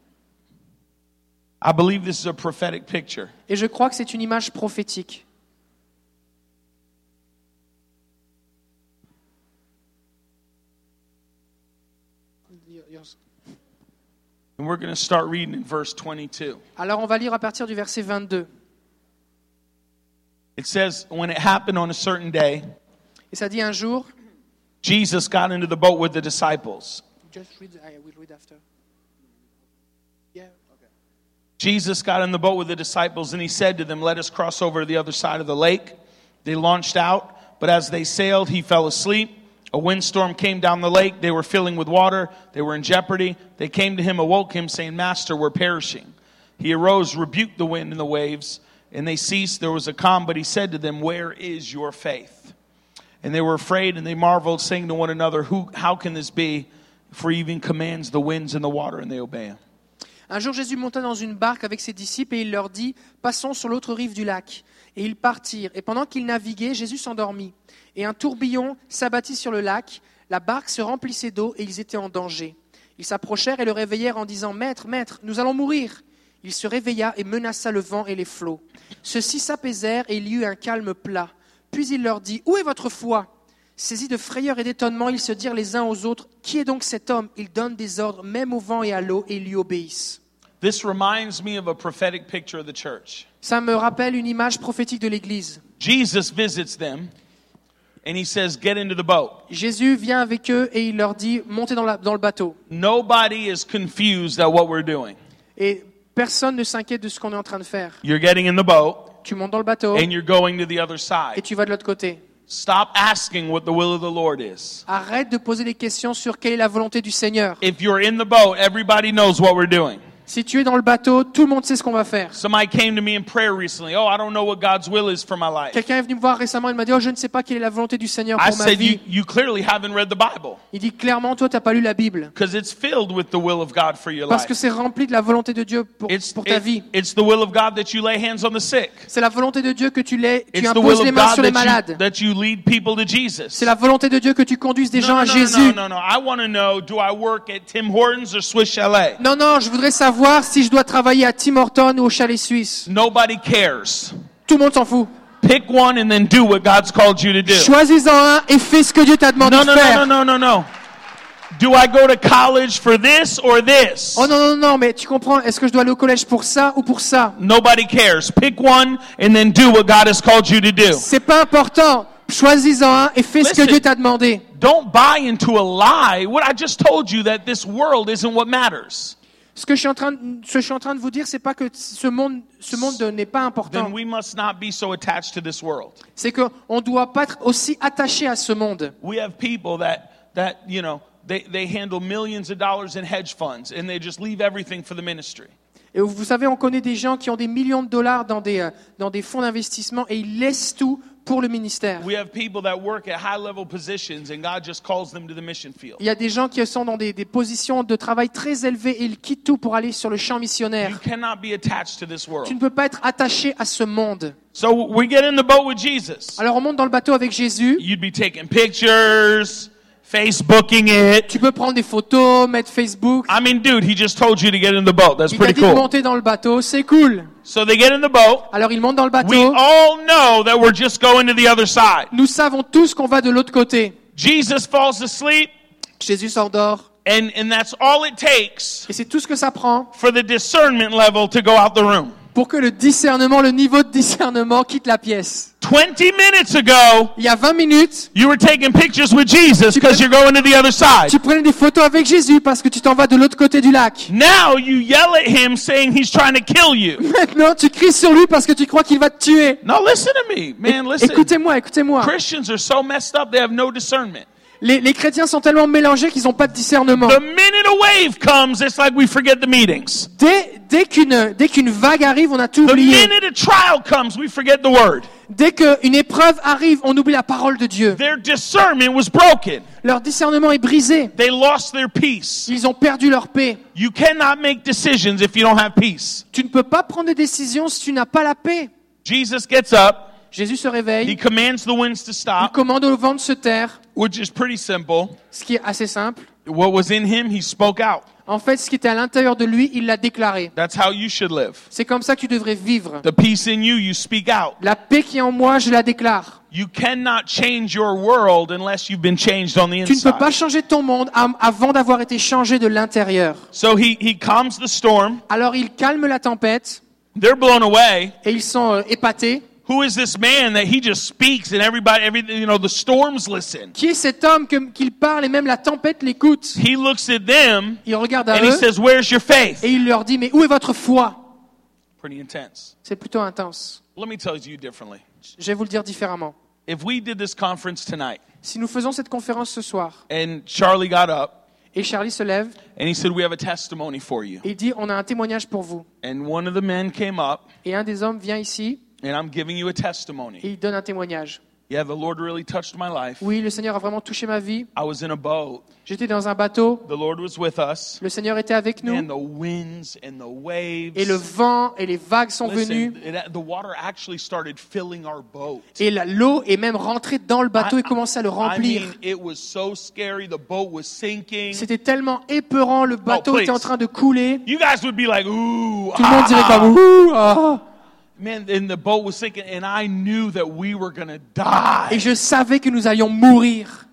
I believe this is a prophetic picture. Et je crois que c'est une image prophétique. And we're going to start reading in verse twenty-two. Alors on va lire à partir du verset vingt-deux. It says, when it happened on a certain day, Et ça dit un jour. Jesus got into the boat with the disciples. Just read, I will read after. Yeah. Jesus got in the boat with the disciples and he said to them, let us cross over to the other side of the lake. They launched out, but as they sailed, he fell asleep. A windstorm came down the lake. They were filling with water. They were in jeopardy. They came to him, awoke him, saying, Master, we're perishing. He arose, rebuked the wind and the waves, and they ceased. There was a calm, but he said to them, where is your faith? And they were afraid, and they marveled, saying to one another, Who? How can this be? For he even commands the winds and the water, and they obey him. Un jour, Jésus monta dans une barque avec ses disciples et il leur dit « Passons sur l'autre rive du lac. » Et ils partirent. Et pendant qu'ils naviguaient, Jésus s'endormit. Et un tourbillon s'abattit sur le lac. La barque se remplissait d'eau et ils étaient en danger. Ils s'approchèrent et le réveillèrent en disant « Maître, maître, nous allons mourir !» Il se réveilla et menaça le vent et les flots. Ceux-ci s'apaisèrent et il y eut un calme plat. Puis il leur dit « Où est votre foi ?» Saisis de frayeur et d'étonnement, ils se dirent les uns aux autres, « Qui est donc cet homme ?» Il donne des ordres même au vent et à l'eau et ils lui obéissent. This reminds me of a prophetic picture of the church. Ça me rappelle une image prophétique de l'Église. Jesus visits them and he says, get into the boat. Jésus vient avec eux et il leur dit « Montez dans, la- dans le bateau Nobody is confused at what we're doing. ». Et personne ne s'inquiète de ce qu'on est en train de faire. You're getting in the boat Tu montes dans le bateau and you're going to the other et side. tu vas de l'autre côté. Stop asking what the will of the Lord is. Arrête de poser des questions sur quelle est la volonté du Seigneur. If you're in the boat, everybody knows what we're doing. Si tu es dans le bateau, tout le monde sait ce qu'on va faire. Somebody came to me in prayer recently. Oh, I don't know what God's will is for my life. Quelqu'un est venu me voir récemment, il m'a dit « Oh, je ne sais pas quelle est la volonté du Seigneur I pour ma said, you, vie. you clearly haven't read the Bible » Il dit clairement, toi, tu n'as pas lu la Bible. because it's filled with the will of God for your Parce life. que c'est rempli de la volonté de Dieu pour, It's, pour ta it- vie. it's the will of God that you lay hands on the sick. C'est la volonté de Dieu que tu, les, tu It's the will imposes les of mains God sur les that you, malades. that you lead people to Jesus. C'est la volonté de Dieu que tu conduises des gens No, à no, no, Jésus. no, no, no. I want to know, do I work at Tim Hortons or Swiss Chalet? Non, non, je voudrais savoir si je dois travailler à Tim Hortons ou au Chalet Suisse. Nobody cares. Tout le monde s'en fout. Pick one and then do what God's called you to do. Choisis-en un et fais ce que Dieu t'a demandé No, de no, no, faire. no, no, no, no. Do I go to college for this or this? Oh non, non, non, mais tu comprends, est-ce que je dois aller au collège pour ça ou pour ça? Nobody cares. Pick one and then do what God has called you to do. C'est pas important. Choisis-en un et fais ce que Listen. Dieu t'a demandé. Don't buy into a lie. What I just told you that this world isn't what matters. Ce que je suis en train de, ce que je suis en train de vous dire, c'est pas que ce monde, ce monde n'est pas important. then we must not be so attached to this world. C'est que on doit pas être aussi attaché à ce monde. We have people that, that you know, they, they handle millions of dollars in hedge funds and they just leave everything for the ministry. Et vous savez, on connaît des gens qui ont des millions de dollars dans des, euh, dans des fonds d'investissement et ils laissent tout pour le ministère. We have people that work at high-level positions and God just calls them to the mission field. Il y a des gens qui sont dans des, des positions de travail très élevées et ils quittent tout pour aller sur le champ missionnaire. You cannot be attached to this Tu world. ne peux pas être attaché à ce monde. So we get in the boat with Jesus. Alors on monte dans le bateau avec Jésus. You'd be taking pictures, Facebooking it. Tu peux prendre des photos, mettre Facebook. I mean, dude, he just told you to get in the boat. That's Il t'a pretty dit de cool. monter dans le bateau, c'est cool. So they get in the boat. Alors ils montent dans le We bateau. all know that we're just going to the other side. Nous savons tous qu'on va de l'autre côté. Jesus falls asleep, Jésus s'endort. and, and that's all it takes Et c'est tout ce que ça prend for the discernment level to go out the room. pour que le discernement, le niveau de discernement quitte la pièce. twenty minutes ago, Il y a vingt minutes, you were taking pictures with Jesus because you're going to the other side. tu prenais des photos avec Jésus parce que tu t'en vas de l'autre côté du lac. Now you yell at him saying he's trying to kill you. Maintenant, tu cries sur lui parce que tu crois qu'il va te tuer. No, listen to me, man, listen. Écoutez-moi, écoutez-moi. Christians are so messed up, they have no discernment. Les, les chrétiens sont tellement mélangés qu'ils n'ont pas de discernement. The minute a wave comes, it's like we forget the meetings. Dès, dès qu'une, dès qu'une vague arrive, on a tout The oublié. minute a trial comes, we forget the word. Dès qu'une épreuve arrive, on oublie la parole de Dieu. Their discernment was broken. Leur discernement est brisé. They lost their peace. Ils ont perdu leur paix. You cannot make decisions if you don't have peace. Tu ne peux pas prendre des décisions si tu n'as pas la paix. Jesus gets up. Jésus se He réveille. commands the winds to Il stop, commande au vent de se taire, which is pretty simple. ce qui est assez simple. What was in him, he spoke out. En fait, ce qui était à l'intérieur de lui, il l'a déclaré. That's how you should live. C'est comme ça que tu devrais vivre. The peace in you, you speak out. La paix qui est en moi, je la déclare. You cannot change your world unless you've been changed on the Tu ne peux pas inside. changer ton monde am- avant d'avoir été changé de l'intérieur. So he, he calms the storm. Alors il calme la tempête They're blown away. et ils sont euh, épatés. Who is this man that he just speaks and everybody, every, you know, the storms listen? Qui est cet homme que- qu'il parle et même la tempête l'écoute? He looks at them Il regarde à and he eux says, "Where's your faith?" et il leur dit, mais où est votre foi? Pretty intense. C'est plutôt intense. Let me tell you differently. Je vais vous le dire différemment. If we did this conference tonight Si nous faisons cette conférence ce soir and Charlie got up et Charlie se lève and he said, "We have a testimony for you." et il dit, on a un témoignage pour vous. And one of the men came up Et un des hommes vient ici and I'm giving you a et testimony. il donne un témoignage. Yeah, the Lord really touched my life. Oui, le Seigneur a vraiment touché ma vie. I was in a boat. J'étais dans un bateau. The Lord was with us. Le Seigneur était avec And nous. the winds and the waves. Et le vent et les vagues sont venus. Listen, it, the water actually started filling our boat. Et la- l'eau est même rentrée dans le bateau et commençait à le I remplir. mean, it was so scary. The boat was sinking. C'était tellement épeurant, le bateau Oh, please. était en train de couler. You guys would be like, ooh, Tout le monde dirait ah. comme ouh, ah. Man, and the boat was sinking, and I knew that we were going to die. Et je savais que nous allions mourir.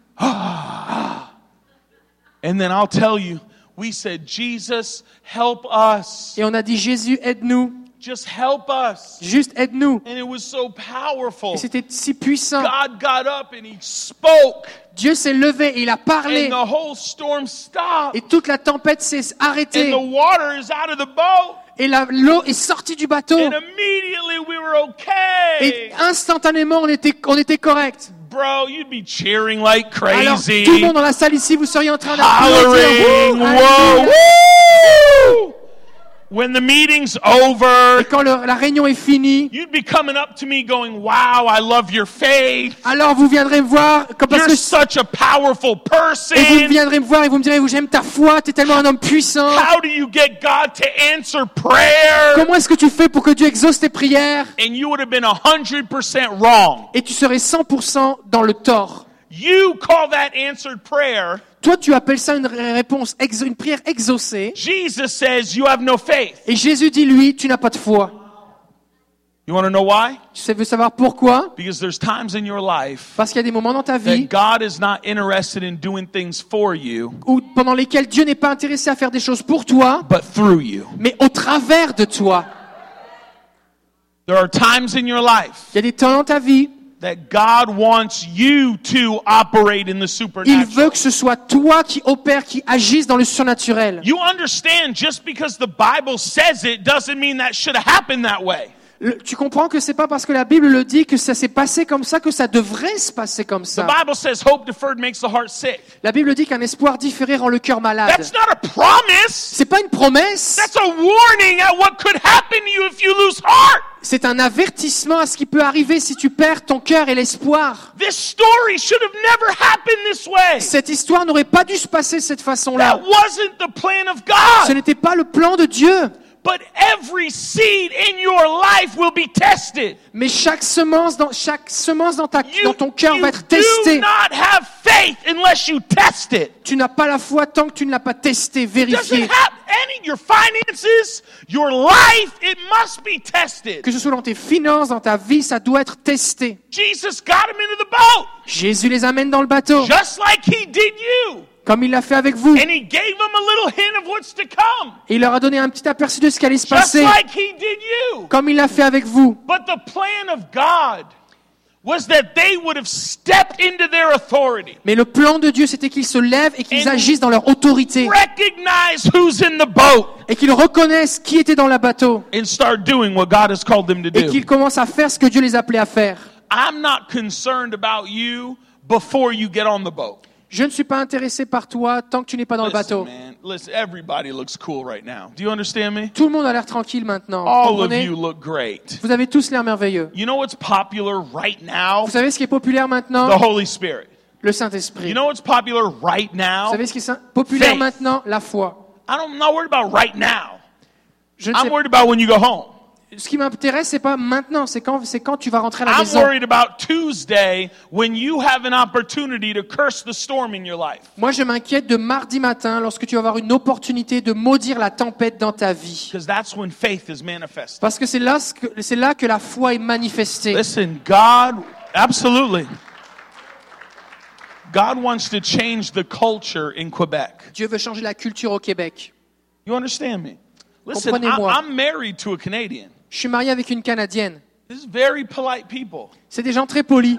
And then I'll tell you, we said, Jesus, help us. Et on a dit, Jésus, aide-nous. Just help us. Juste aide-nous. And it was so powerful. Et c'était si puissant. God got up and he spoke, Dieu s'est levé et il a parlé. and the whole storm stopped. Et toute la tempête s'est arrêtée. And the water is out of the boat. Et la- l'eau est sortie du bateau. And immediately we were okay. Et instantanément, on était, on était correct. Bro, you'd be cheering like Alors, crazy. tout le monde dans la salle ici, vous seriez en train d'applaudir. Hollering. Wouh, Whoa. alléluia. Woo! When the meeting's over, Et quand le- la réunion est finie, you'd be coming up to me going, wow, I love your faith. alors vous viendrez me voir, comme parce You're que, such a powerful person. et vous viendrez me voir et vous me direz, j'aime ta foi, t'es tellement un homme puissant. How do you get God to answer prayer? Comment est-ce que tu fais pour que Dieu exauce tes prières? And you would have been one hundred percent wrong. Et tu serais cent pour cent dans le tort. You call that answered prayer. Toi, tu appelles ça une ré- réponse, exo- une prière exaucée. Jesus says you have no faith. Et Jésus dit, lui, tu n'as pas de foi. You want to know why? Tu sais- veux savoir pourquoi? Because there's times in your life Parce qu'il y a des moments dans ta vie that God is not interested in doing things for you, où, pendant lesquels Dieu n'est pas intéressé à faire des choses pour toi, but through you. mais au travers de toi. There are times in your life Il y a des temps dans ta vie that God wants you to operate in the Il supernatural. veut que ce soit toi qui opères, qui agisse dans le surnaturel. You understand, just because the Bible says it doesn't mean that should have happened that way. Le- tu comprends que c'est pas parce que la Bible le dit que ça s'est passé comme ça que ça devrait se passer comme The ça. Bible says hope deferred makes the heart sick. La Bible dit qu'un espoir différé rend le cœur malade. That's not a promise. C'est pas une promesse, That's a warning at what could happen to you if you lose heart. c'est un avertissement à ce qui peut arriver si tu perds ton cœur et l'espoir. This story should have never happened this way. Cette histoire n'aurait pas dû se passer de cette façon-là. That wasn't the plan of Ce God. n'était pas le plan de Dieu. But every seed in your life will be tested. Mais chaque semence dans, chaque semence dans, ta, You, dans ton cœur you va être do testée. not have faith unless you test it. Tu n'as pas la foi tant que tu ne l'as pas testé, Doesn't vérifié. have any your finances, your life, it must be tested. Que ce soit dans tes finances, dans ta vie, ça doit être testé. Jesus got him into the boat, Jésus les amène dans le bateau, just like he did you. comme il l'a fait avec vous. And he gave them a little hint of what's to come, Et il leur a donné un petit aperçu de ce qui allait se just passer, like he did you. comme il l'a fait avec vous. But the plan of God was that they would have stepped into their authority, Mais le plan de Dieu, c'était qu'ils se lèvent et qu'ils And- agissent dans leur autorité. recognize who's in the boat, Et qu'ils reconnaissent qui était dans le bateau. and start doing what God has called them to Et do. qu'ils commencent à faire ce que Dieu les appelait à faire. I'm not concerned about you before you get on the boat. Je ne suis pas intéressé par toi tant que tu n'es pas dans le Listen, bateau. man. Listen, everybody looks cool right now. Do you understand me? Tout le monde a l'air tranquille maintenant. Vous All of comprenez? you look great. Vous avez tous l'air merveilleux. You know what's popular right now? Vous savez ce qui est populaire The maintenant? Holy Spirit. Le Saint-Esprit. You know what's popular right Vous now? savez ce qui est sa- populaire Faith. maintenant? La foi. I don't, I'm not worried about right now. Je ne I'm sais, worried about when you go home. ce qui m'intéresse, c'est pas maintenant, c'est quand, c'est quand tu vas rentrer à la I'm maison. worried about Tuesday when you have an opportunity to curse the storm in your life. Moi, je m'inquiète de mardi matin lorsque tu vas avoir une opportunité de maudire la tempête dans ta vie. Because that's when faith is manifested. Parce que c'est là, ce que- c'est là que la foi est manifestée. Listen, God, absolutely. God wants to change the culture in Quebec. Dieu veut changer la culture au Québec. You understand me? Listen, Comprenez-moi. I, I'm married to a Canadian. Je suis marié avec une Canadienne. This is very polite people. C'est des gens très polis.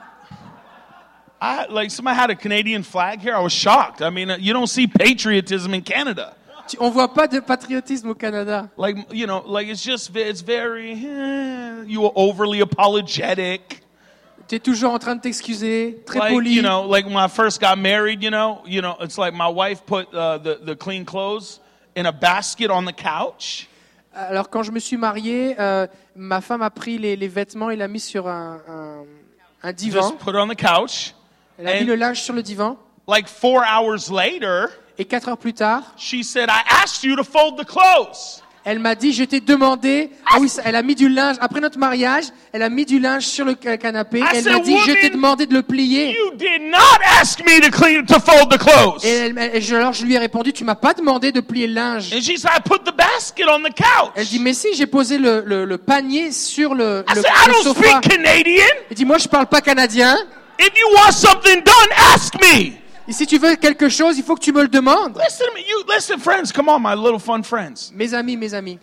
I like somebody had a Canadian flag here. I was shocked. I mean, uh, you don't see patriotism in Canada. Tu- On voit pas de patriotisme au Canada. Like you know, like it's just it's very eh, you are overly apologetic. Tu es toujours en train de t'excuser, très Like poli. you know, like when I first got married, you know, you know, it's like my wife put uh, the the clean clothes in a basket on the couch. Alors quand je me suis marié, euh, ma femme a pris les, les vêtements et l'a mis sur un, un, un divan. Just put it on the couch. Elle a mis And le linge sur le divan. like four hours later, Et quatre heures plus tard, she said, "I asked you to fold the clothes." elle m'a dit, je t'ai demandé... Ah oui, ça- elle a mis du linge. Après notre mariage, elle a mis du linge sur le ca- canapé. I Elle said, m'a dit, je t'ai "Woman, demandé de le plier. You did not ask me to clean to fold the clothes. Et, elle- elle- et je- alors je lui ai répondu, tu m'as pas demandé de plier le linge. And she said, I put the basket on the couch. Elle dit, mais si, j'ai posé le, le, le panier sur le, I le, said, I le don't sofa. speak Canadian. Elle dit, moi je parle pas canadien. If you want something done, ask me. Et si tu veux quelque chose, il faut que tu me le demandes. Listen to me. You listen, friends. Come on, my little fun friends. Mes amis, mes amis,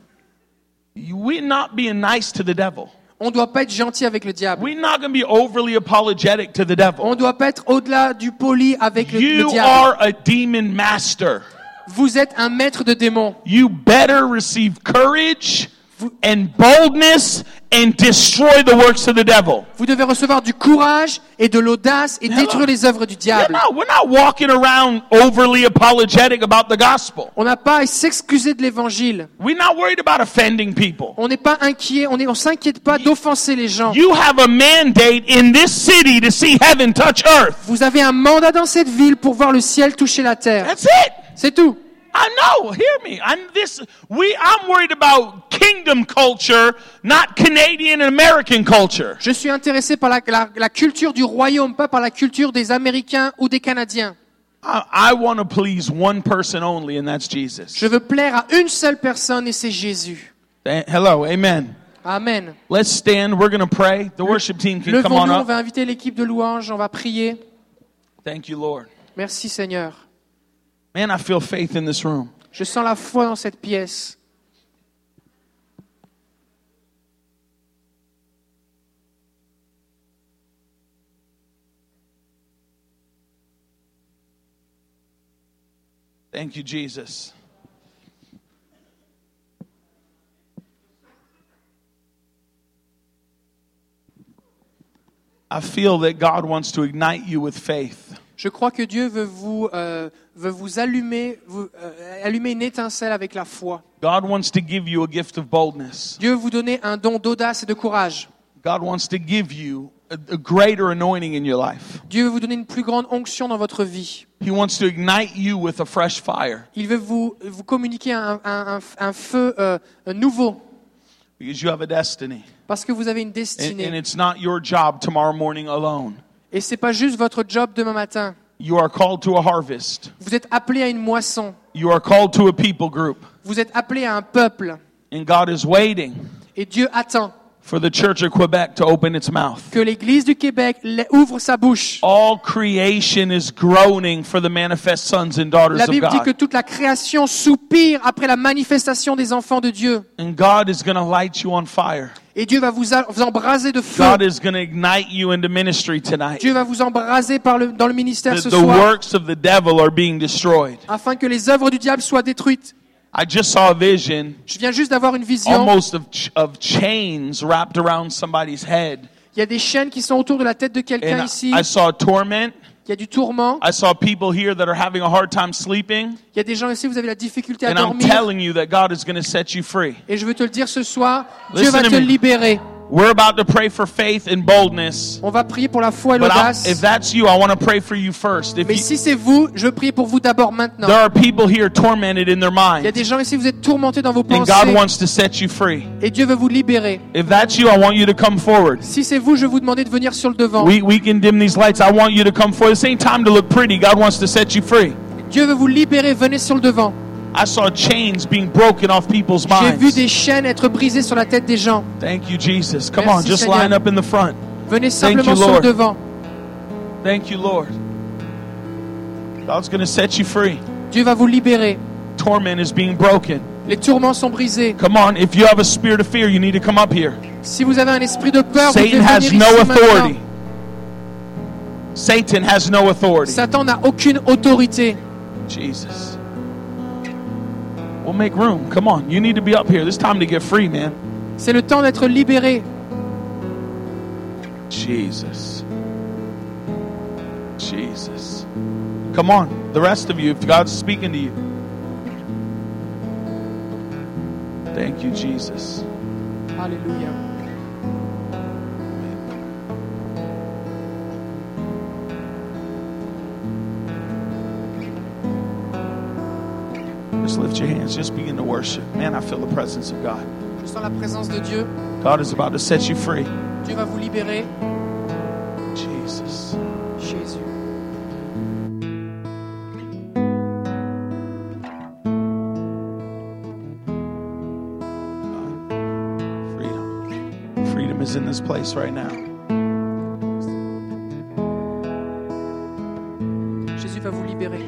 You- We're not being nice to the devil. on doit pas être gentil avec le diable. We're not going to be overly apologetic to the devil. On doit pas être au-delà du poli avec le, le You diable. are a demon master. Vous êtes un maître de démons. You better receive courage and boldness and destroy the works of the devil. Vous devez recevoir du courage et de l'audace et détruire les œuvres du We're diable. not, we're not walking around overly apologetic about the gospel. On n'a pas à s'excuser de l'évangile. We're not worried about offending people. On n'est pas inquiet, on est, on s'inquiète pas d'offenser les gens. You have a mandate in this city to see heaven touch earth. Vous avez un mandat dans cette ville pour voir le ciel toucher la terre. That's it. C'est tout. I know. Hear me. I'm this. We. I'm worried about kingdom culture, not Canadian and American culture. Je suis intéressé par la, la, la culture du royaume, pas par la culture des Américains ou des Canadiens. I, I want to please one person only, and that's Jesus. Je veux plaire à une seule personne et c'est Jésus. Eh, Hello. Amen. Amen. Let's stand. We're going to pray. The worship team can come on Levons-nous, on up. va inviter l'équipe de louange, on va prier. Thank you, Lord. Merci Seigneur. Man, I feel faith in this room. Je sens la foi dans cette pièce. Thank you, Jesus. I feel that God wants to ignite you with faith. Je crois que Dieu veut vous, euh, veut vous allumer, vous, euh, allumer une étincelle avec la foi. God wants to give you a gift of boldness. Dieu veut vous donner un don d'audace et de courage. God wants to give you a, a greater anointing in your life. Dieu veut vous donner une plus grande onction dans votre vie. He wants to ignite you with a fresh fire. Il veut vous, vous communiquer un, un, un, un feu euh, nouveau. Because you have a destiny. Parce que vous avez une And, destinée. and it's not your job tomorrow morning alone. Et c'est pas juste votre job demain matin. You are called to a harvest. Vous êtes appelé à une moisson. You are called to a people group. Vous êtes appelé à un peuple. And God is waiting Et Dieu attend for the church of Quebec to open its mouth. que l'Église du Québec ouvre sa bouche. All creation is groaning for the manifest sons and daughters La of Bible dit que God. toute la création soupire après la manifestation des enfants de Dieu. And God is going to light you on fire. Et Dieu va vous, a- vous embraser de feu. God is going to ignite you into ministry tonight. Dieu va vous embraser par le, dans le ministère The, ce the soir, works of the devil are being destroyed. afin que les œuvres du diable soient détruites. I just saw a vision Je viens juste d'avoir une vision. almost of, ch- of chains wrapped around somebody's head. Il y a des chaînes qui sont autour de la tête de quelqu'un And ici. I, I saw torment. Il y a du tourment. I saw people here that are having a hard time sleeping. Il y a des gens ici, vous avez la difficulté à And I'm dormir. telling you that God is going to set you free. Et je veux te le dire ce soir, Dieu Listen va to te me. libérer. We're about to pray for faith and boldness. On va prier pour la foi et But I, l'audace. if that's you, I want to pray for you first. If Mais you, si c'est vous, je veux prier pour vous d'abord maintenant. there are people here tormented in their Il y a mind, des gens ici, vous êtes tourmentés dans vos and God pensées. wants to set you free. Et Dieu veut vous libérer. If that's you, I want you to come forward. Si c'est vous, je vais vous demander de venir sur le devant. We, we can dim these lights. I want you to come forward. This ain't time to look pretty. God wants to set you free. Dieu veut vous libérer, venez sur le devant. I saw chains being broken off people's J'ai vu minds. des chaînes être brisées sur la tête des gens. Thank you, Jesus. Come Merci, on, just Seigneur. line up in the front. Venez Thank simplement you, sur le Lord. devant. Thank you, Lord. God's going to set you free. Dieu va vous libérer. Torment is being broken. Les tourments sont brisés. Come on, if you have a spirit of fear, you need to come up here. Si vous avez un esprit de peur, vous devez Satan has venir no ici maintenant. authority. Satan has no authority. Satan n'a aucune autorité. Jesus. We'll make room. Come on, you need to be up here. This time to get free, man. C'est le temps d'être libéré. Jesus. Jesus. Come on, the rest of you, if God's speaking to you. Thank you, Jesus. Alléluia. Just lift your hands. Just begin to worship. Man, I feel the presence of God. Je sens la présence de Dieu. God is about to set you free. Dieu va vous libérer. Jesus. Jésus. Freedom. Freedom is in this place right now. Jésus va vous libérer.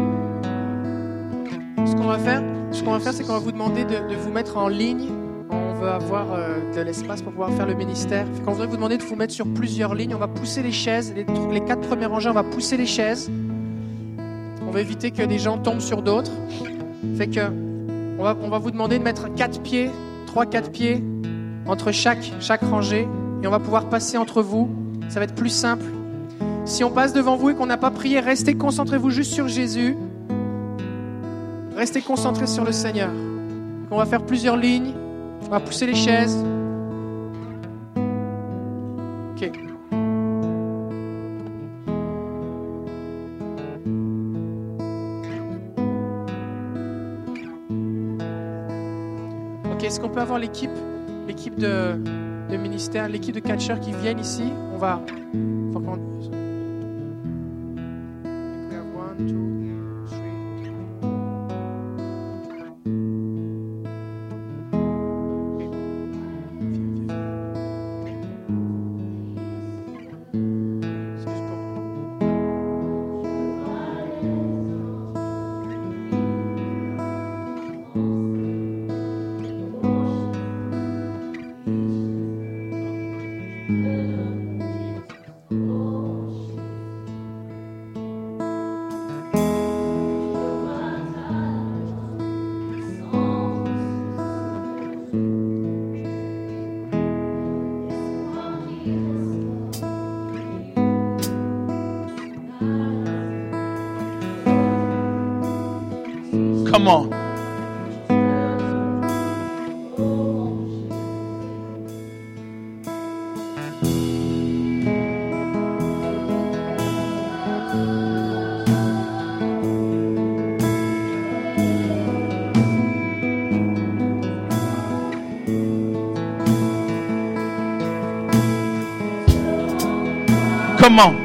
Ce qu'on va faire, ce qu'on va faire, c'est qu'on va vous demander de, de vous mettre en ligne. On veut avoir euh, de l'espace pour pouvoir faire le ministère. Fait qu'on voudrait vous demander de vous mettre sur plusieurs lignes. On va pousser les chaises. Les, les quatre premières rangées, on va pousser les chaises. On va éviter que des gens tombent sur d'autres. Fait que on va, on va vous demander de mettre quatre pieds, trois, quatre pieds entre chaque, chaque rangée. Et on va pouvoir passer entre vous. Ça va être plus simple. Si on passe devant vous et qu'on n'a pas prié, restez, concentrez-vous juste sur Jésus. Restez concentrés sur le Seigneur. On va faire plusieurs lignes. On va pousser les chaises. Ok. Ok, est-ce qu'on peut avoir l'équipe, l'équipe de, de ministère, l'équipe de catcheurs qui viennent ici? On va... faut qu'on- We have one, two, three. C'est juste pour- Come on. Come on.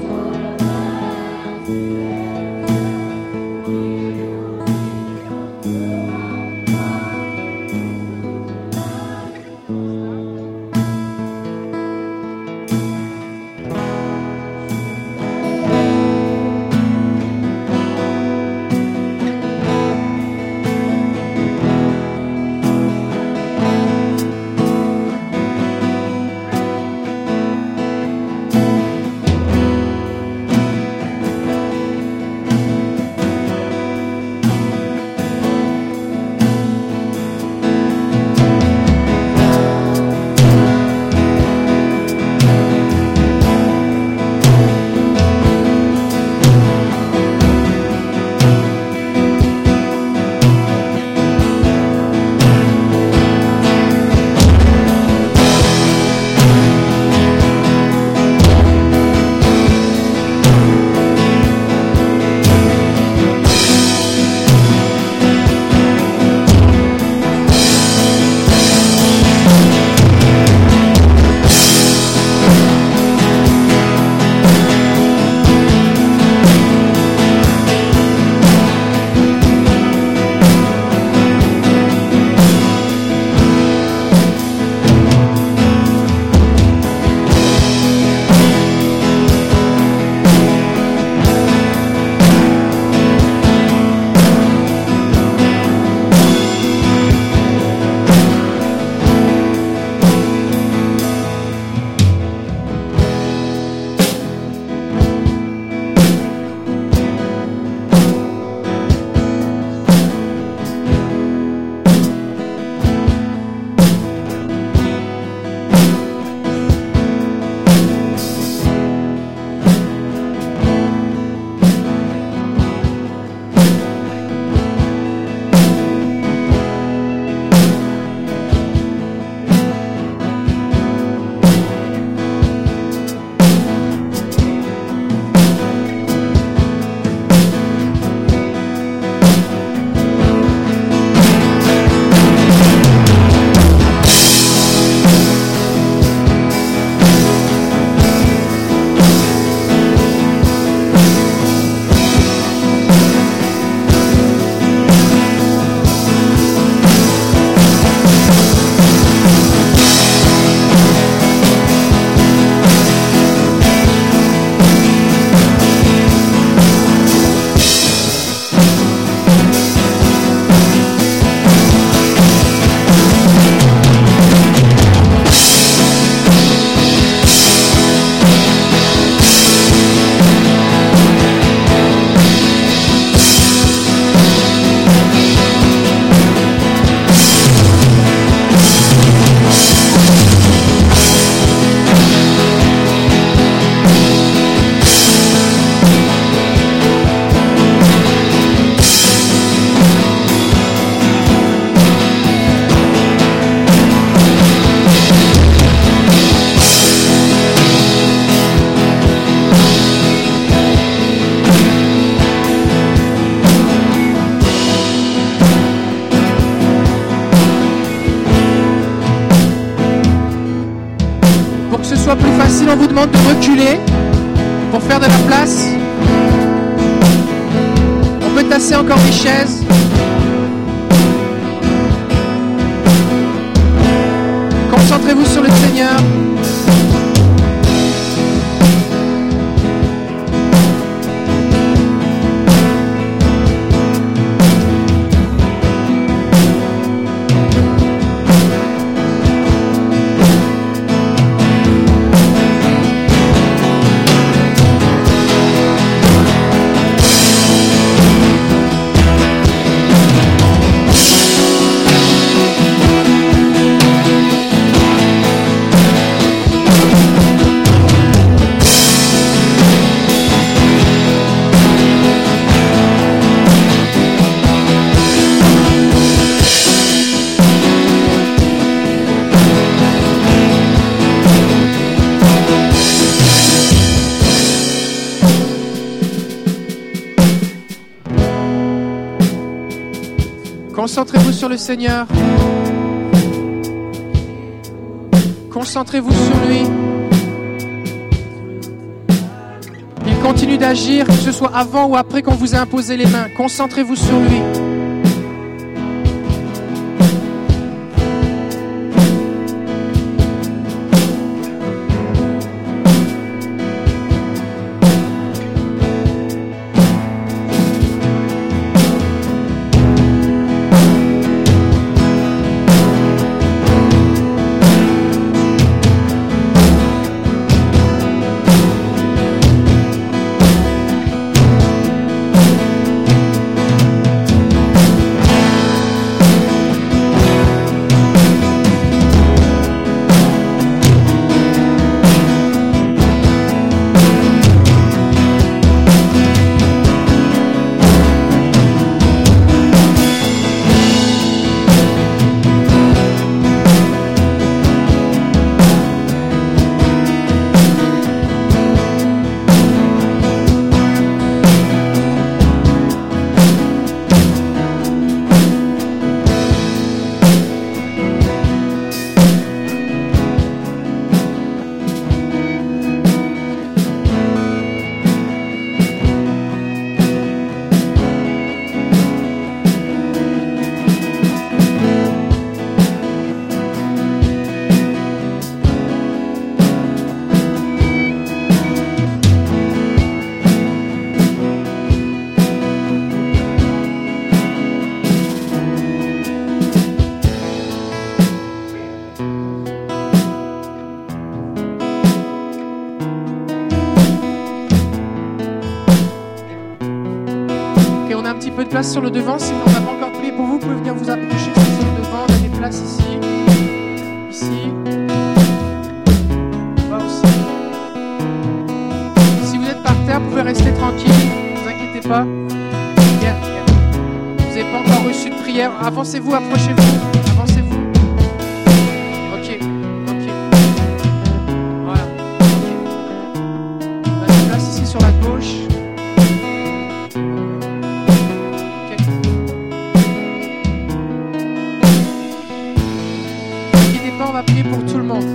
soit plus facile, on vous demande de reculer pour faire de la place. On peut tasser encore des chaises. Concentrez-vous sur le Seigneur. Concentrez-vous sur le Seigneur. Concentrez-vous sur lui. Il continue d'agir, que ce soit avant ou après qu'on vous ait imposé les mains. Concentrez-vous sur lui. Peu de place sur le devant, si on n'a pas encore prié pour vous, vous pouvez venir vous approcher sur le devant, on a des places ici, ici, là aussi. Si vous êtes par terre, vous pouvez rester tranquille, ne vous inquiétez pas. Bien, bien. Vous n'avez pas encore reçu de prière, avancez-vous, approchez-vous, avancez-vous. Ok, ok. Voilà, ok. On a des places ici sur la gauche. On va prier pour tout le monde.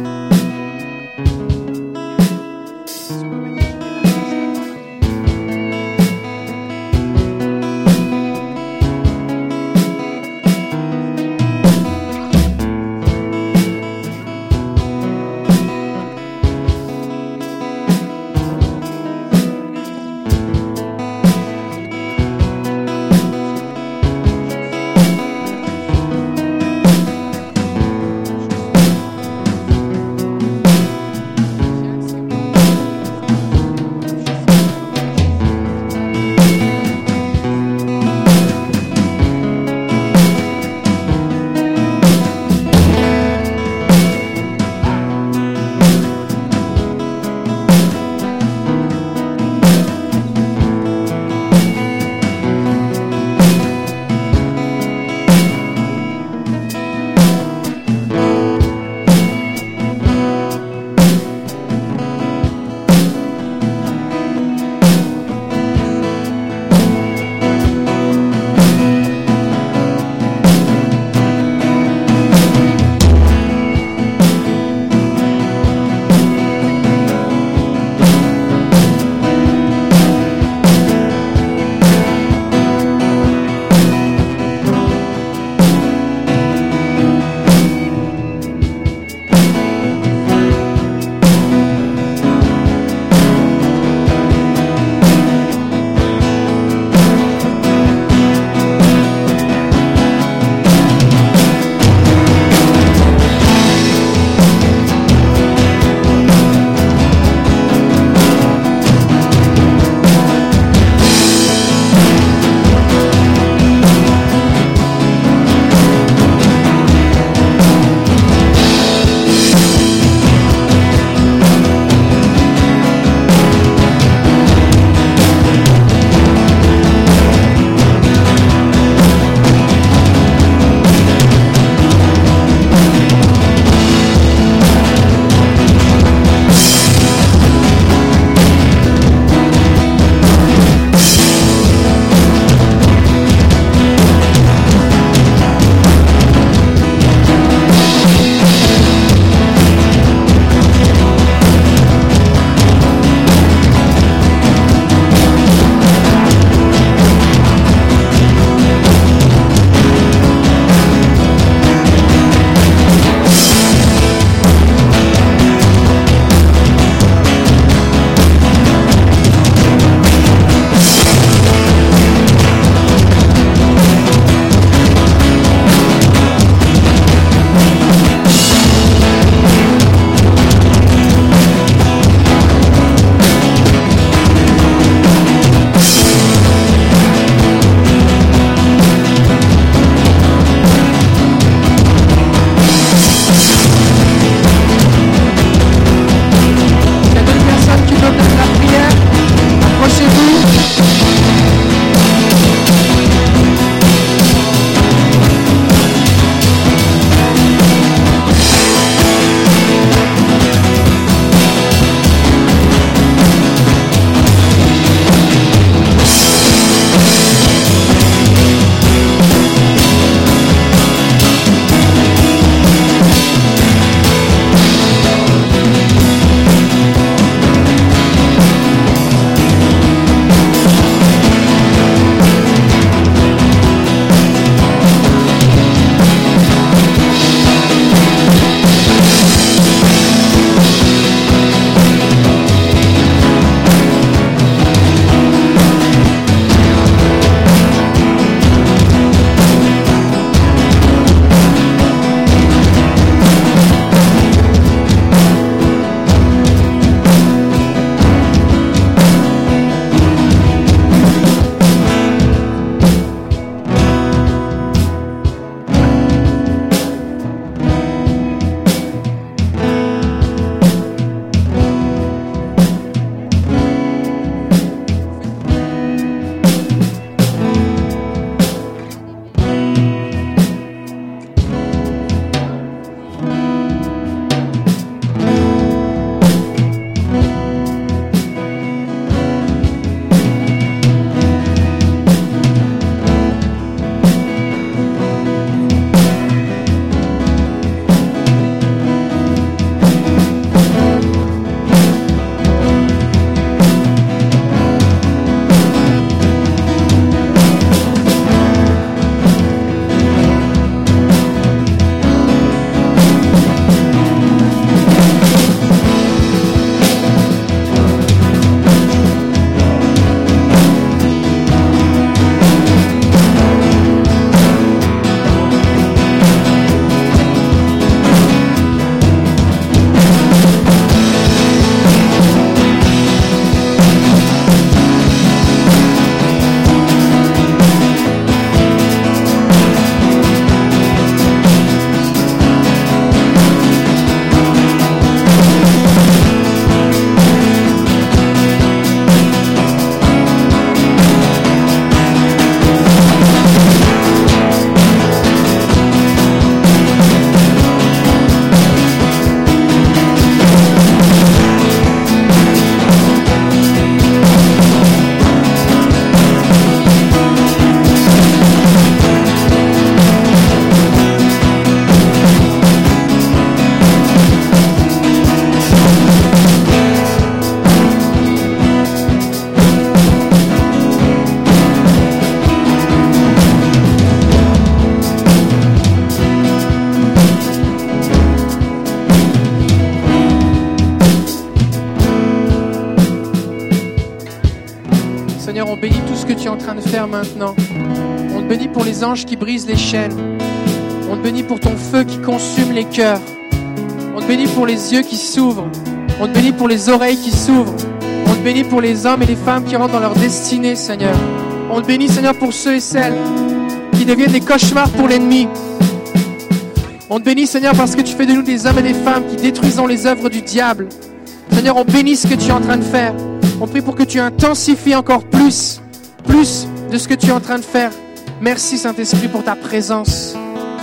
que tu es en train de faire maintenant. On te bénit pour les anges qui brisent les chaînes. On te bénit pour ton feu qui consume les cœurs. On te bénit pour les yeux qui s'ouvrent. On te bénit pour les oreilles qui s'ouvrent. On te bénit pour les hommes et les femmes qui rentrent dans leur destinée, Seigneur. On te bénit, Seigneur, pour ceux et celles qui deviennent des cauchemars pour l'ennemi. On te bénit, Seigneur, parce que tu fais de nous des hommes et des femmes qui détruisons les œuvres du diable. Seigneur, on bénit ce que tu es en train de faire. On prie pour que tu intensifies encore plus, plus de ce que tu es en train de faire. Merci, Saint-Esprit, pour ta présence.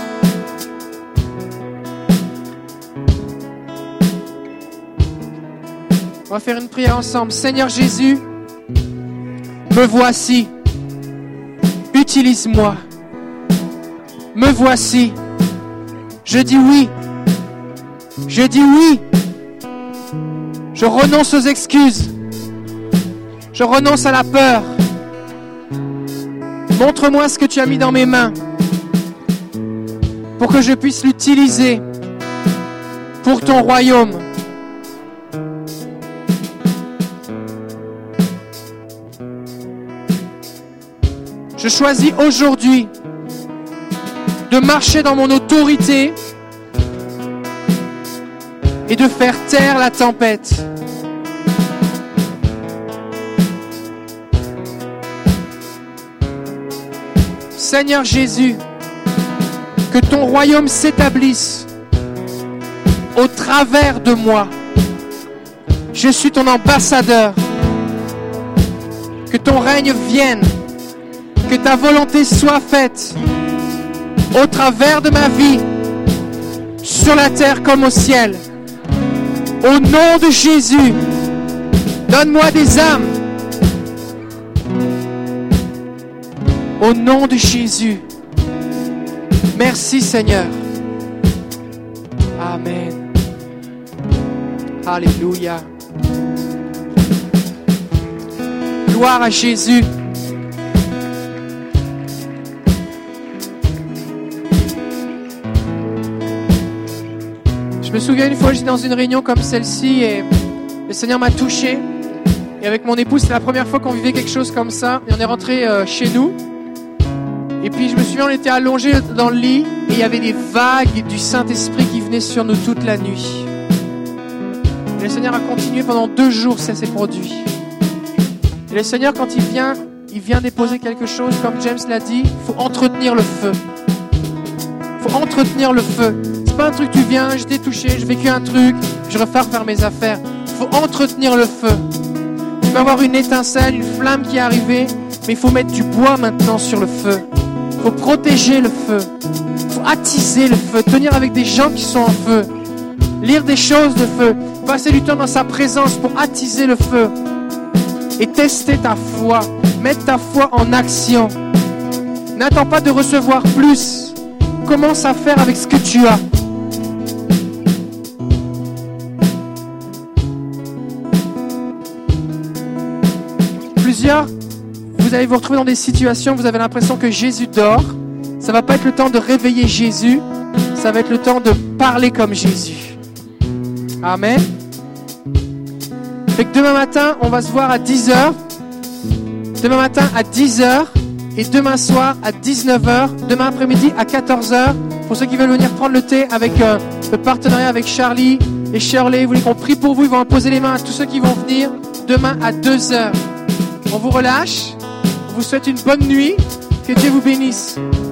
On va faire une prière ensemble. Seigneur Jésus, me voici. Utilise-moi. Me voici. Je dis oui. Je dis oui. Je renonce aux excuses. Je renonce à la peur. Montre-moi ce que tu as mis dans mes mains pour que je puisse l'utiliser pour ton royaume. Je choisis aujourd'hui de marcher dans mon autorité et de faire taire la tempête. Seigneur Jésus, que ton royaume s'établisse au travers de moi. Je suis ton ambassadeur. Que ton règne vienne. Que ta volonté soit faite au travers de ma vie, sur la terre comme au ciel. Au nom de Jésus, donne-moi des âmes. Au nom de Jésus. Merci Seigneur. Amen. Alléluia. Gloire à Jésus. Je me souviens une fois, j'étais dans une réunion comme celle-ci et le Seigneur m'a touché. Et avec mon épouse, c'était la première fois qu'on vivait quelque chose comme ça. Et on est rentré euh, chez nous. Et puis je me souviens, on était allongés dans le lit et il y avait des vagues du Saint-Esprit qui venaient sur nous toute la nuit. Et le Seigneur a continué pendant deux jours, ça s'est produit. Et le Seigneur, quand il vient, il vient déposer quelque chose, comme James l'a dit, il faut entretenir le feu. Il faut entretenir le feu. C'est pas un truc, tu viens, je t'ai touché, j'ai vécu un truc, je repars faire mes affaires. Il faut entretenir le feu. Tu vas avoir une étincelle, une flamme qui est arrivée, mais il faut mettre du bois maintenant sur le feu. Il faut protéger le feu. Il faut attiser le feu, tenir avec des gens qui sont en feu. Lire des choses de feu. Passer du temps dans sa présence pour attiser le feu. Et tester ta foi. Mettre ta foi en action. N'attends pas de recevoir plus. Commence à faire avec ce que tu as. Plusieurs, vous allez vous retrouver dans des situations où vous avez l'impression que Jésus dort. Ça ne va pas être le temps de réveiller Jésus. Ça va être le temps de parler comme Jésus. Amen. Fait que demain matin, on va se voir à dix heures. Demain matin à dix heures. Et demain soir à dix-neuf heures. Demain après-midi à quatorze heures. Pour ceux qui veulent venir prendre le thé avec euh, le partenariat avec Charlie et Shirley. Vous voulez qu'on prie pour vous. Ils vont poser les mains à tous ceux qui vont venir. Demain à deux heures. On vous relâche. On vous souhaite une bonne nuit. Que Dieu vous bénisse.